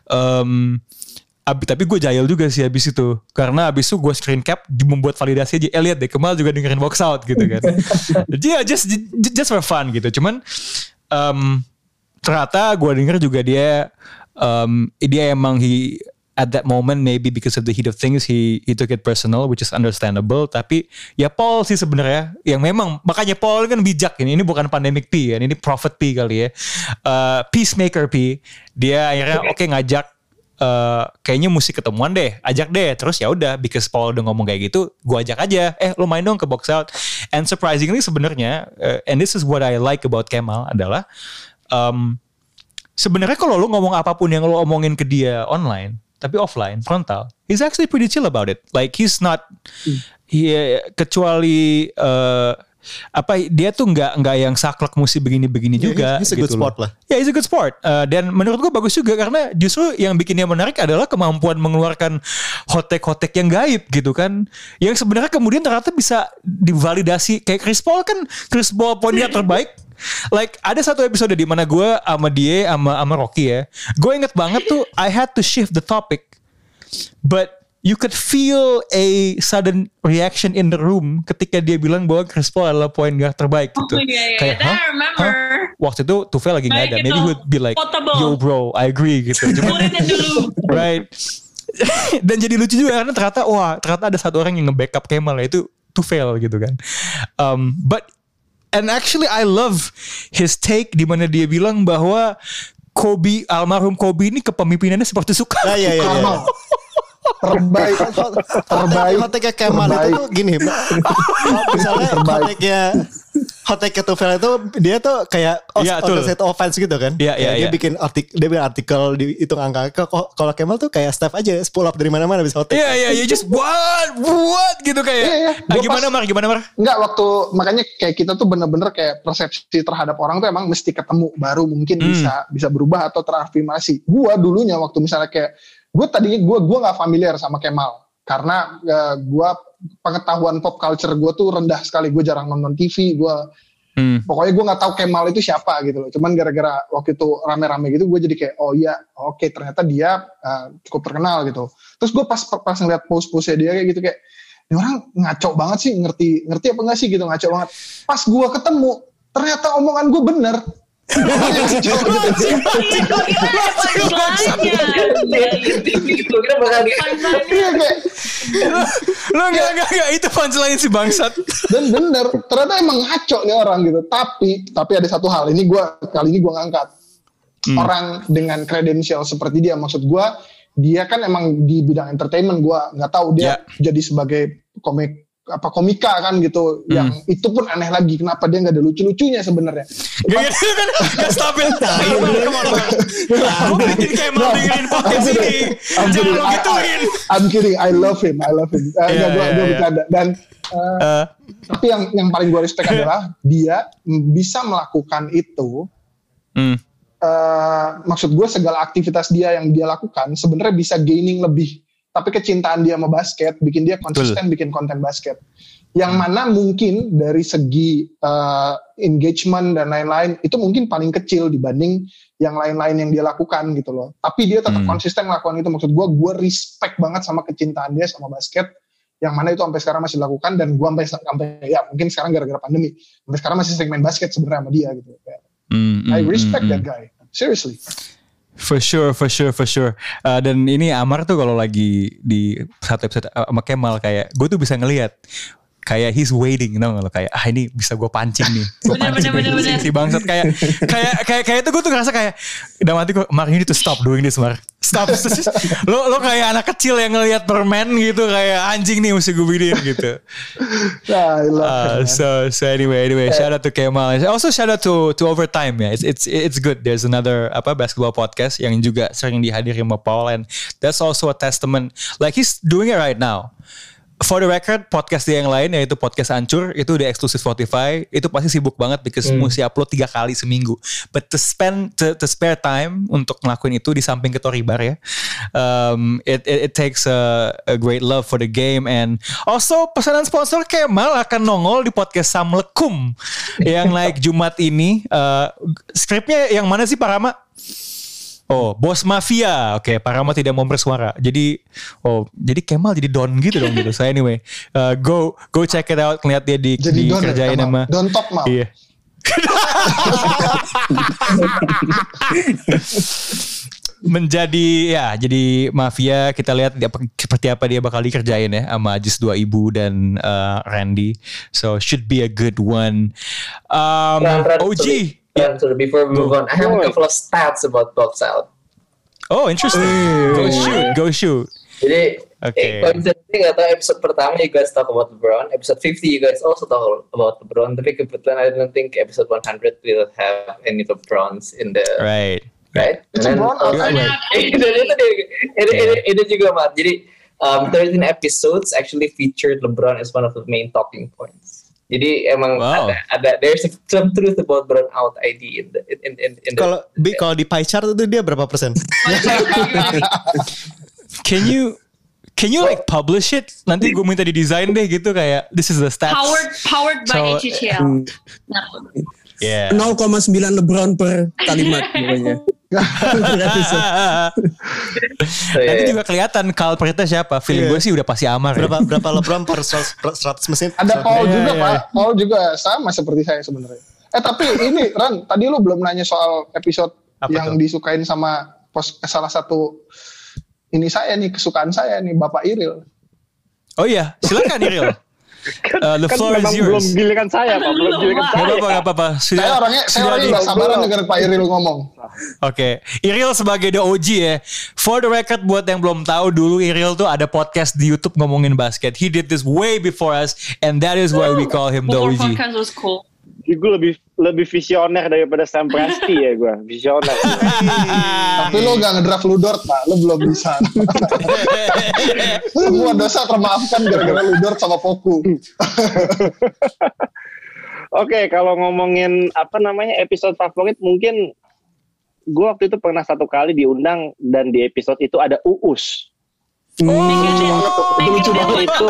Um, Tapi gue jahil juga sih abis itu. Karena abis itu gue screen cap membuat validasi aja. Eh lihat deh Kemal juga dengerin Box Out gitu kan. Jadi ya just, just for fun gitu. Cuman um, ternyata gue denger juga dia um, dia emang he at that moment maybe because of the heat of things he he took it personal, which is understandable. Tapi ya Paul sih sebenarnya yang memang makanya Paul kan bijak ini ini bukan pandemic P kan, ini prophet P kali ya, uh, peacemaker P. Dia akhirnya oke okay, ngajak uh, kayaknya mesti ketemuan deh, ajak deh. Terus ya udah because Paul udah ngomong kayak gitu, gue ajak aja. Eh lo main dong ke Box Out. And surprisingly sebenarnya uh, and this is what I like about Kemal adalah Um, sebenarnya kalau lu ngomong apapun yang lu omongin ke dia online, tapi offline, frontal, he's actually pretty chill about it. Like he's not, he, kecuali uh, apa dia tuh nggak nggak yang saklek mesti begini-begini yeah, juga. He's a gitu good sport loh. lah. Ya, yeah, he's a good sport. Uh, dan menurut gue bagus juga karena justru yang bikin dia menarik adalah kemampuan mengeluarkan hotek-hotek yang gaib gitu kan. Yang sebenarnya kemudian ternyata bisa divalidasi. Kayak Chris Paul kan, Chris Paul poinnya terbaik. Like ada satu episode di mana gue sama dia sama sama Rocky ya. Gue inget banget tuh I had to shift the topic. But you could feel a sudden reaction in the room ketika dia bilang bahwa Chris Paul adalah point guard terbaik gitu. Oh, yeah, yeah. Kayak, Hah? I remember. Hah? Waktu itu Tufel lagi nggak ada. Gitu. Maybe he would be like, Potable. yo bro, I agree gitu. Cuma, right. Dan jadi lucu juga karena ternyata wah ternyata ada satu orang yang nge-backup Kemal itu Tufel gitu kan. Um, but and actually I love his take di mana dia bilang bahwa Kobe, almarhum Kobe ini kepemimpinannya seperti Soekarno. Nah, iya, iya, iya. terbaik terbaik hoteknya Kemal itu tuh gini misalnya hoteknya hoteknya Tufel itu dia tuh kayak ya, opposite offense gitu kan ya, ya, dia ya. bikin artikel dia bikin artikel dihitung angka kalau Kemal tuh kayak Steph aja pull up dari mana-mana bisa hotek iya iya ya just what what gitu kayak iya, iya. Ah, gimana Mar gimana Mar enggak waktu makanya kayak kita tuh bener-bener kayak persepsi terhadap orang tuh emang mesti ketemu baru mungkin hmm. bisa bisa berubah atau terafirmasi. Gua dulunya waktu misalnya kayak gue tadinya gue gue nggak familiar sama Kemal karena uh, gue pengetahuan pop culture gue tuh rendah sekali. Gue jarang nonton T V. Gue hmm. pokoknya gue nggak tahu Kemal itu siapa gitu loh. Cuman gara-gara waktu itu rame-rame gitu gue jadi kayak oh iya oke okay, ternyata dia uh, cukup terkenal gitu. Terus gue pas pas ngeliat post-postnya dia kayak gitu kayak ini orang ngaco banget sih, ngerti ngerti apa enggak sih gitu, ngaco banget. Pas gue ketemu ternyata omongan gue bener. Lo gak gak gak itu punchline si bangsat. Dan bener ternyata emang ngaco nih orang gitu. Tapi tapi ada satu hal ini gue kali ini gue ngangkat hmm. orang dengan kredensial seperti dia. Maksud gue dia kan emang di bidang entertainment. Gue nggak tahu dia yeah. jadi sebagai komik apa komika kan gitu, hmm. yang itu pun aneh lagi kenapa dia nggak ada lucu-lucunya sebenarnya. Gak gitu kan, gak stabil. Gue bikin kayak mau dengerin podcast ini, jangan lo gituin. I'm kidding, I love him, I love him. Uh, yeah, gue yeah, gue yeah. bercanda dan uh, uh. tapi yang yang paling gue respect adalah dia bisa melakukan itu. Hmm. Uh, maksud gue segala aktivitas dia yang dia lakukan sebenarnya bisa gaining lebih. Tapi kecintaan dia sama basket bikin dia konsisten Betul. bikin konten basket. Yang mana mungkin dari segi uh, engagement dan lain-lain itu mungkin paling kecil dibanding yang lain-lain yang dia lakukan gitu loh. Tapi dia tetap hmm. konsisten melakukan itu. Maksud gue, gue respect banget sama kecintaan dia sama basket. Yang mana itu sampai sekarang masih dilakukan dan gue sampai sampai ya mungkin sekarang gara-gara pandemi. Sampai sekarang masih sering main basket sebenarnya sama dia gitu. Hmm, I respect hmm, that guy. Seriously. For sure, for sure, for sure. Uh, dan ini Amar tuh kalau lagi di satu episode sama Kemal kayak gue tuh bisa ngelihat kayak he's waiting, you know, lo kayak ah ini bisa gue pancing nih, gue pancing bener, bener, bener. si bangsat kayak kayak kayak kayak itu gue tuh ngerasa kayak udah mati gue Mar ini tuh stop doing this Mar, stop. lo lo kayak anak kecil yang ngelihat permen gitu kayak anjing nih mesti gue bikin gitu. uh, so so anyway anyway shout out to Kemal, also shout out to to Overtime ya, it's it's it's good. There's another apa basketball podcast yang juga sering dihadiri sama Paul and that's also a testament like he's doing it right now. For the record, podcast dia yang lain yaitu podcast Ancur itu udah eksklusif Spotify. Itu pasti sibuk banget because hmm. mesti upload tiga kali seminggu. But to spend to, to spare time untuk ngelakuin itu di samping Ketoribar ya, um, it, it it takes a, a great love for the game and also pesanan sponsor Kemal akan nongol di podcast Samlekum yang naik Jumat ini. Uh, skripnya yang mana sih Pak Rama? Oh, Bos Mafia. Oke, okay, Pak Rama tidak mau bersuara. Jadi, oh, jadi Kemal jadi Don gitu dong gitu. So anyway, uh, go go check it out. Lihat dia di jadi dikerjain Don sama Don Top Mal. Iya. Menjadi ya, jadi Mafia kita lihat dia, seperti apa dia bakal dikerjain ya sama Ajis dua ibu dan uh, Randy. So should be a good one. Um, O G. Yeah. So before we move on, I have a couple of stats about Box Out. Oh, interesting. Go shoot, go shoot. Jadi, okay. eh, kalau misalnya nggak tahu episode pertama you guys talk about LeBron, episode fifty you guys also talk about LeBron. Tapi kebetulan I don't think episode one hundred will have any LeBrons in the right, right. It's a LeBron. Dan itu itu juga Mat. Jadi um, thirteen episodes actually featured LeBron as one of the main talking points. Jadi emang wow. ada, ada there's some truth about Brown Out I D in the in in, in Kalau di kalau di pie chart itu dia berapa persen? Can you can you like publish it? Nanti gue minta di design deh gitu kayak this is the stats. Powered powered by so, H C L. Yeah. nol koma sembilan LeBron per kalimat pokoknya. Nanti juga kelihatan culpritnya siapa. Feeling yeah. gue sih udah pasti Amar. Berapa ya. berapa LeBron per seratus mesin? Ada Paul yeah, juga yeah. Pak. Paul juga sama seperti saya sebenarnya. Eh tapi ini Ran, tadi lu belum nanya soal episode apa yang tuh? Disukain sama pos, salah satu ini saya nih kesukaan saya nih Bapak Iril. Oh iya, silakan Iril. Kan, uh, the kan floor is yours. Belum giliran saya Pak, belum giliran saya. Gak apa-apa, gak apa-apa. Sudah, saya orangnya, saya orangnya gak sabaran dengar Pak Iril ngomong. Oke, okay. Iril sebagai the O G ya. For the record buat yang belum tahu dulu Iril tuh ada podcast di YouTube ngomongin basket. He did this way before us and that is why we call him the O G. Podcast was cool. Gue lebih lebih visioner daripada Sam Presti ya gue, visioner. Tapi lo gak ngedraft Ludort Pak, lo belum bisa. Semua dosa termaafkan gara-gara Ludort sama Poku. Oke, okay, kalau ngomongin apa namanya episode favorit, mungkin gue waktu itu pernah satu kali diundang dan di episode itu ada Uus. Oh, oh itu lucu banget itu.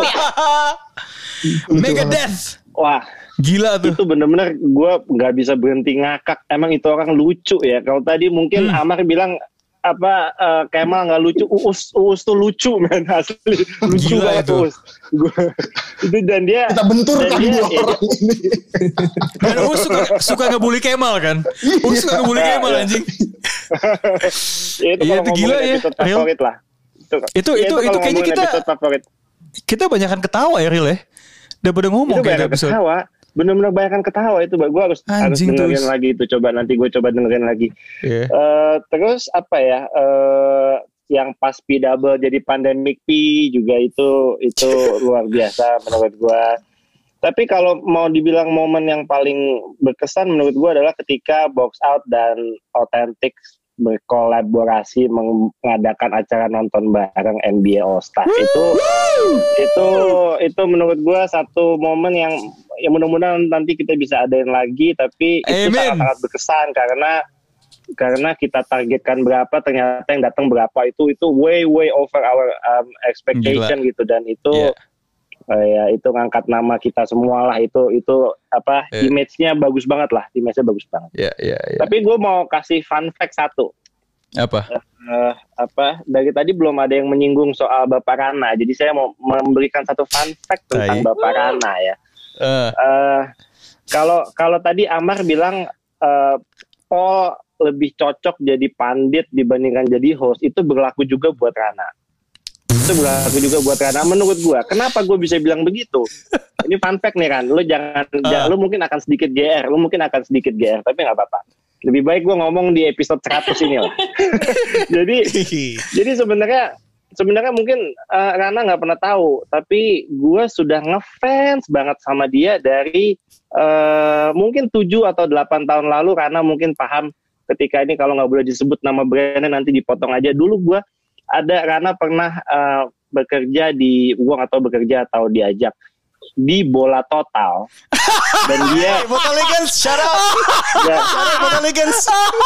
Megadeth. Wah. Gila tuh. Itu bener-bener gue gak bisa berhenti ngakak. Emang itu orang lucu ya. Kalau tadi mungkin hmm. Amar bilang apa uh, Kemal gak lucu. Uus Uus tuh lucu men asli. Lucu Gila banget itu. Uus. Gua, itu dan dia. Kita benturkan dua dia, orang ya, ini. Dan Uus suka, suka ngebully Kemal kan. Uus suka ngebully Kemal anjing. Ya, itu iya itu gila ya. Favorit lah. Itu itu ya, itu, itu, itu kayaknya kita kita banyakan ketawa ya Ril ya. Udah pada ngomong kayak episode. Ketawa. Bener-bener banyak ketawa itu, gue harus harus dengerin terus. lagi itu. Coba nanti gue coba dengerin lagi. Yeah. Uh, terus apa ya? Uh, yang pas P double jadi pandemic P juga itu itu luar biasa menurut gue. Tapi kalau mau dibilang momen yang paling berkesan menurut gue adalah ketika Box Out dan Authentic berkolaborasi mengadakan acara nonton bareng N B A All Star. Itu itu itu menurut gue satu momen yang yang mudah-mudahan nanti kita bisa adain lagi, tapi itu sangat-sangat berkesan karena karena kita targetkan berapa ternyata yang datang berapa itu itu way way over our um, expectation. Gila. Gitu dan itu yeah. uh, ya itu ngangkat nama kita semua lah, itu itu apa yeah. image-nya bagus banget lah, image-nya bagus banget. Yeah, yeah, yeah. Tapi gue mau kasih fun fact satu. Apa? Uh, apa dari tadi belum ada yang menyinggung soal Bapak Rana, jadi saya mau memberikan satu fun fact tentang Ay. Bapak Rana ya. Uh. Uh, kalau kalau tadi Amar bilang uh, Paul lebih cocok jadi pandit dibandingkan jadi host, itu berlaku juga buat Rana. Itu berlaku juga buat Rana menurut gue. Kenapa gue bisa bilang begitu? Ini fun fact nih Ran, lu jangan, uh. jangan lu mungkin akan sedikit G R, lu mungkin akan sedikit G R, tapi nggak apa-apa. Lebih baik gue ngomong di episode seratus ini lah. jadi jadi sebenarnya sebenarnya mungkin uh, Rana nggak pernah tahu, tapi gue sudah ngefans banget sama dia dari uh, mungkin tujuh atau delapan tahun lalu. Rana mungkin paham ketika ini kalau nggak boleh disebut nama brandnya nanti dipotong aja. Dulu gue ada Rana pernah uh, bekerja di uang atau bekerja atau diajak di Bola Total dan dia Bola Legends, shout out ya, Bola Legends.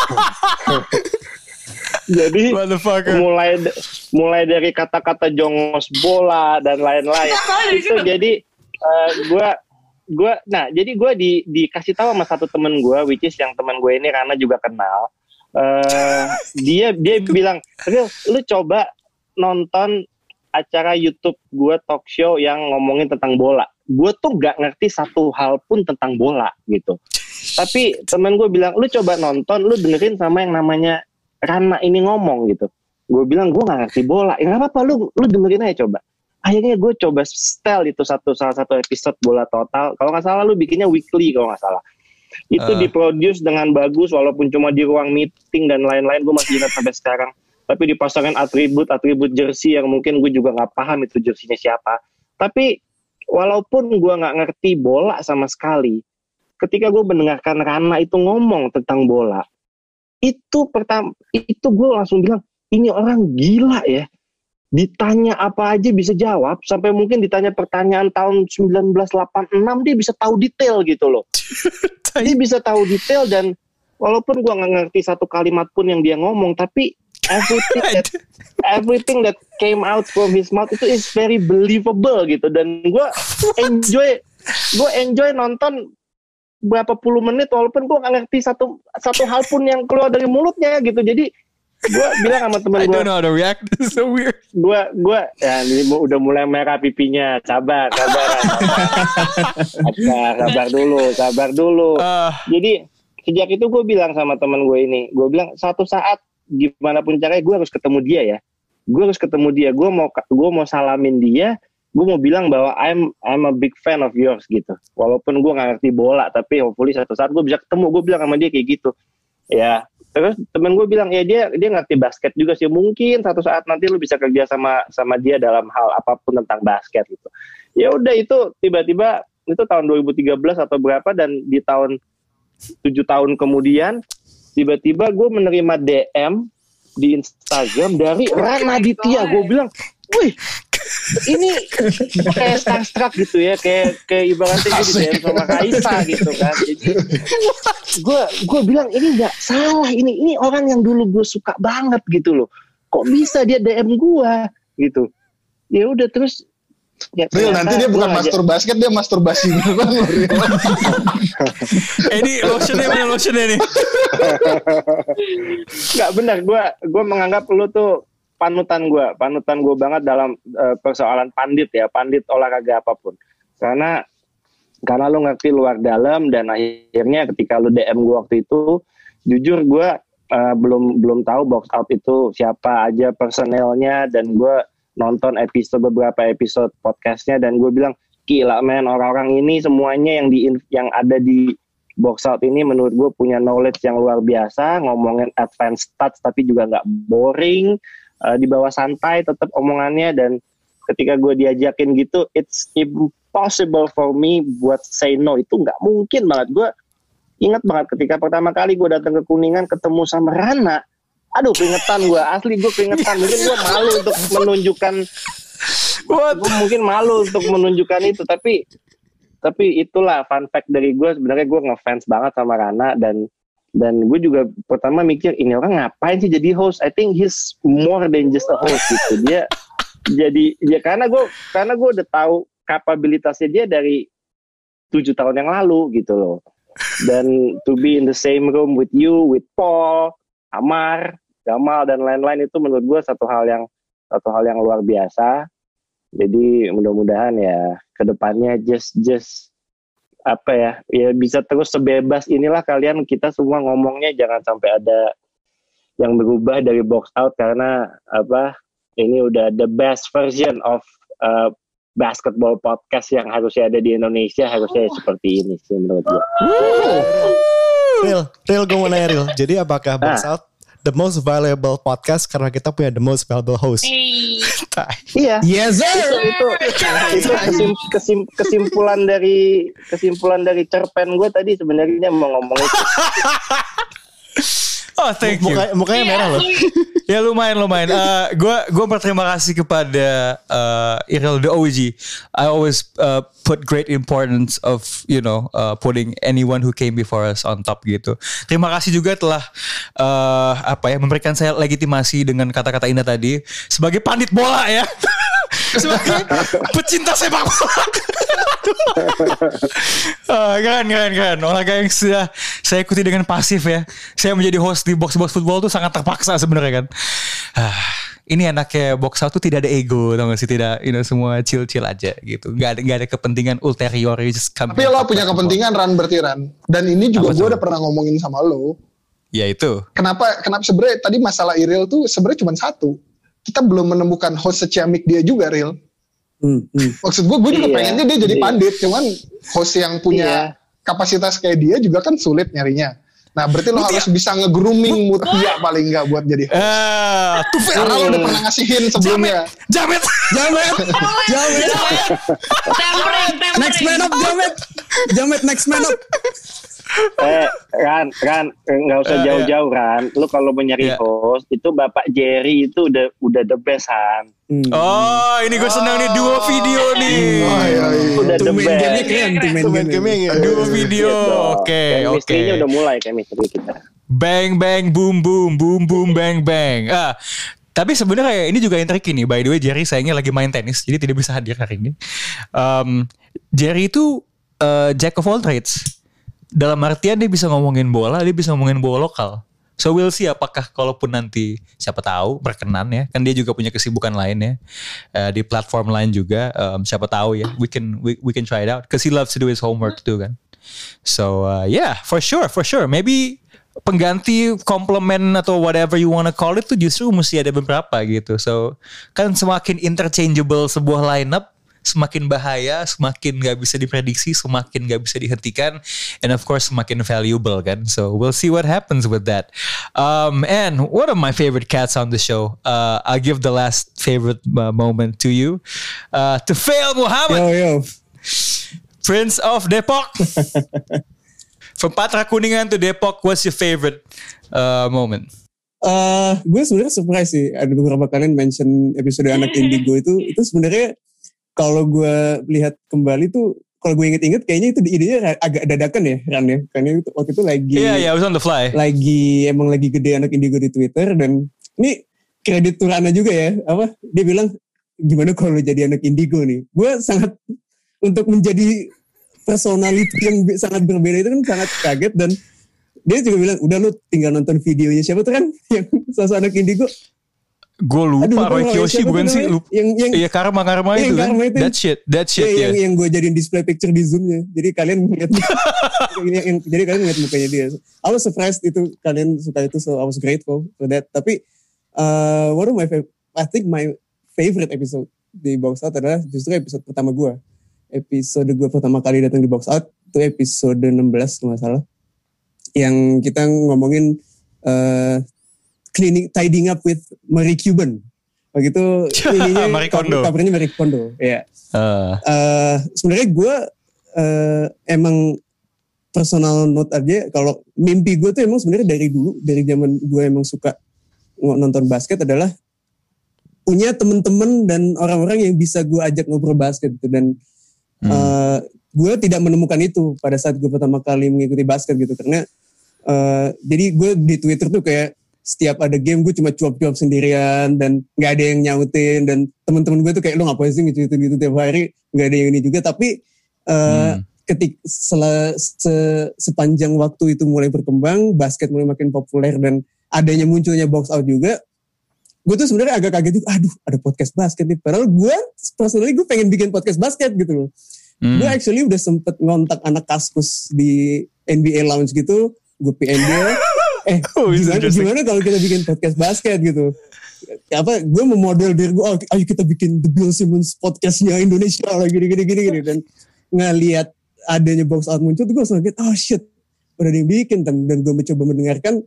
Jadi mulai mulai dari kata-kata jongos bola dan lain-lain itu jadi uh, gue gue nah jadi gue di dikasih tahu sama satu temen gue, which is yang temen gue ini Rana juga kenal. Uh, dia dia bilang, Ril, lu coba nonton acara YouTube gue talk show yang ngomongin tentang bola. Gue tuh nggak ngerti satu hal pun tentang bola gitu. Tapi temen gue bilang, lu coba nonton, lu dengerin sama yang namanya Rana ini ngomong gitu. Gue bilang gue nggak ngerti bola. Ya nggak apa-apa, lu lu dengerin aja coba. Akhirnya gue coba setel itu satu salah satu episode Bola Total. Kalau nggak salah lu bikinnya weekly kalau nggak salah. Itu uh. diproduce dengan bagus walaupun cuma di ruang meeting dan lain-lain. Gue masih ingat sampai sekarang. Tapi dipasangin atribut-atribut jersey yang mungkin gue juga nggak paham itu jersinya siapa. Tapi walaupun gue nggak ngerti bola sama sekali, ketika gue mendengarkan Rana itu ngomong tentang bola, itu pertama itu gue langsung bilang ini orang gila ya. Ditanya apa aja bisa jawab, sampai mungkin ditanya pertanyaan tahun sembilan belas delapan puluh enam dia bisa tahu detail gitu loh. Dia bisa tahu detail dan walaupun gue nggak ngerti satu kalimat pun yang dia ngomong, tapi everything that everything that came out from his mouth itu is very believable gitu. Dan gue enjoy gue enjoy nonton berapa puluh menit walaupun gue nggak ngerti satu satu hal pun yang keluar dari mulutnya gitu. Jadi gue bilang sama temen gue, I don't know how to react, this is so weird. Gue, gue, ya ini udah mulai merah pipinya, sabar, sabar, sabar, sabar, sabar dulu, sabar dulu. Uh. Jadi sejak itu gue bilang sama temen gue ini, gue bilang satu saat gimana pun caranya gue harus ketemu dia ya, gue harus ketemu dia, gue mau, gue mau salamin dia, gue mau bilang bahwa I'm, I'm a big fan of yours gitu. Walaupun gue nggak ngerti bola, tapi hopefully satu saat gue bisa ketemu, gue bilang sama dia kayak gitu, ya. Terus temen gue bilang ya dia dia ngerti basket juga sih, mungkin satu saat nanti lu bisa kerja sama sama dia dalam hal apapun tentang basket gitu. Ya udah itu tiba-tiba itu tahun dua ribu tiga belas atau berapa, dan di tahun tujuh tahun kemudian tiba-tiba gue menerima D M di Instagram dari Rana Aditya. Gue bilang, wih ini kayak starstruck gitu ya, kayak kayak ibaratnya gitu D M sama Kaisa gitu kan. Jadi gue gue bilang ini nggak salah, ini ini orang yang dulu gue suka banget gitu loh, kok bisa dia D M gue gitu. Ya udah terus ya, Real nanti dia bukan mastur basket, dia masturbasi beneran loh. Eh ini lotionnya mana lotionnya nih? Nggak benar, gue gue menganggap lu tuh panutan gue, panutan gue banget dalam uh, persoalan pandit ya, pandit olahraga apapun. Karena karena lu ngerti luar dalam, dan akhirnya ketika lu D M gue waktu itu, jujur gue uh, belum belum tahu Box Out itu siapa aja personelnya, dan gue nonton episode beberapa episode podcastnya dan gue bilang gila men, orang-orang ini semuanya yang di yang ada di Box Out ini menurut gue punya knowledge yang luar biasa, ngomongin advanced stats tapi juga nggak boring. uh, di bawah santai tetap omongannya, dan ketika gue diajakin gitu it's impossible for me buat say no. Itu nggak mungkin banget. Gue ingat banget ketika pertama kali gue datang ke Kuningan ketemu sama Rana, aduh keringetan gue, asli gue keringetan. Mungkin gue malu untuk menunjukkan gue mungkin malu untuk menunjukkan itu, tapi tapi itulah fun fact dari gue. Sebenarnya gue ngefans banget sama Rana, dan dan gue juga pertama mikir ini orang ngapain sih jadi host. I think he's more than just a host gitu. Dia jadi ya karena gue karena gue udah tahu kapabilitasnya dia dari tujuh tahun yang lalu gitu loh. Dan to be in the same room with you, with Paul, Amar, Gamal dan lain-lain, itu menurut gue satu hal yang satu hal yang luar biasa. Jadi mudah-mudahan ya kedepannya just just apa ya ya bisa terus sebebas inilah kalian, kita semua ngomongnya jangan sampai ada yang berubah dari box out, karena apa ini udah the best version of uh, basketball podcast yang harusnya ada di Indonesia, harusnya seperti ini sih menurut gue. Real, real gue mau nanya Real. Jadi apakah box out the most valuable podcast karena kita punya the most valuable host? Hey. Iya. Yes sir. Itu itu, itu kesim, kesim, kesimpulan dari kesimpulan dari cerpen gue tadi sebenarnya mau ngomong itu. Oh, thank you. Muka, mukanya merah loh. Ya lumayan lumayan. Gue uh, gue berterima kasih kepada uh, Iril the O G. I always uh, put great importance of you know uh, putting anyone who came before us on top gitu. Terima kasih juga telah uh, apa ya memberikan saya legitimasi dengan kata-kata indah tadi sebagai pandit bola ya. Sebagai pecinta sepak bola. uh, keren keren keren olahraga yang sudah saya ikuti dengan pasif ya. Saya menjadi host di Box Box Football tuh sangat terpaksa sebenarnya kan. Uh, ini anaknya Box Out tuh tidak ada ego, tau gak sih, tidak, you know, semua chill chill aja gitu. Gak ada gak ada kepentingan ulterior. Tapi lo punya kepentingan Ran berarti Ran. Dan ini juga gue udah pernah ngomongin sama lo. Ya itu. Kenapa kenapa sebenarnya tadi masalah Iril tuh sebenarnya cuma satu. Kita belum menemukan host seciamik dia juga Real. Hmm, hmm. Maksud gue, gue juga iya, pengennya dia jadi iya. pandit. Cuman host yang punya iya. kapasitas kayak dia juga kan sulit nyarinya. Nah berarti lo Mutia. harus bisa nge-grooming Mutia paling gak buat jadi host. Uh, tuh karena lo udah pernah ngasihin sebelumnya. Jamet. Jamet. Jamet. Jamet. Next man up Jamet. Jamet next man up. Eh Ran, Ran nggak usah jauh-jauh Ran. Lu kalau mau nyari yeah. host itu Bapak Jerry itu udah udah the best Han. Hmm. Oh ini gue senang nih duo video nih. Oh, iya, iya. Udah the best. Game keren, main game duo video. Oke oke. Chemistry-nya udah mulai chemistry kita. Bang bang boom boom boom boom bang bang. Ah. Tapi sebenarnya ini juga yang tricky nih. By the way Jerry sayangnya lagi main tenis jadi tidak bisa hadir hari ini. Um, Jerry itu uh, jack of all trades. Dalam artian dia bisa ngomongin bola, dia bisa ngomongin bola lokal. So we'll see apakah kalaupun nanti siapa tahu berkenan ya. Kan dia juga punya kesibukan lain ya. Uh, di platform lain juga. Um, siapa tahu ya. We can we, we can try it out. Because he loves to do his homework too kan. So uh, yeah, for sure, for sure. Maybe pengganti komplement atau whatever you wanna call it tuh justru mesti ada beberapa gitu. So kan semakin interchangeable sebuah lineup, semakin bahaya, semakin gak bisa diprediksi, semakin gak bisa dihentikan, and of course semakin valuable kan. So we'll see what happens with that. Um, and one of my favorite cats on the show, uh, I'll give the last favorite uh, moment to you, uh, to Fail Muhammad, yo, yo. Prince of Depok. From Patra Kuningan to Depok, what's your favorite uh, moment? Uh, gue sebenarnya surprise sih, ada beberapa kalian mention episode anak Indigo itu, itu sebenarnya kalau gue lihat kembali tuh, kalau gue inget-inget kayaknya itu idenya agak dadakan ya, Ran ya. Karena waktu itu lagi, yeah, yeah, I was on the fly. Lagi emang lagi gede anak Indigo di Twitter, dan ini kredit Turana juga ya. Apa? Dia bilang gimana kalau jadi anak Indigo nih? Gue sangat untuk menjadi personality yang sangat berbeda itu kan sangat kaget, dan dia juga bilang udah lu tinggal nonton videonya siapa tuh kan yang sosok anak Indigo. Gue lupa Roy Kiyoshi bukan sih? Yang, yang, iya karma karma itu kan. Itu. That shit, that shit ya. Yeah. Yang, yang gue jadiin display picture di Zoom-nya. Jadi kalian ngeliat yang, jadi kalian ngeliat mukanya dia. I was surprised itu kalian suka itu, so I was grateful for that. Tapi uh, one of my favorite, I think my favorite episode di Box Out adalah justru episode pertama gue. Episode gue pertama kali datang di Box Out itu episode enam belas kalau nggak salah. Yang kita ngomongin uh, cleaning, tidying up with Marie Cuban. Waktu itu ininya Marie Kondo. Covernya Marie Kondo. Ya. Uh. Uh, sebenarnya gue uh, emang personal note aja, kalau mimpi gue tuh emang sebenarnya dari dulu, dari zaman gue emang suka nonton basket adalah punya temen-temen dan orang-orang yang bisa gue ajak ngobrol basket gitu. Dan hmm. uh, gue tidak menemukan itu pada saat gue pertama kali mengikuti basket gitu, karena uh, jadi gue di Twitter tuh kayak setiap ada game gue cuma cuap-cuap sendirian dan nggak ada yang nyautin, dan teman-teman gue tuh kayak lo ngapain sih ngecuitin gitu tiap hari, nggak ada yang ini juga. Tapi uh, hmm. ketik sel, se, sepanjang waktu itu mulai berkembang, basket mulai makin populer dan adanya munculnya box out juga, gue tuh sebenarnya agak kaget juga, aduh ada podcast basket nih, padahal gue personally gue pengen bikin podcast basket gitu loh. Hmm. Gue actually udah sempet ngontak anak Kaskus di N B A Lounge gitu, gue P M dia. Eh oh, gimana, gimana kalau kita bikin podcast basket gitu, apa gue memodel diri gue, oh, ayo kita bikin The Bill Simmons podcastnya Indonesia lah gini gini gini gini. Dan ngelihat adanya box out muncul tuh gue langsung kaget, oh shit udah ada yang bikin. Dan, dan gue mencoba mendengarkan,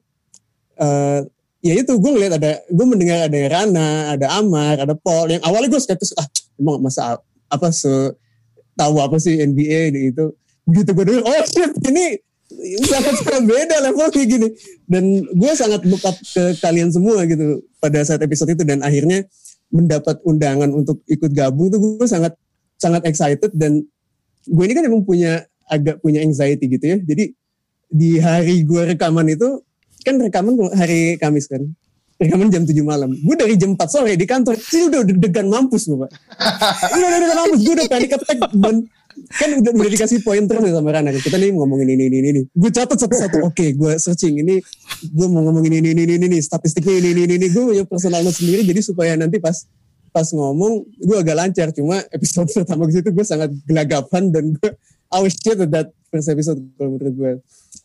uh, ya itu gue ngeliat ada, gue mendengar ada Rana, ada Amar, ada Paul, yang awalnya gue skeptis, ah emang masa apa se tahu apa sih N B A gitu. Begitu gue denger, oh shit ini sangat sangat beda level kayak gini. Dan gue sangat look up ke kalian semua gitu pada saat episode itu, dan akhirnya mendapat undangan untuk ikut gabung tuh gue sangat sangat excited. Dan gue ini kan emang punya agak punya anxiety gitu ya, jadi di hari gue rekaman itu kan rekaman hari Kamis kan, rekaman jam tujuh malam, gue dari jam empat sore di kantor sih udah deg-degan mampus gue pak. udah deg-degan mampus, gue udah panic attack. Dan kan udah, udah dikasih pointer nih sama Rana, kita nih ngomongin ini ini ini, gue catat satu-satu. Oke, okay, gue searching ini, gue mau ngomongin ini ini ini ini, statistiknya ini ini ini, gue punya personal note sendiri, jadi supaya nanti pas pas ngomong gue agak lancar. Cuma episode pertama ke situ gue sangat gelagapan, dan gue I was shit at that first episode kalau menurut gue.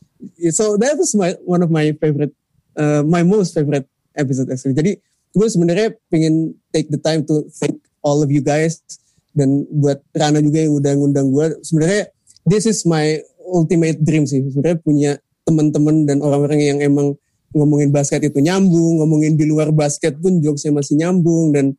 So that was my one of my favorite, uh, my most favorite episode actually. Jadi gue sebenarnya pengen take the time to thank all of you guys. Dan buat Rana juga yang udah ngundang gue, sebenarnya this is my ultimate dream sih, sebenarnya punya teman-teman dan orang-orang yang emang ngomongin basket itu nyambung, ngomongin di luar basket pun jokesnya masih nyambung. Dan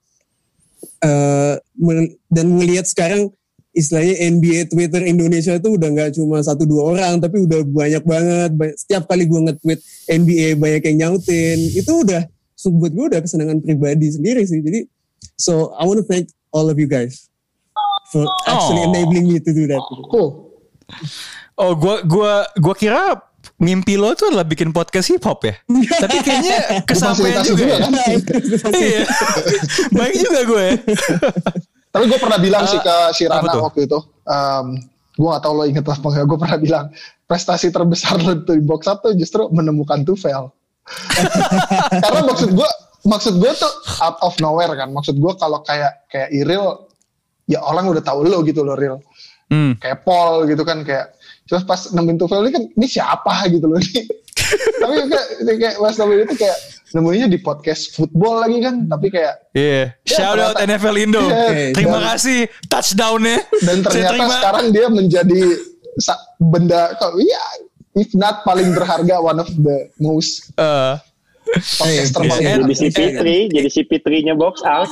uh, dan ngelihat sekarang istilahnya N B A Twitter Indonesia itu udah nggak cuma satu dua orang, tapi udah banyak banget. Setiap kali gue nge-tweet N B A banyak yang nyautin, itu udah so buat gue udah kesenangan pribadi sendiri sih. Jadi so I want to thank all of you guys for actually oh. enabling me to do that. Cool. Oh, gua gua gua kira mimpi lo tuh adalah bikin podcast hip hop ya. Tapi kayaknya kesampaian juga, juga kan. Iya. Baik juga gue. Tapi gue pernah bilang uh, sih ke si Rana waktu itu, um, gue gak tahu lo inget apa enggak, gue pernah bilang prestasi terbesar lo di box up tuh justru menemukan Tufel. Karena maksud gue maksud gue tuh out of nowhere kan. Maksud gue kalau kayak kayak Iril, ya orang udah tahu lo gitu loh Ril. Hmm. Kayak Paul gitu kan, kayak terus pas nemuin Tufel ini kan, ini siapa gitu loh ini. Tapi kayak, kayak Mas Tufel itu kayak nemuinnya di podcast football lagi kan, tapi kayak yeah. ya, shout out N F L Indo. Yeah, okay. Terima dan, kasih touchdownnya. Dan ternyata sekarang dia menjadi benda, ya if not paling berharga, one of the most uh. podcaster paling jadi si Fitri, jadi si Fitrinya box out.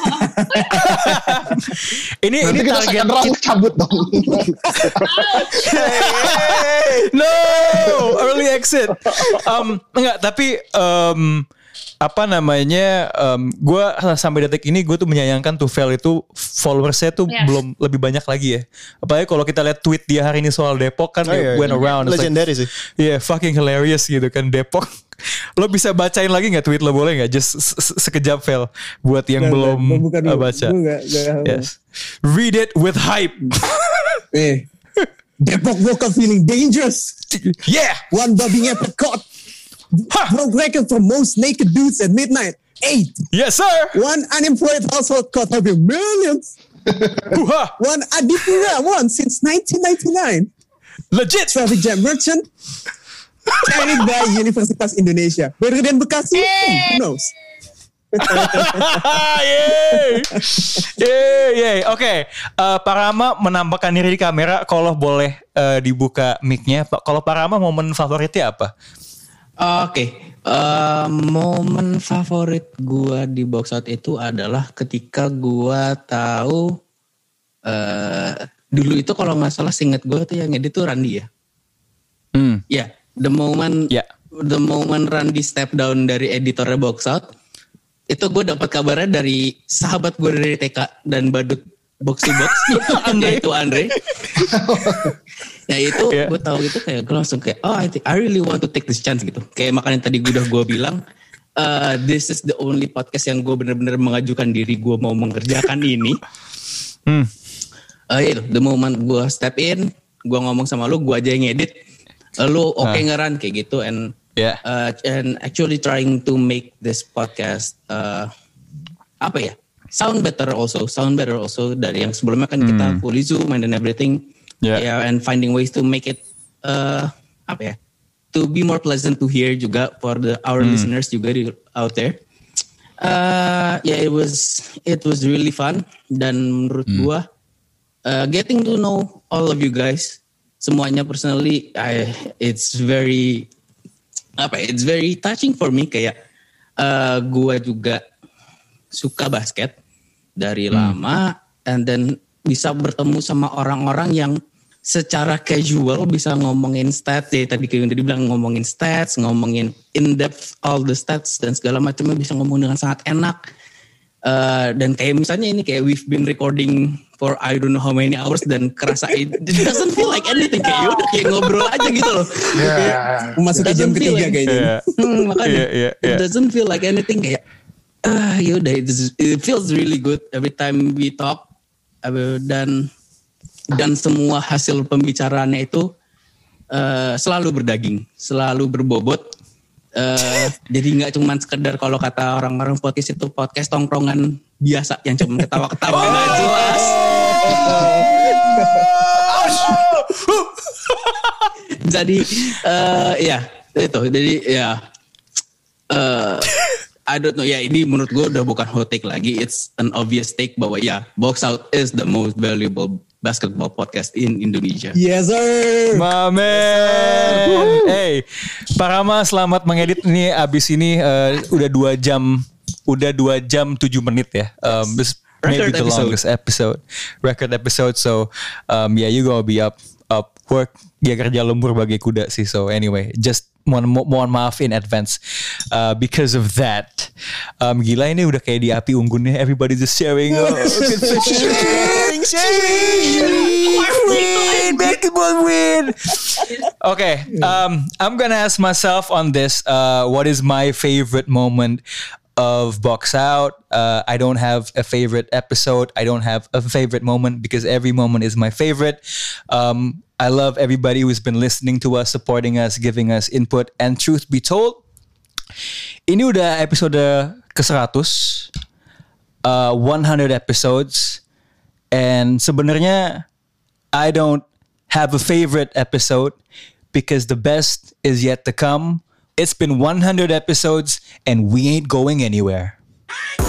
ini nanti ini kita target kita cabut dong. No, early exit. Um, enggak, tapi um, apa namanya? Um, gue sampai detik ini gue tuh menyayangkan Tufel itu followersnya tuh yeah. belum lebih banyak lagi ya. Apalagi kalau kita lihat tweet dia hari ini soal Depok kan, oh, yeah, went around. Legendary like, sih. Yeah, fucking hilarious gitu kan Depok. Lo bisa bacain lagi nggak tweet lo, boleh nggak? Just sekejap Fel buat yang gak, belum gak, uh, baca. Gak, gak, yes. Read it with hype. Eh, Depok woke up feeling dangerous. Yeah. One Bobby Epic caught. Broke record for most naked dudes at midnight. Eight. Yes, sir. One unemployed household caught having millions. One Adipura won since nineteen ninety-nine. Legit. Traffic jam merchant. Carried by Universitas Indonesia. Better than Bekasi? Who knows? Yeay. Yeay, yeay. Oke, okay. uh, Pak Rama menampakkan diri di kamera. Kalau boleh uh, dibuka mic-nya. Kalau Pak Rama momen favoritnya apa? Uh, Oke, okay. Uh, momen favorit gue di box out itu adalah ketika gue tahu uh, dulu itu kalau nggak salah seinget gue tuh yang edit tuh Randy ya. Hmm. Ya, yeah, the moment yeah. the moment Randy step down dari editornya box out, itu gue dapat kabarnya dari sahabat gue dari T K dan badut box to box, yaitu Andre. Ya itu yeah. gue tahu gitu kayak gue langsung kayak oh I think I really want to take this chance gitu. Kayak makanya tadi gue udah gue bilang uh, this is the only podcast yang gue benar-benar mengajukan diri gue mau mengerjakan ini. Hmm. Uh, itu the moment gue step in, gue ngomong sama lu, gue aja yang ngedit, lu oke okay uh. ngeran kayak gitu and yeah. uh, and actually trying to make this podcast uh, apa ya sound better also, sound better also dari yang sebelumnya kan hmm. kita fully Zoom and everything. Yeah. yeah, and finding ways to make it uh, apa ya, to be more pleasant to hear juga for the our mm. listeners juga di, out there. Uh, yeah, it was it was really fun dan menurut mm. gua uh, getting to know all of you guys semuanya personally, I it's very apa, it's very touching for me kayak uh, gua juga suka basket dari mm. lama and then bisa bertemu sama orang-orang yang secara casual bisa ngomongin stats ya, tadi kayak yang tadi bilang ngomongin stats, ngomongin in depth all the stats dan segala macamnya bisa ngomong dengan sangat enak. Uh, dan kayak misalnya ini kayak we've been recording for I don't know how many hours dan kerasa it, it doesn't feel like anything, kayak udah kayak ngobrol aja gitu loh. Yeah. Memasuki jam ketiga kayaknya. Yeah. Hmm, makanya yeah, yeah, yeah. it doesn't feel like anything kayak ah uh, yaudah it, it feels really good every time we talk. Dan dan semua hasil pembicaraannya itu uh, selalu berdaging, selalu berbobot. Uh, jadi nggak cuma sekedar kalau kata orang-orang podcast itu podcast tongkrongan biasa yang cuma ketawa-ketawa nggak oh! jelas. Jadi uh, ya itu, jadi ya. Uh, I don't know, ya ini menurut gue udah bukan hot take lagi, it's an obvious take bahwa ya Box Out is the most valuable basketball podcast in Indonesia. Yes sir. My man. Hey, Pak Rama selamat mengedit ini abis ini uh, udah dua jam, udah dua jam tujuh menit ya. Um, this maybe the episode. longest episode, record episode. So um, yeah, you gonna be up up work, ya kerja lembur bagi kuda sih. So anyway, just mohon mohon maaf in advance uh, because of that. Um, gila ini udah kayak di api unggunnya, everybody just sharing. Oh, sharing, sharing. Win, basketball win. Okay, um, I'm gonna ask myself on this. Uh, what is my favorite moment of Box Out? Uh, I don't have a favorite episode. I don't have a favorite moment because every moment is my favorite. Um, I love everybody who's been listening to us, supporting us, giving us input. And truth be told, ini udah episode ke seratus, uh, one hundred episodes. And sebenarnya I don't have a favorite episode because the best is yet to come. It's been one hundred episodes and we ain't going anywhere.